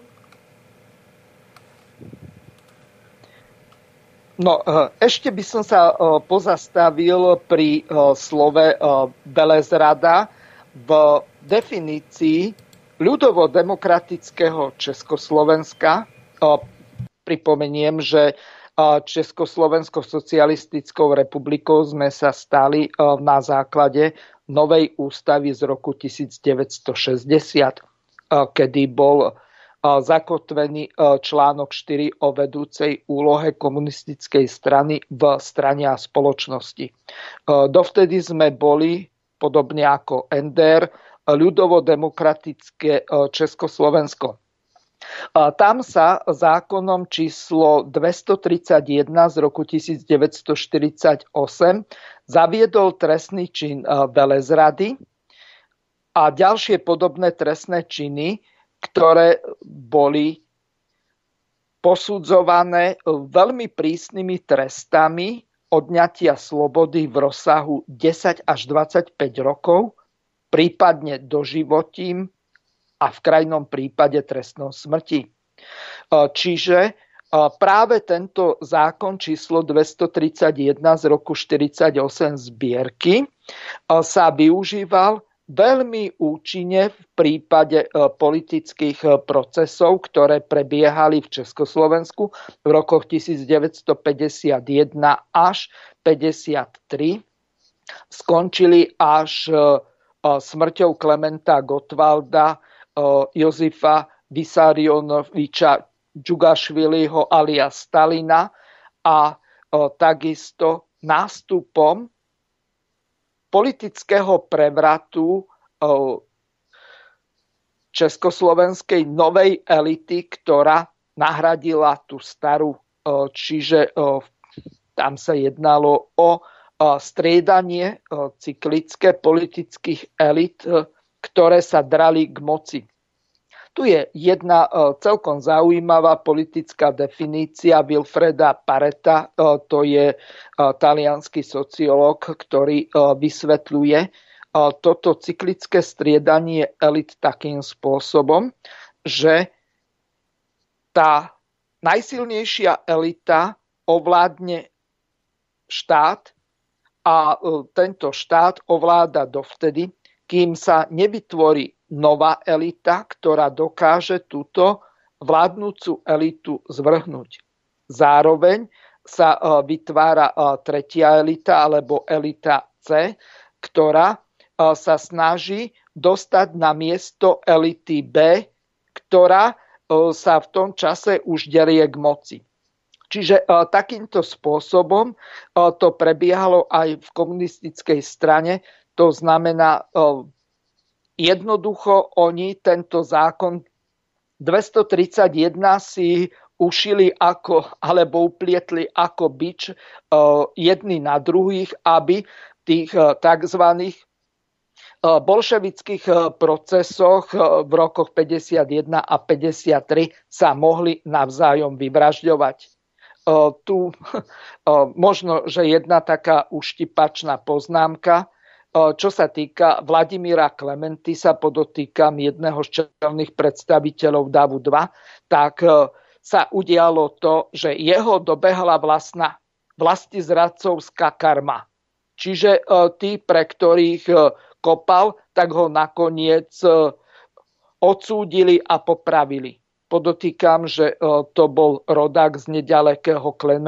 Speaker 2: No, ešte by som sa pozastavil pri slove velezrada v definícii ľudovo-demokratického Československa. Pripomeniem, že Československo-socialistickou republikou sme sa stali na základe novej ústavy z roku 1960, kedy bol zakotvený článok 4 o vedúcej úlohe komunistickej strany v strane a spoločnosti. Dovtedy sme boli, podobne ako NDR, ľudovo-demokratické Československo. Tam sa zákonom číslo 231 z roku 1948 zaviedol trestný čin velezrady a ďalšie podobné trestné činy, ktoré boli posudzované veľmi prísnymi trestami odňatia slobody v rozsahu 10 až 25 rokov, prípadne doživotím a v krajnom prípade trestom smrti. Čiže práve tento zákon číslo 231 z roku 1948 zbierky sa využíval veľmi účinne v prípade politických procesov, ktoré prebiehali v Československu v rokoch 1951 až 1953. Skončili až smrťou Klementa Gottwalda, Jozefa Vysarionoviča Džugašviliho alias Stalina a takisto nástupom politického prevratu československej novej elity, ktorá nahradila tú starú. Čiže tam sa jednalo o striedanie cyklické politických elit, ktoré sa drali k moci. Tu je jedna celkom zaujímavá politická definícia Wilfreda Pareta, to je taliansky sociológ, ktorý vysvetľuje toto cyklické striedanie elit takým spôsobom, že tá najsilnejšia elita ovládne štát a tento štát ovláda dovtedy, kým sa nevytvorí nová elita, ktorá dokáže túto vládnúcu elitu zvrhnúť. Zároveň sa vytvára tretia elita alebo elita C, ktorá sa snaží dostať na miesto elity B, ktorá sa v tom čase už delie k moci. Čiže takýmto spôsobom to prebiehalo aj v komunistickej strane. To znamená, jednoducho oni tento zákon 231 si ušili alebo uplietli ako bič jedni na druhých, aby v tých tzv. Bolševických procesoch v rokoch 51 a 53 sa mohli navzájom vyvražďovať. Tu možno, že jedna taká uštipačná poznámka, čo sa týka Vladimíra Klementisa, podotýkam jedného z čelných predstaviteľov DAVu 2, tak sa udialo to, že jeho dobehla vlastizradcovská karma. Čiže tí, pre ktorých kopal, tak ho nakoniec odsúdili a popravili. Podotýkam, že to bol rodák z nedalekého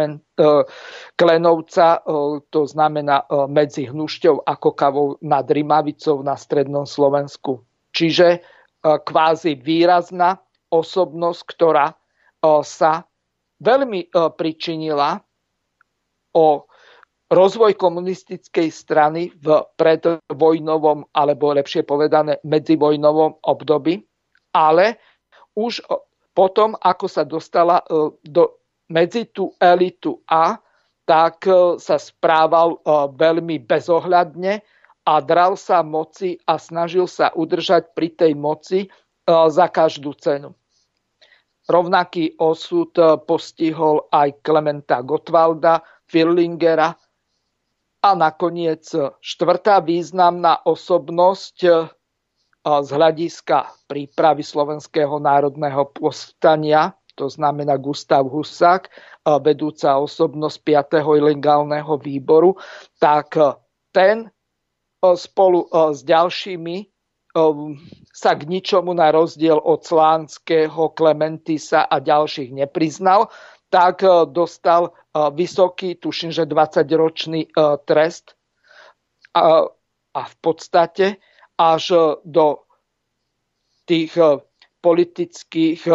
Speaker 2: Klenovca, to znamená medzi Hnušťou a Kokavou nad Rimavicou na strednom Slovensku. Čiže kvázi výrazná osobnosť, ktorá sa veľmi pričinila o rozvoj komunistickej strany v predvojnovom, alebo lepšie povedané medzivojnovom období, ale už potom, ako sa dostala medzi tú elitu A, tak sa správal veľmi bezohľadne a dral sa moci a snažil sa udržať pri tej moci za každú cenu. Rovnaký osud postihol aj Klementa Gottwalda, Firlingera a nakoniec štvrtá významná osobnosť z hľadiska prípravy Slovenského národného povstania, to znamená Gustav Husák, vedúca osobnosť 5. ilegálneho výboru, tak ten spolu s ďalšími sa k ničomu na rozdiel od Slánského, Klementisa a ďalších nepriznal, tak dostal vysoký, tuším, že 20-ročný trest a v podstate až do tých politických,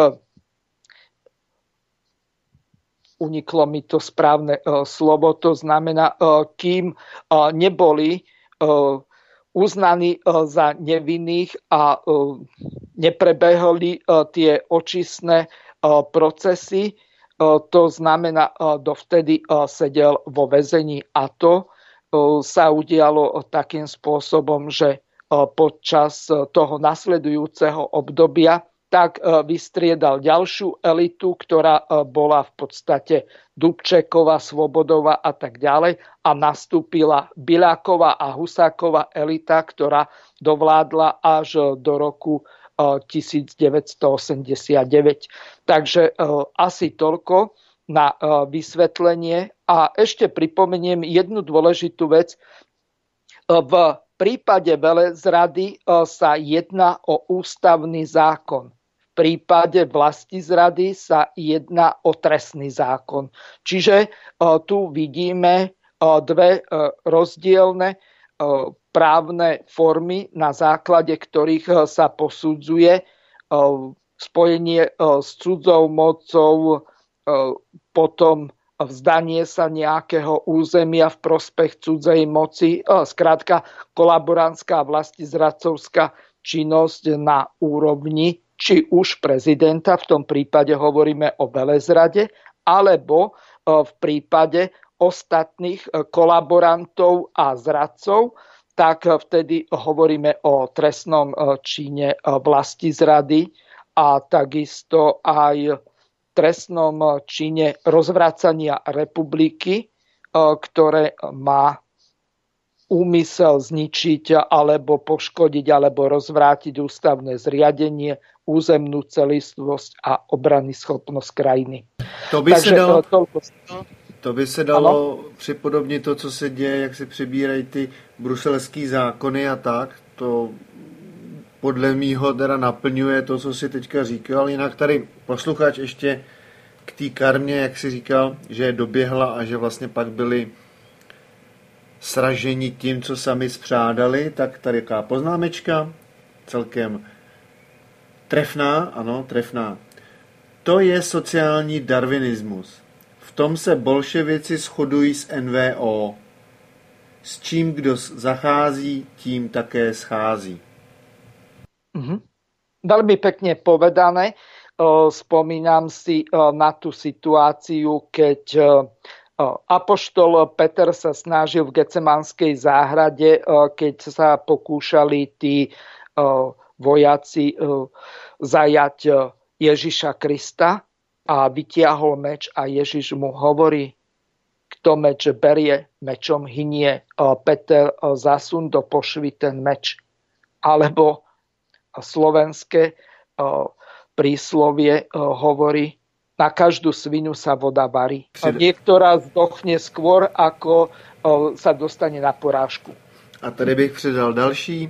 Speaker 2: uniklo mi to správne slovo, to znamená, kým neboli uznaní za nevinných a neprebehli tie očistné procesy, to znamená, dovtedy sedel vo väzení a to sa udialo takým spôsobom, že počas toho nasledujúceho obdobia tak vystriedal ďalšiu elitu, ktorá bola v podstate Dubčeková, Svobodová a tak ďalej a nastúpila Biľáková a Husáková elita, ktorá dovládla až do roku 1989. Takže asi toľko na vysvetlenie. A ešte pripomeniem jednu dôležitú vec. V prípade velezrady sa jedná o ústavný zákon. V prípade vlastizrady sa jedná o trestný zákon. Čiže tu vidíme dve rozdielne právne formy, na základe ktorých sa posudzuje spojenie s cudzou mocou, potom vzdanie sa nejakého územia v prospech cudzej moci, skrátka kolaborantská vlastizradcovská činnosť na úrovni či už prezidenta, v tom prípade hovoríme o velezrade, alebo v prípade ostatných kolaborantov a zradcov, tak vtedy hovoríme o trestnom čine vlastizrady a takisto aj trestnom čine rozvracania republiky, ktoré má úmysel zničiť alebo poškodiť alebo rozvrátiť ústavné zriadenie, územnú celistvosť a obranyschopnosť krajiny.
Speaker 1: To by se dalo připodobnit to, co se děje, jak se přebírají ty bruselský zákony a tak. To podle mýho teda naplňuje to, co si teďka říkal. Jinak tady posluchač ještě k té karmě, jak si říkal, že je doběhla a že vlastně pak byli sraženi tím, co sami spřádali, tak tady jaká poznámečka, celkem trefná, ano, trefná. To je sociální darwinismus. V tom se bolševici shodují s NVO. S čím kdo zachází, tím také schází.
Speaker 2: Veľmi pekne povedané. Spomínam si na tú situáciu, keď apoštol Peter sa snažil v Getsemanskej záhrade, keď sa pokúšali tí vojaci zajať Ježiša Krista a vytiahol meč a Ježiš mu hovorí, kto meč berie, mečom hynie. Peter, zasun do pošvy ten meč. Alebo slovenské príslovie hovorí, na každú svinu sa voda varí. Niektorá zdochne skôr, ako sa dostane na porážku.
Speaker 1: A tady bych přidal další.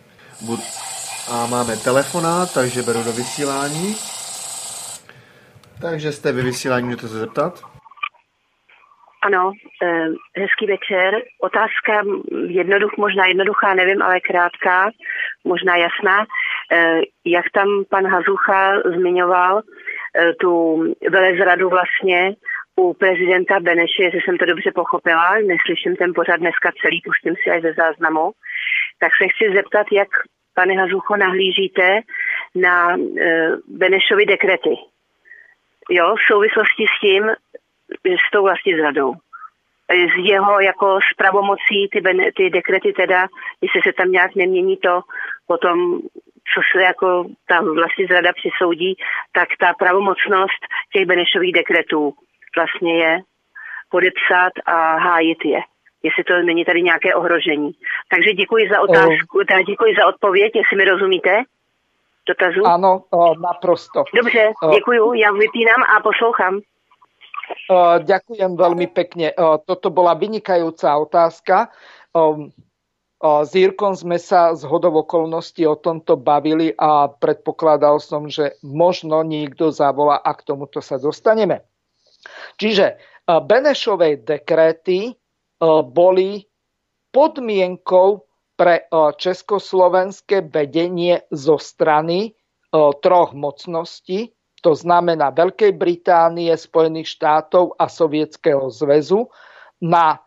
Speaker 1: A máme telefonát, takže beru do vysílání. Takže jste ve vysílání, můžete se zeptat?
Speaker 11: Ano, hezký večer. Otázka možná jednoduchá, nevím, ale krátká, možná jasná. Jak tam pan Hazucha zmiňoval tu velezradu vlastně u prezidenta Beneše, jestli jsem to dobře pochopila, neslyším ten pořad dneska celý, pustím si až ze záznamu, tak se chci zeptat, jak, pane Hazucho, nahlížíte na Benešovy dekrety. Jo, v souvislosti s tím, s tou vlastizradou. Z jeho jako s pravomocí ty dekrety teda, jestli se tam nějak nemění to potom, co se jako ta vlastizrada přisoudí, tak ta pravomocnost těch Benešových dekretů vlastně je podepsat a hájit je. Jestli to není tady nějaké ohrožení. Takže děkuji za otázku, děkuji za odpověď, jestli mi rozumíte dotazu.
Speaker 2: Áno, naprosto.
Speaker 11: Dobře, děkuju, ja vypínam a posloucham.
Speaker 2: Ďakujem veľmi pekne. Toto bola vynikajúca otázka. S Jirkom sme sa z hodou okolností o tomto bavili a predpokladal som, že možno niekto zavolá a k tomuto sa dostaneme. Čiže Benešové dekréty boli podmienkou pre československé vedenie zo strany troch mocností, to znamená Veľkej Británie, Spojených štátov a Sovietskeho zväzu, na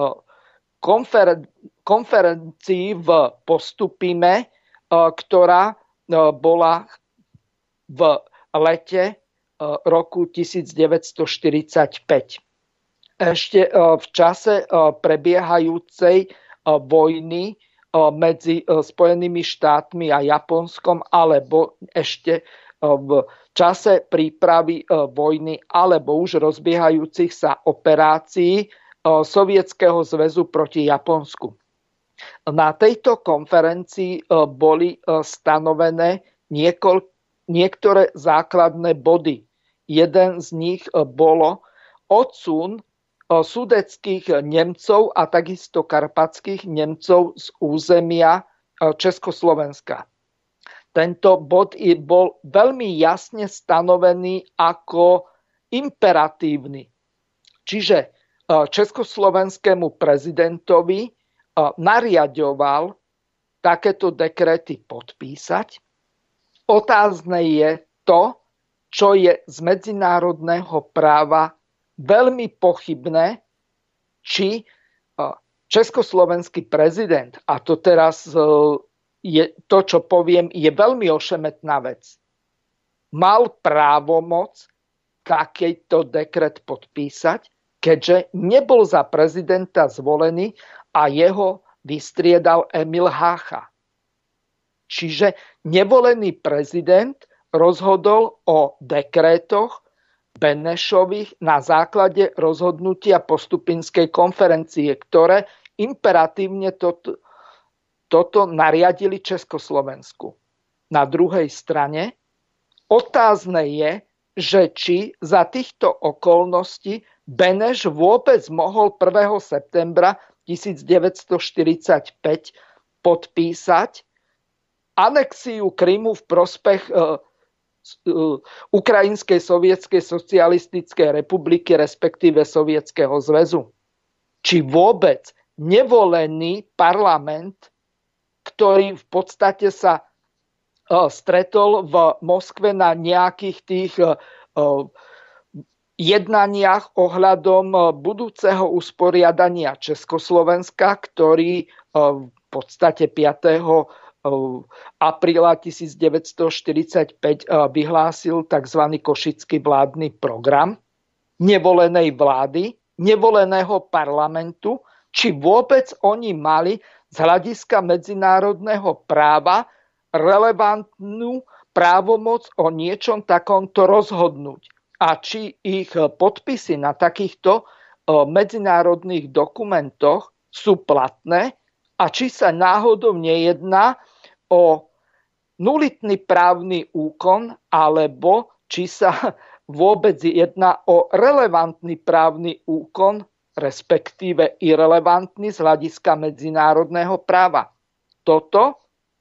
Speaker 2: konferencii v Postupime, ktorá bola v lete roku 1945. Ešte v čase prebiehajúcej vojny medzi Spojenými štátmi a Japonskom, alebo ešte v čase prípravy vojny alebo už rozbiehajúcich sa operácií Sovietskeho zväzu proti Japonsku. Na tejto konferencii boli stanovené niektoré základné body. Jeden z nich bolo odsun sudeckých Nemcov a takisto karpatských Nemcov z územia Československa. Tento bod bol veľmi jasne stanovený ako imperatívny. Čiže československému prezidentovi nariaďoval takéto dekrety podpísať. Otázne je to, čo je z medzinárodného práva veľmi pochybné, či československý prezident, a to teraz je to, čo poviem, je veľmi ošemetná vec, mal právomoc takýto dekret podpísať, keďže nebol za prezidenta zvolený a jeho vystriedal Emil Hácha. Čiže nevolený prezident rozhodol o dekrétoch Benešových na základe rozhodnutia Postupinskej konferencie, ktoré imperatívne toto nariadili Československu. Na druhej strane otázne je, že či za týchto okolností Beneš vôbec mohol 1. septembra 1945 podpísať anexiu Krymu v prospech Ukrajinskej sovietskej socialistickej republiky, respektíve Sovietskeho zväzu. Či vôbec nevolený parlament, ktorý v podstate sa stretol v Moskve na nejakých tých jednaniach ohľadom budúceho usporiadania Československa, ktorý v podstate 5. apríla 1945 vyhlásil tzv. Košický vládny program nevolenej vlády, nevoleného parlamentu, či vôbec oni mali z hľadiska medzinárodného práva relevantnú právomoc o niečom takomto rozhodnúť. A či ich podpisy na takýchto medzinárodných dokumentoch sú platné a či sa náhodou nejedná o nulitný právny úkon, alebo či sa vôbec jedná o relevantný právny úkon, respektíve irelevantný z hľadiska medzinárodného práva. Toto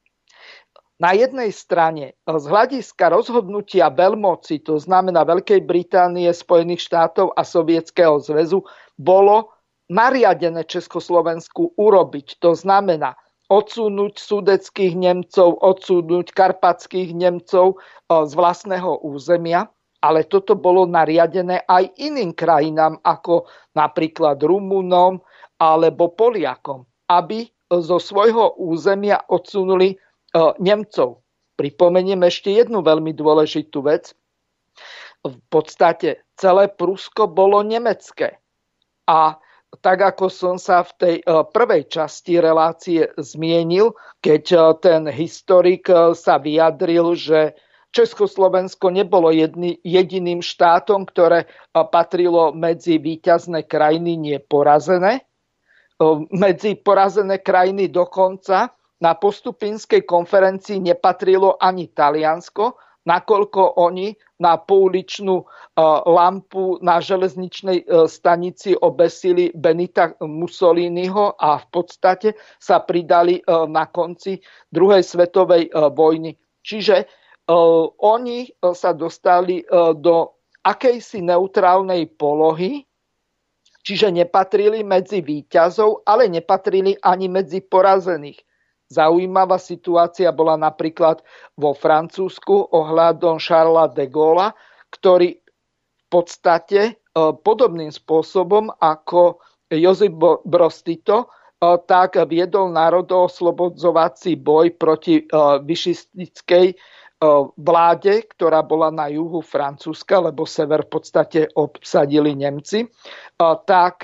Speaker 2: na jednej strane z hľadiska rozhodnutia veľmoci, to znamená Veľkej Británie, Spojených štátov a Sovietskeho zväzu, bolo nariadené Československu urobiť. To znamená odsunúť sudeckých Nemcov, odsunúť karpatských Nemcov z vlastného územia, ale toto bolo nariadené aj iným krajinám, ako napríklad Rumunom alebo Poliakom, aby zo svojho územia odsunuli Nemcov. Pripomeniem ešte jednu veľmi dôležitú vec. V podstate celé Prusko bolo nemecké. A tak ako som sa v tej prvej časti relácie zmienil, keď ten historik sa vyjadril, že Československo nebolo jediným štátom, ktoré patrilo medzi víťazné krajiny, nie porazené. Medzi porazené krajiny dokonca na Postupinskej konferencii nepatrilo ani Taliansko, nakoľko oni na pouličnú lampu na železničnej stanici obesili Benita Mussoliniho a v podstate sa pridali na konci druhej svetovej vojny. Čiže oni sa dostali do akejsi neutrálnej polohy, čiže nepatrili medzi víťazov, ale nepatrili ani medzi porazených. Zaujímavá situácia bola napríklad vo Francúzsku ohľadom Charlesa de Gaulla, ktorý v podstate podobným spôsobom ako Josip Broz Tito tak viedol národoslobodzovací boj proti višistickej vláde, ktorá bola na juhu Francúzska, lebo sever v podstate obsadili Nemci, tak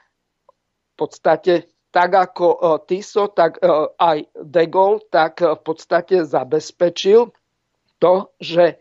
Speaker 2: v podstate tak ako Tiso, tak aj de Gaulle, tak v podstate zabezpečil to, že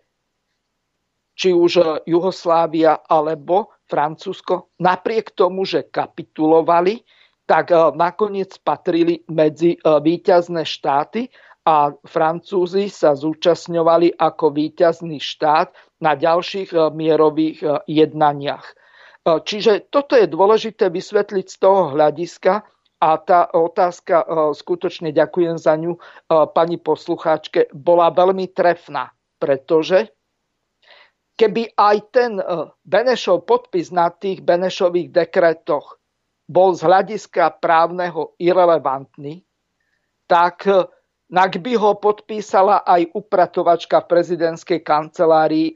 Speaker 2: či už Juhoslávia alebo Francúzsko, napriek tomu, že kapitulovali, tak nakoniec patrili medzi víťazné štáty a Francúzi sa zúčastňovali ako víťazný štát na ďalších mierových jednaniach. Čiže toto je dôležité vysvetliť z toho hľadiska, a tá otázka, skutočne ďakujem za ňu pani poslucháčke, bola veľmi trefná, pretože keby aj ten Benešov podpis na tých Benešových dekretoch bol z hľadiska právneho irelevantný, tak ak by ho podpísala aj upratovačka v prezidentskej kancelárii,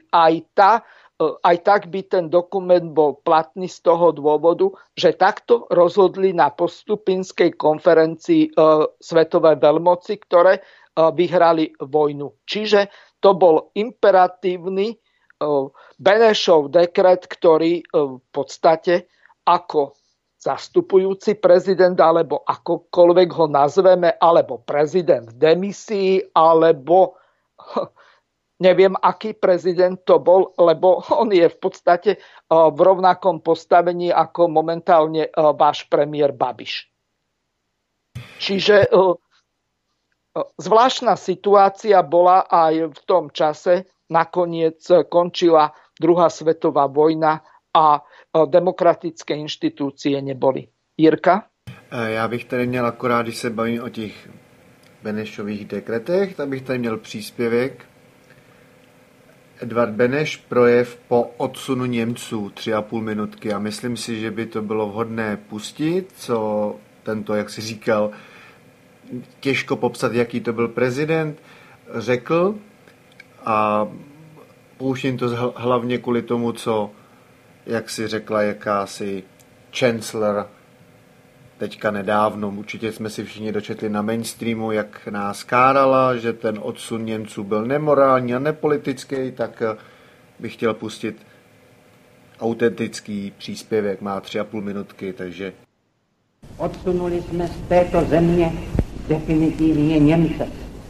Speaker 2: aj tak by ten dokument bol platný z toho dôvodu, že takto rozhodli na Postupinskej konferencii svetové veľmoci, ktoré vyhrali vojnu. Čiže to bol imperatívny Benešov dekret, ktorý v podstate ako zastupujúci prezident, alebo akokoľvek ho nazveme, alebo prezident v demisii, alebo neviem, aký prezident to bol, lebo on je v podstate v rovnakom postavení ako momentálne váš premiér Babiš. Čiže zvláštna situácia bola aj v tom čase. Nakoniec končila druhá svetová vojna a demokratické inštitúcie neboli. Jirka?
Speaker 1: Já bych tady měl akorát, když se bavím o těch Benešových dekretech, tak bych tady měl příspěvek. Edvard Beneš, projev po odsunu Němců, 3,5 minutky. A myslím si, že by to bylo vhodné pustit, co tento, jak si říkal, těžko popsat, jaký to byl prezident, řekl. A pouštím to hlavně kvůli tomu, co, jak si řekla jakási chancellor teďka nedávno. Určitě jsme si všichni dočetli na mainstreamu, jak nás kárala, že ten odsun Němců byl nemorální a nepolitický, tak bych chtěl pustit autentický příspěvek. Má 3,5 minutky, takže...
Speaker 4: Odsunuli jsme z této země definitivně Němce.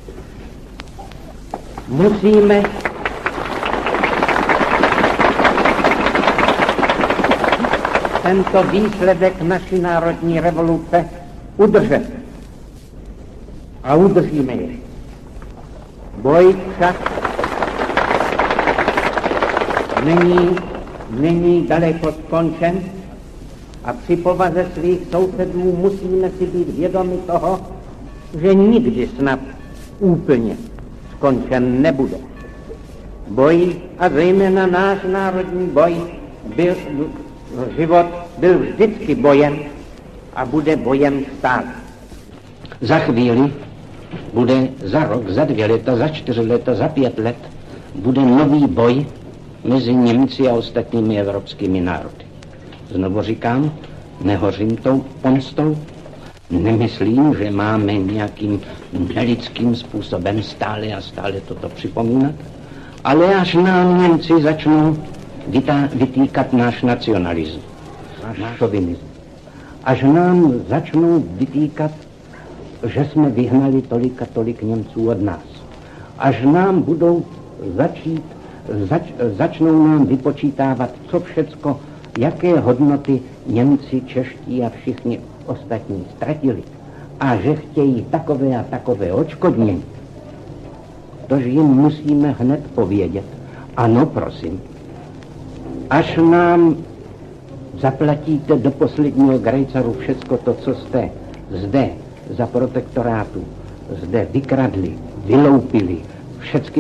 Speaker 4: Musíme tento výsledek naší národní revoluce udržet. A udržíme je. Boj však není daleko skončen a při povaze svých sousedů musíme si být vědomi toho, že nikdy snad úplně skončen nebude. Boj a zejména náš národní boj život byl vždycky bojem a bude bojem stále. Za chvíli bude za rok, za 2 leta, za 4 leta, za 5 let bude nový boj mezi Němci a ostatními evropskými národy. Znovu říkám, nehořím tou pomstou, nemyslím, že máme nějakým nelidským způsobem stále a stále toto připomínat, ale až nám Němci začnou vytýkat náš nacionalismus, náš šovinismus. Až nám začnou vytýkat, že jsme vyhnali tolik a tolik Němců od nás. Až nám budou začnou nám vypočítávat, co všecko, jaké hodnoty Němci, čeští a všichni ostatní ztratili. A že chtějí takové a takové odškodnění. Tož jim musíme hned povědět. Ano, prosím. Až nám zaplatíte do posledního grejcaru všecko to, co jste zde za protektorátu zde vykradli, vyloupili, všechny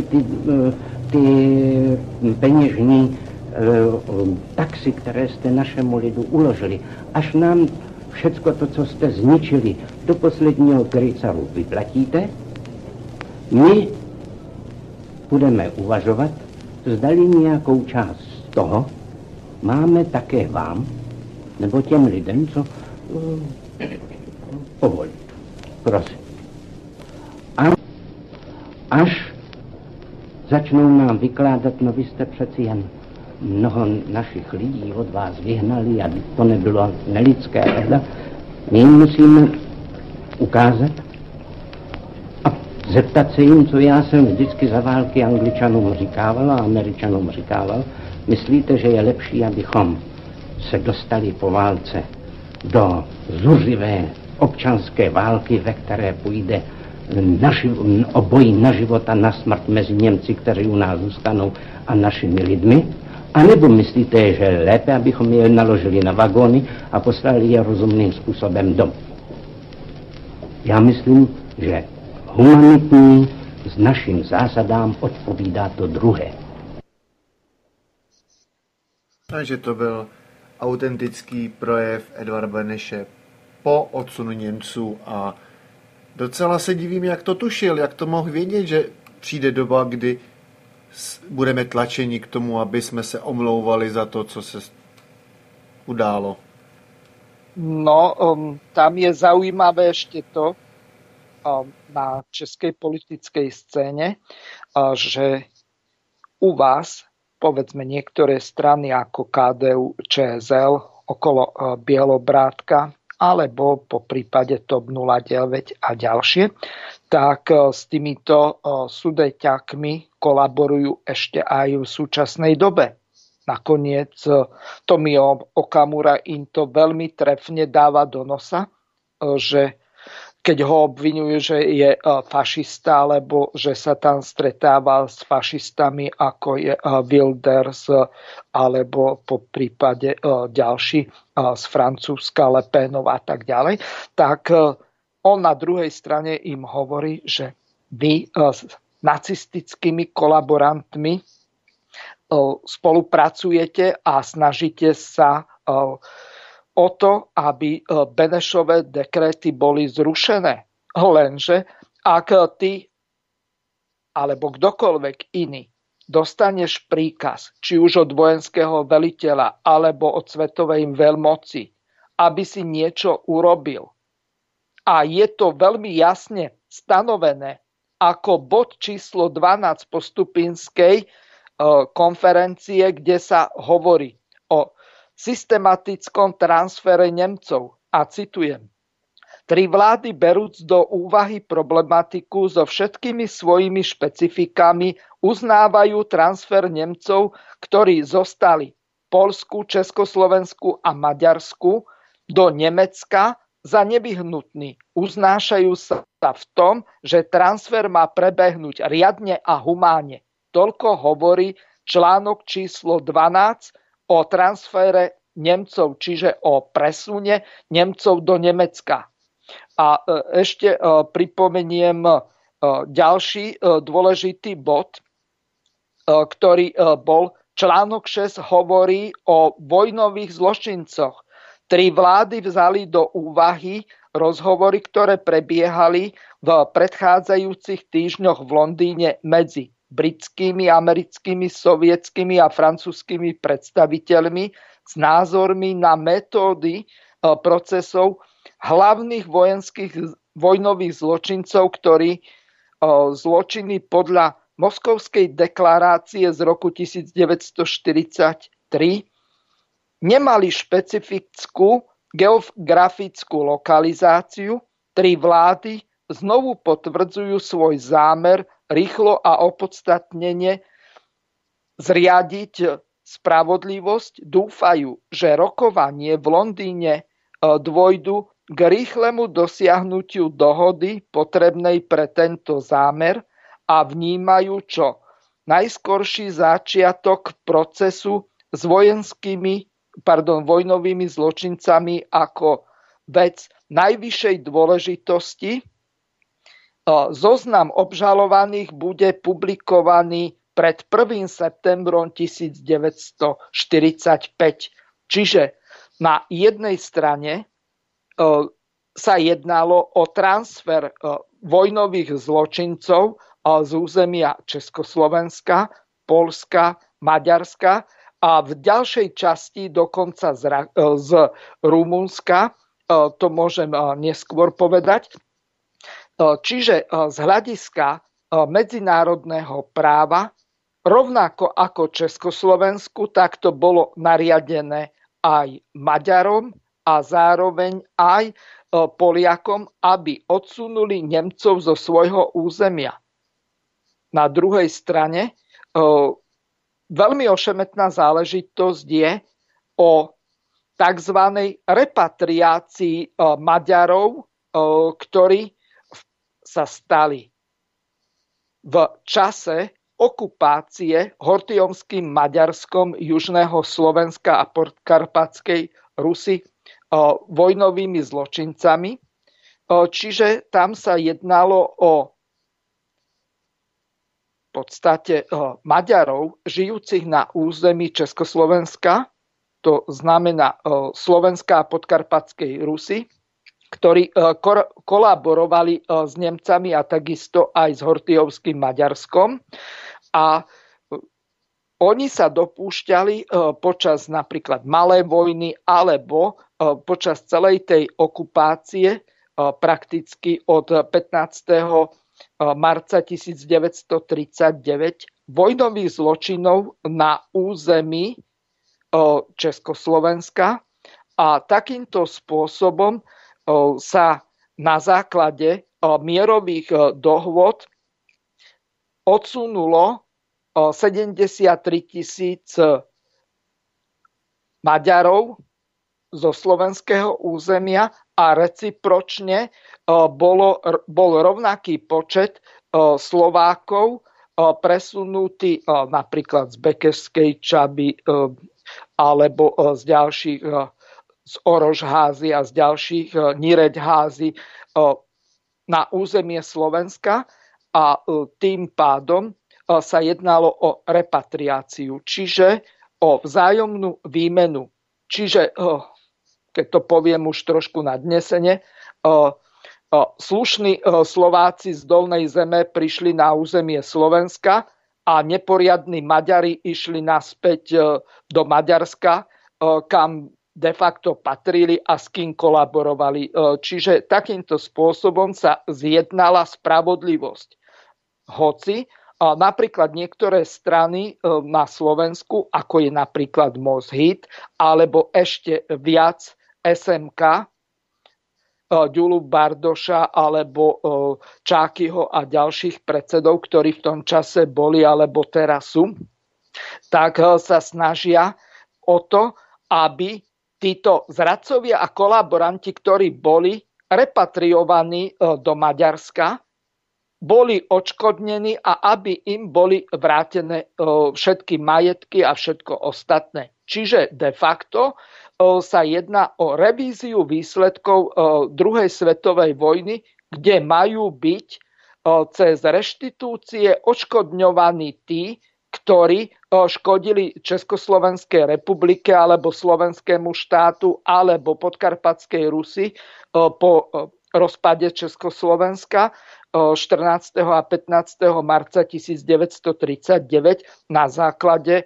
Speaker 4: ty peněžní taxy, které jste našemu lidu uložili, až nám všecko to, co jste zničili, do posledního grejcaru vyplatíte, my budeme uvažovat, zdali nějakou část z toho máme také vám, nebo těm lidem, co povolit. Prosím. A až začnou nám vykládat, no vy jste přeci jen mnoho našich lidí od vás vyhnali a to nebylo nelidské, pravda? My jim musíme ukázat a zeptat se jim, co já jsem vždycky za války Angličanům říkával a Američanům říkával. Myslíte, že je lepší, abychom se dostali po válce do zuřivé občanské války, ve které půjde o boji na život a na smrt mezi Němci, kteří u nás zůstanou, a našimi lidmi? A nebo myslíte, že je lépe, abychom je naložili na vagóny a poslali je rozumným způsobem domů? Já myslím, že humanitní s našim zásadám odpovídá to druhé.
Speaker 1: Takže to byl autentický projev Edvarda Beneše po odsunu Němců a docela se divím, jak to tušil, jak to mohl vědět, že přijde doba, kdy budeme tlačeni k tomu, aby jsme se omlouvali za to, co se událo.
Speaker 2: No, tam je zaujímavé ešte to na českej politickej scéne, že u vás, povedzme niektoré strany ako KDU, ČSL, okolo Bielobrátka alebo po prípade TOP 09 a ďalšie, tak s týmito Sudeťakmi kolaborujú ešte aj v súčasnej dobe. Nakoniec Tomio Okamura im to veľmi trefne dáva do nosa, že keď ho obviňujú, že je fašista, alebo že sa tam stretáva s fašistami, ako je Wilders, alebo po prípade ďalší z Francúzska, Le Penov a tak ďalej, tak on na druhej strane im hovorí, že vy s nacistickými kolaborantmi spolupracujete a snažíte sa o to, aby Benešové dekréty boli zrušené. Lenže ak ty alebo kdokoľvek iný dostaneš príkaz, či už od vojenského veliteľa alebo od svetovej veľmoci, aby si niečo urobil, a je to veľmi jasne stanovené ako bod číslo 12 postupinskej konferencie, kde sa hovorí o systematickom transfere Nemcov. A citujem. 3 vlády berúc do úvahy problematiku so všetkými svojimi špecifikami uznávajú transfer Nemcov, ktorí zostali v Poľsku, Československu a Maďarsku do Nemecka za nevyhnutný. Uznášajú sa v tom, že transfer má prebehnúť riadne a humánne. Toľko hovorí článok číslo 12 o transfere Nemcov, čiže o presune Nemcov do Nemecka. A ešte pripomeniem ďalší dôležitý bod, ktorý bol článok 6 hovorí o vojnových zločincoch. 3 vlády vzali do úvahy rozhovory, ktoré prebiehali v predchádzajúcich týždňoch v Londýne medzi britskými, americkými, sovietskými a francúzskými predstaviteľmi s názormi na metódy procesov hlavných vojnových zločincov, ktorí zločiny podľa Moskovskej deklarácie z roku 1943 nemali špecifickú geografickú lokalizáciu. 3 vlády znovu potvrdzujú svoj zámer rýchlo a opodstatnene zriadiť spravodlivosť. Dúfajú, že rokovanie v Londýne dôjdu k rýchlemu dosiahnutiu dohody potrebnej pre tento zámer a vnímajú čo najskorší začiatok procesu s vojnovými zločincami ako vec najvyššej dôležitosti. Zoznam obžalovaných bude publikovaný pred 1. septembrom 1945. Čiže na jednej strane sa jednalo o transfer vojnových zločincov z územia Československa, Poľska, Maďarska a v ďalšej časti dokonca z Rumunska, to môžem neskôr povedať. Čiže z hľadiska medzinárodného práva, rovnako ako Československu, tak to bolo nariadené aj Maďarom a zároveň aj Poliakom, aby odsunuli Nemcov zo svojho územia. Na druhej strane veľmi ošemetná záležitosť je o tzv. Repatriácii Maďarov, ktorí sa stali v čase okupácie Hortionským Maďarskom južného Slovenska a Podkarpatskej Rusy vojnovými zločincami. Čiže tam sa jednalo o v podstate Maďarov žijúcich na území Československa, to znamená Slovenska a Podkarpatskej Rusy, ktorí kolaborovali s Nemcami a takisto aj s Hortijovským Maďarskom. A oni sa dopúšťali počas napríklad Malej vojny alebo počas celej tej okupácie prakticky od 15. marca 1939 vojnových zločinov na území Československa A takýmto spôsobom sa na základe mierových dohôd odsunulo 73 000 Maďarov zo slovenského územia a recipročne bol rovnaký počet Slovákov presunutý napríklad z Bekešskej Čaby alebo z ďalších, z Orožházy a z ďalších Nireďházy na územie Slovenska a tým pádom sa jednalo o repatriáciu, čiže o vzájomnú výmenu. Čiže, keď to poviem už trošku nadnesene, slušní Slováci z Dolnej Zeme prišli na územie Slovenska a neporiadni Maďari išli naspäť do Maďarska, kam de facto patrili a s kým kolaborovali. Čiže takýmto spôsobom sa zjednala spravodlivosť. Hoci napríklad niektoré strany na Slovensku, ako je napríklad Most Hit, alebo ešte viac SMK, Ďulu Bardoša alebo Čákyho a ďalších predsedov, ktorí v tom čase boli alebo teraz sú, tak sa snažia o to, aby títo zradcovia a kolaboranti, ktorí boli repatriovaní do Maďarska, boli odškodnení a aby im boli vrátené všetky majetky a všetko ostatné. Čiže de facto sa jedná o revíziu výsledkov druhej svetovej vojny, kde majú byť cez reštitúcie odškodňovaní tí, ktorí škodili Československej republike alebo Slovenskému štátu alebo Podkarpatskej Rusi po rozpade Československa 14. a 15. marca 1939 na základe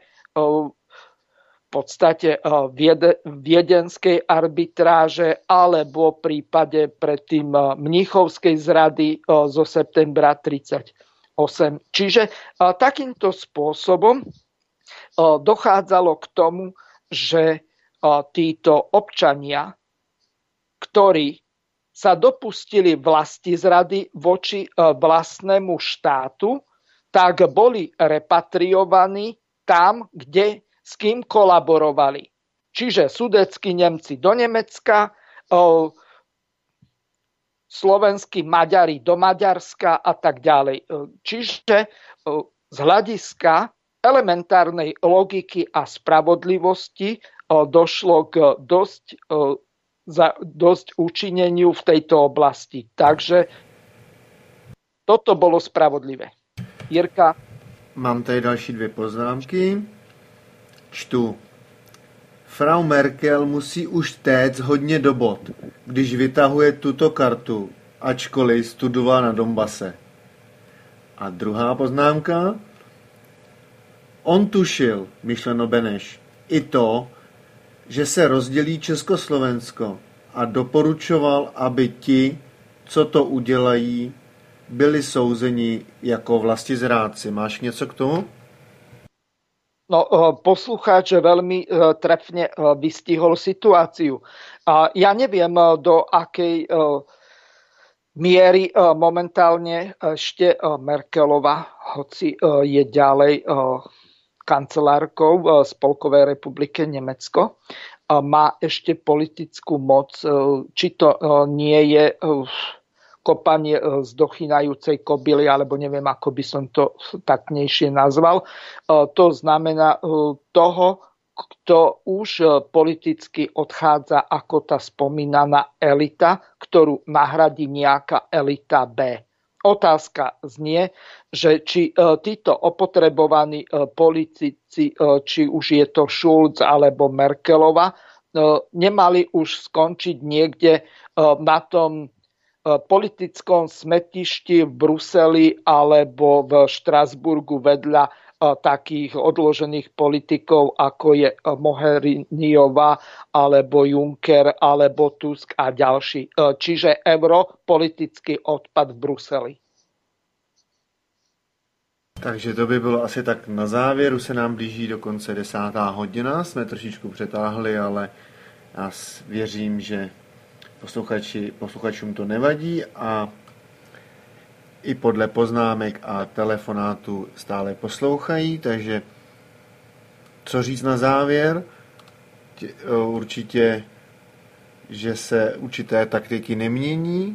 Speaker 2: v podstate viedenskej arbitráže alebo v prípade predtým mníchovskej zrady zo septembra 1938. Čiže takýmto spôsobom dochádzalo k tomu, že títo občania, ktorí sa dopustili vlastizrady voči vlastnému štátu, tak boli repatriovaní tam, kde s kým kolaborovali. Čiže sudetskí Nemci do Nemecka, slovenskí Maďari do Maďarska a tak ďalej. Čiže z hľadiska elementárnej logiky a spravodlivosti došlo k dosť učineniu v tejto oblasti. Takže toto bolo spravodlivé. Jirka?
Speaker 1: Mám tady další 2 poznámky. Čtu. Frau Merkel musí už téct hodně do bod, když vytahuje tuto kartu, ačkoliv studovala na Donbase. A druhá poznámka. On tušil, myšleno Beneš, i to, že se rozdělí Československo a doporučoval, aby ti, co to udělají, byli souzeni jako vlastizrádci. Máš něco k tomu?
Speaker 2: No, poslucháč veľmi trefne vystihol situáciu. Ja neviem, do akej miery momentálne ešte Merkelová, hoci je ďalej kancelárkou v Spolkovej republike Nemecko, má ešte politickú moc, či to nie je kopanie z dochýnajúcej kobily, alebo neviem, ako by som to taknejšie nazval. To znamená toho, kto už politicky odchádza ako tá spomínaná elita, ktorú nahradí nejaká elita B. Otázka znie, že či títo opotrebovaní politici, či už je to Schulz alebo Merkelova, nemali už skončiť niekde na tom politickom smetišti v Bruseli alebo v Štrasburgu vedľa takých odložených politikov, ako je Mogheriniová, alebo Juncker, alebo Tusk a ďalší. Čiže europolitický odpad v Bruseli.
Speaker 1: Takže to by bylo asi tak na závěr, už se nám blíží do konce 10. hodina, jsme trošičku přetáhli, ale Já věřím, že posluchačům to nevadí a i podle poznámek a telefonátů stále poslouchají, takže co říct na závěr? Určitě, že se určité taktiky nemění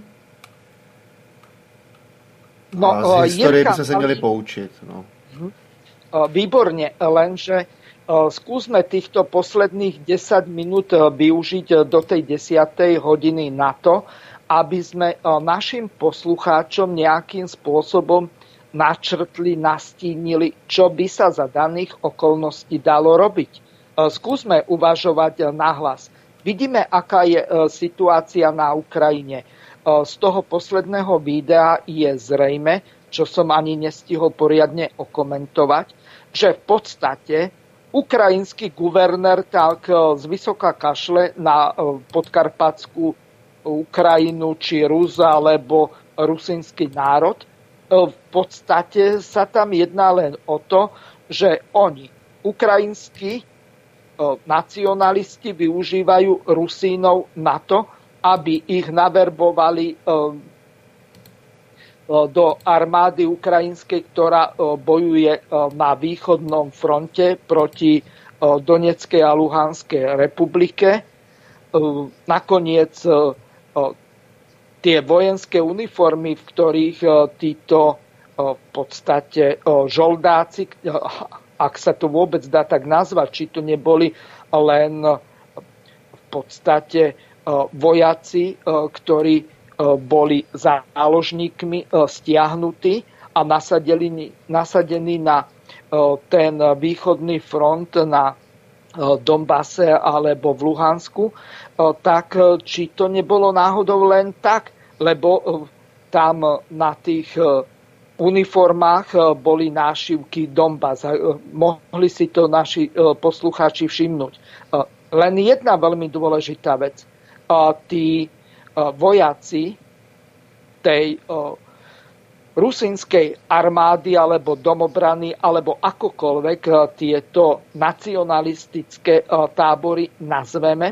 Speaker 1: a z historie by se měli poučit. No.
Speaker 2: Výborne, lenže skúsme týchto posledných 10 minút využiť do tej 10. hodiny na to, aby sme našim poslucháčom nejakým spôsobom načrtli, nastínili, čo by sa za daných okolností dalo robiť. Skúsme uvažovať nahlas. Vidíme, aká je situácia na Ukrajine. Z toho posledného videa je zrejme, čo som ani nestihol poriadne okomentovať, že v podstate ukrajinský guvernér tak zvysoka kašle na podkarpatskú Ukrajinu, či Rus, alebo rusínsky národ. V podstate sa tam jedná len o to, že oni, ukrajinskí nacionalisti, využívajú Rusínov na to, aby ich naverbovali do armády ukrajinskej, ktorá bojuje na východnom fronte proti Donetskej a Luhanskej republike. Nakoniec tie vojenské uniformy, v ktorých títo v podstate žoldáci, ak sa to vôbec dá tak nazvať, či to neboli len v podstate vojaci, ktorí boli záložníkmi stiahnutí a nasadení na ten východný front na Donbase alebo v Luhansku, tak či to nebolo náhodou len tak, lebo tam na tých uniformách boli nášivky Donbas. Mohli si to naši poslucháči všimnúť. Len jedna veľmi dôležitá vec. Tí vojaci tej rusínskej armády alebo domobrany alebo akokoľvek tieto nacionalistické tábory nazveme,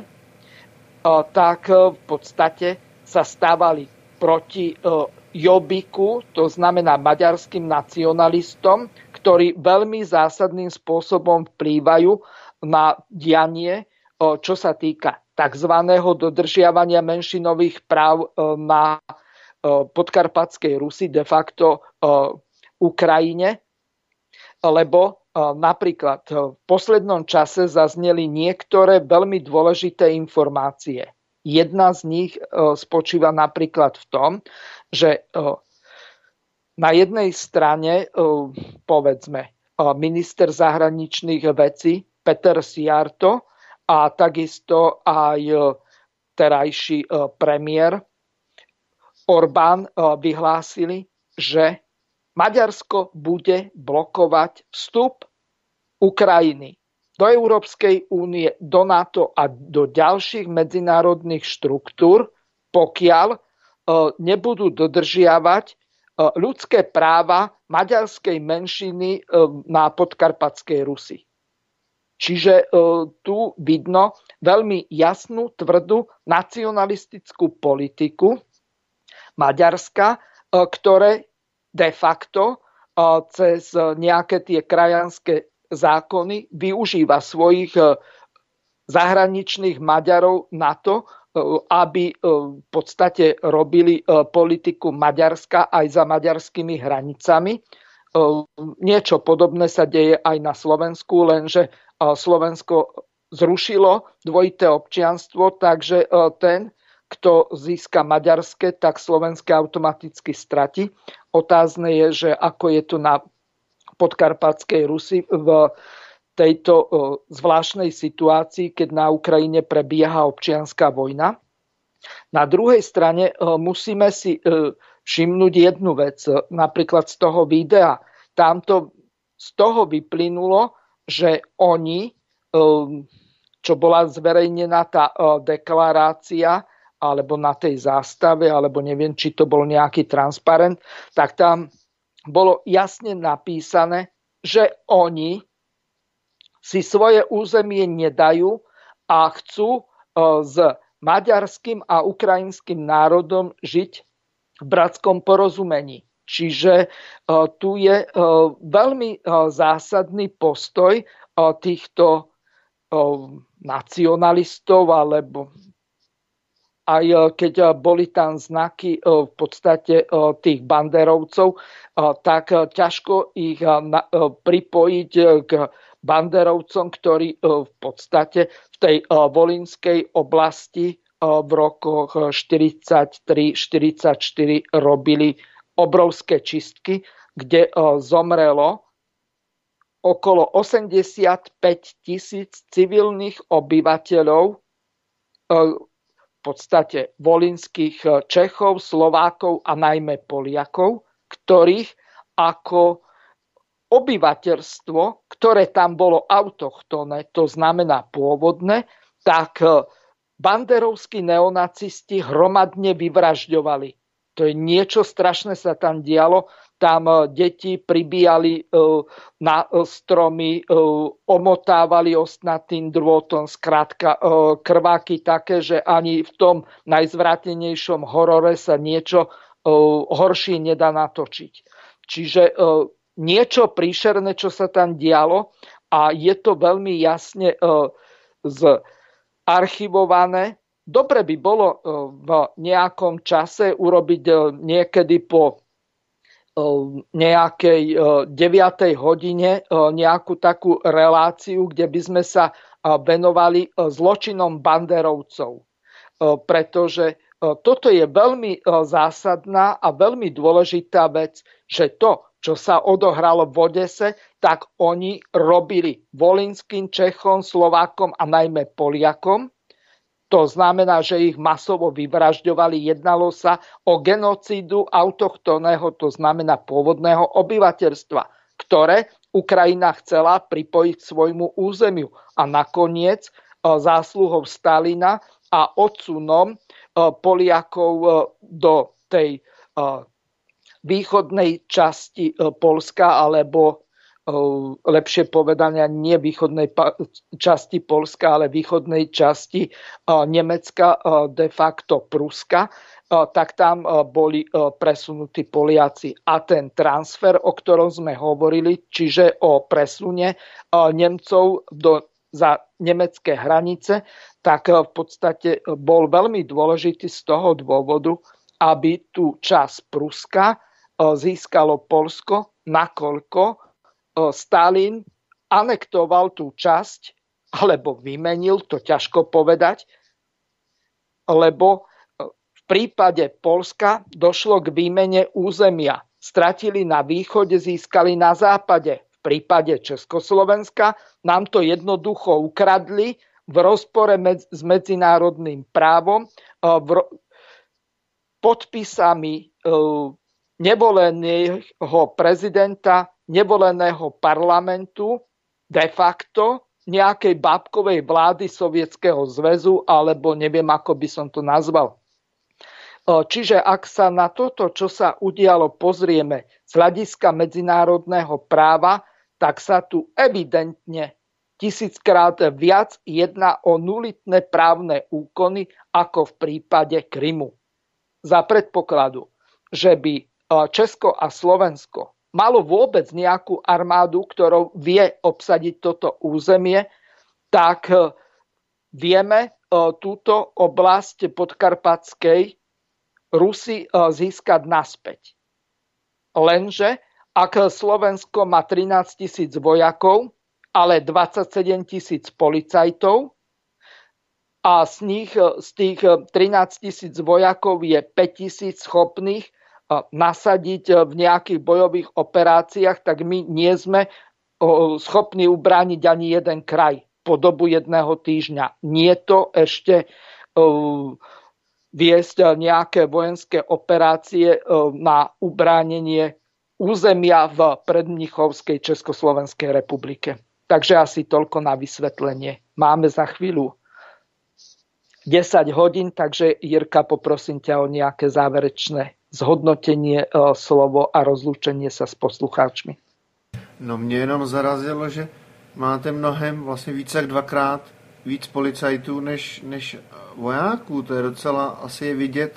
Speaker 2: tak v podstate sa stávali proti Jobbiku, to znamená maďarským nacionalistom, ktorí veľmi zásadným spôsobom vplývajú na dianie, čo sa týka tzv. Dodržiavania menšinových práv na podkarpatskej Rusi, de facto Ukrajine, lebo napríklad v poslednom čase zazneli niektoré veľmi dôležité informácie. Jedna z nich spočíva napríklad v tom, že na jednej strane, povedzme, minister zahraničných vecí Peter Szijjártó a takisto aj terajší premiér Orbán vyhlásili, že Maďarsko bude blokovať vstup Ukrajiny do Európskej únie, do NATO a do ďalších medzinárodných štruktúr, pokiaľ nebudú dodržiavať ľudské práva maďarskej menšiny na podkarpatskej Rusi. Čiže tu vidno veľmi jasnú, tvrdú nacionalistickú politiku Maďarska, ktoré de facto cez nejaké tie krajanské zákony využíva svojich zahraničných Maďarov na to, aby v podstate robili politiku Maďarska aj za maďarskými hranicami. Niečo podobné sa deje aj na Slovensku, lenže Slovensko zrušilo dvojité občianstvo, takže ten, kto získa maďarské, tak slovenské automaticky stratí. Otázne je, že ako je to na podkarpatskej Rusi v tejto zvláštnej situácii, keď na Ukrajine prebieha občianská vojna. Na druhej strane musíme si všimnúť jednu vec, napríklad z toho videa. Tamto z toho vyplynulo, že oni, čo bola zverejnená tá deklarácia, alebo na tej zástave, alebo neviem, či to bol nejaký transparent, tak tam bolo jasne napísané, že oni si svoje územie nedajú a chcú s maďarským a ukrajinským národom žiť v bratskom porozumení. Čiže tu je veľmi zásadný postoj týchto nacionalistov, alebo aj keď boli tam znaky v podstate tých banderovcov, tak ťažko ich pripojiť k banderovcom, ktorí v podstate v tej Volynskej oblasti v rokoch 43-44 robili obrovské čistky, kde zomrelo okolo 85 000 civilných obyvateľov, v podstate volynských Čechov, Slovákov a najmä Poliakov, ktorých ako obyvateľstvo, ktoré tam bolo autochtónne, to znamená pôvodné, tak banderovskí neonacisti hromadne vyvražďovali. To je niečo strašné sa tam dialo. Tam deti pribíjali na stromy, omotávali ostnatým drôtom, skrátka krváky také, že ani v tom najzvrátenejšom horore sa niečo horšie nedá natočiť. Čiže niečo príšerné, čo sa tam dialo, a je to veľmi jasne zarchivované. Dobre by bolo v nejakom čase urobiť niekedy po nejakej 9. hodine nejakú takú reláciu, kde by sme sa venovali zločinom banderovcov. Pretože toto je veľmi zásadná a veľmi dôležitá vec, že to, čo sa odohralo v Odese, tak oni robili volynským Čechom, Slovákom a najmä Poliakom. To znamená, že ich masovo vyvražďovali. Jednalo sa o genocídu autochtónneho, to znamená pôvodného obyvateľstva, ktoré Ukrajina chcela pripojiť k svojmu územiu. A nakoniec zásluhou Stalina a odsunom Poliakov do tej východnej časti Poľska, alebo lepšie povedané, nie východnej časti Poľska, ale východnej časti Nemecka, de facto Pruska, tak tam boli presunutí Poliaci. A ten transfer, o ktorom sme hovorili, čiže o presune Nemcov za nemecké hranice, tak v podstate bol veľmi dôležitý z toho dôvodu, aby tú časť Pruska získalo Poľsko, nakoľko Stalin anektoval tú časť, alebo vymenil, to ťažko povedať, lebo v prípade Poľska došlo k výmene územia. Stratili na východe, získali na západe. V prípade Československa nám to jednoducho ukradli v rozpore s medzinárodným právom, podpisami nevoleného prezidenta, nevoleného parlamentu, de facto nejakej bábkovej vlády Sovietskeho zväzu, alebo neviem, ako by som to nazval. Čiže ak sa na toto, čo sa udialo, pozrieme z hľadiska medzinárodného práva, tak sa tu evidentne 1000-krát viac jedná o nulitné právne úkony ako v prípade Krymu. Za predpokladu, že by Česko a Slovensko malo vôbec nejakú armádu, ktorou vie obsadiť toto územie, tak vieme túto oblasť podkarpatskej Rusi získať naspäť. Lenže ak Slovensko má 13 000 vojakov, ale 27 000 policajtov, a z tých 13 000 vojakov je 5 000 schopných nasadiť v nejakých bojových operáciách, tak my nie sme schopní ubrániť ani jeden kraj po dobu jedného týždňa. Nie to ešte viesť nejaké vojenské operácie na ubránenie územia v predmnichovskej Československej republike. Takže asi toľko na vysvetlenie. Máme za chvíľu 10 hodín, takže Jirka, poprosím ťa o nejaké záverečné zhodnotenie, slovo a rozlúčenie sa s poslucháčmi.
Speaker 1: No mě jenom zarazilo, že máte mnohem, vlastně více jak 2krát víc policajtů než vojáků. To je docela asi vidět,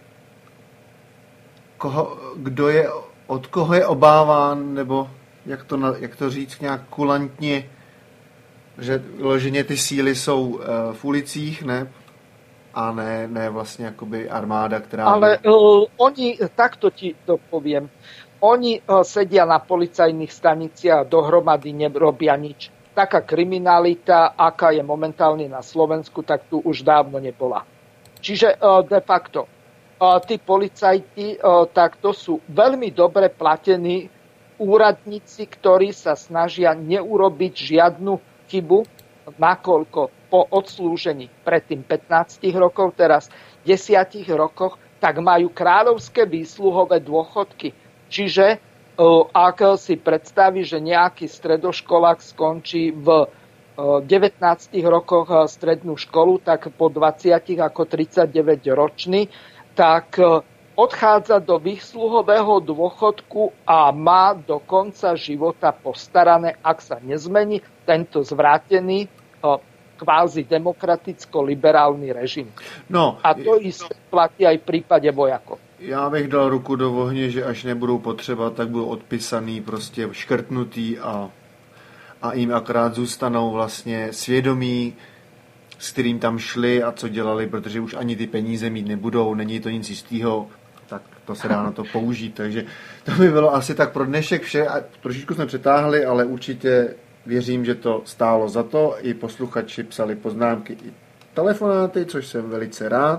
Speaker 1: od koho je obáván, nebo jak to říct nějak kulantně, že vyloženě ty síly jsou v ulicích, ne? A ne vlastně jakoby armáda, která...
Speaker 2: Ale oni, takto ti to poviem, oni sedia na policajných staniciach dohromady, nerobia nič. Taká kriminalita, aká je momentálne na Slovensku, tak tu už dávno nebola. Čiže de facto, tí policajti, tak to sú veľmi dobre platení úradníci, ktorí sa snažia neurobiť žiadnu chybu, nakoľko po odslúžení predtým 15 rokov, teraz 10 rokoch, tak majú kráľovské výsluhové dôchodky. Čiže ak si predstaví, že nejaký stredoškolák skončí v 19 rokoch strednú školu, tak po 20 ako 39-ročný, tak odchádza do výsluhového dôchodku a má do konca života postarané, ak sa nezmení tento zvrátený kvázi demokraticko-liberálny režim.
Speaker 1: No,
Speaker 2: a to isté platí aj v prípade vojakov.
Speaker 1: Já bych dal ruku do ohně, že až nebudou potřeba, tak budou odpisaný, prostě škrtnutý a jim akorát zůstanou vlastně svědomí, s kterým tam šli a co dělali, protože už ani ty peníze mít nebudou, není to nic jistého, tak to se dá na to použít. Takže to by bylo asi tak pro dnešek vše. A trošičku jsme přetáhli, ale určitě věřím, že to stálo za to. I posluchači psali poznámky i telefonáty, což jsem velice rád.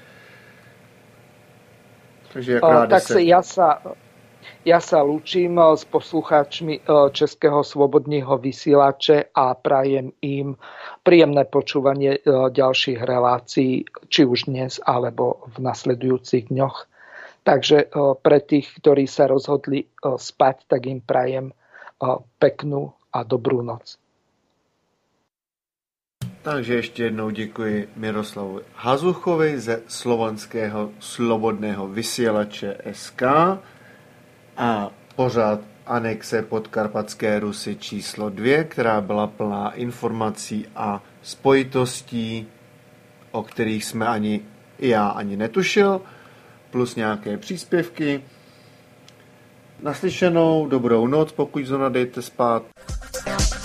Speaker 1: Takže
Speaker 2: ja sa lúčim s poslucháčmi Českého slobodného vysielače a prajem im príjemné počúvanie ďalších relácií, či už dnes, alebo v nasledujúcich dňoch. Takže pre tých, ktorí sa rozhodli spať, tak im prajem peknú a dobrú noc.
Speaker 1: Takže ještě jednou děkuji Miroslavu Hazuchovi ze Slovenského slobodného vysielače SK a pořád anexe Podkarpatské Rusy číslo 2, která byla plná informací a spojitostí, o kterých jsme já ani netušil, plus nějaké příspěvky. Naslyšenou, dobrou noc, pokud zrovna dejte spát.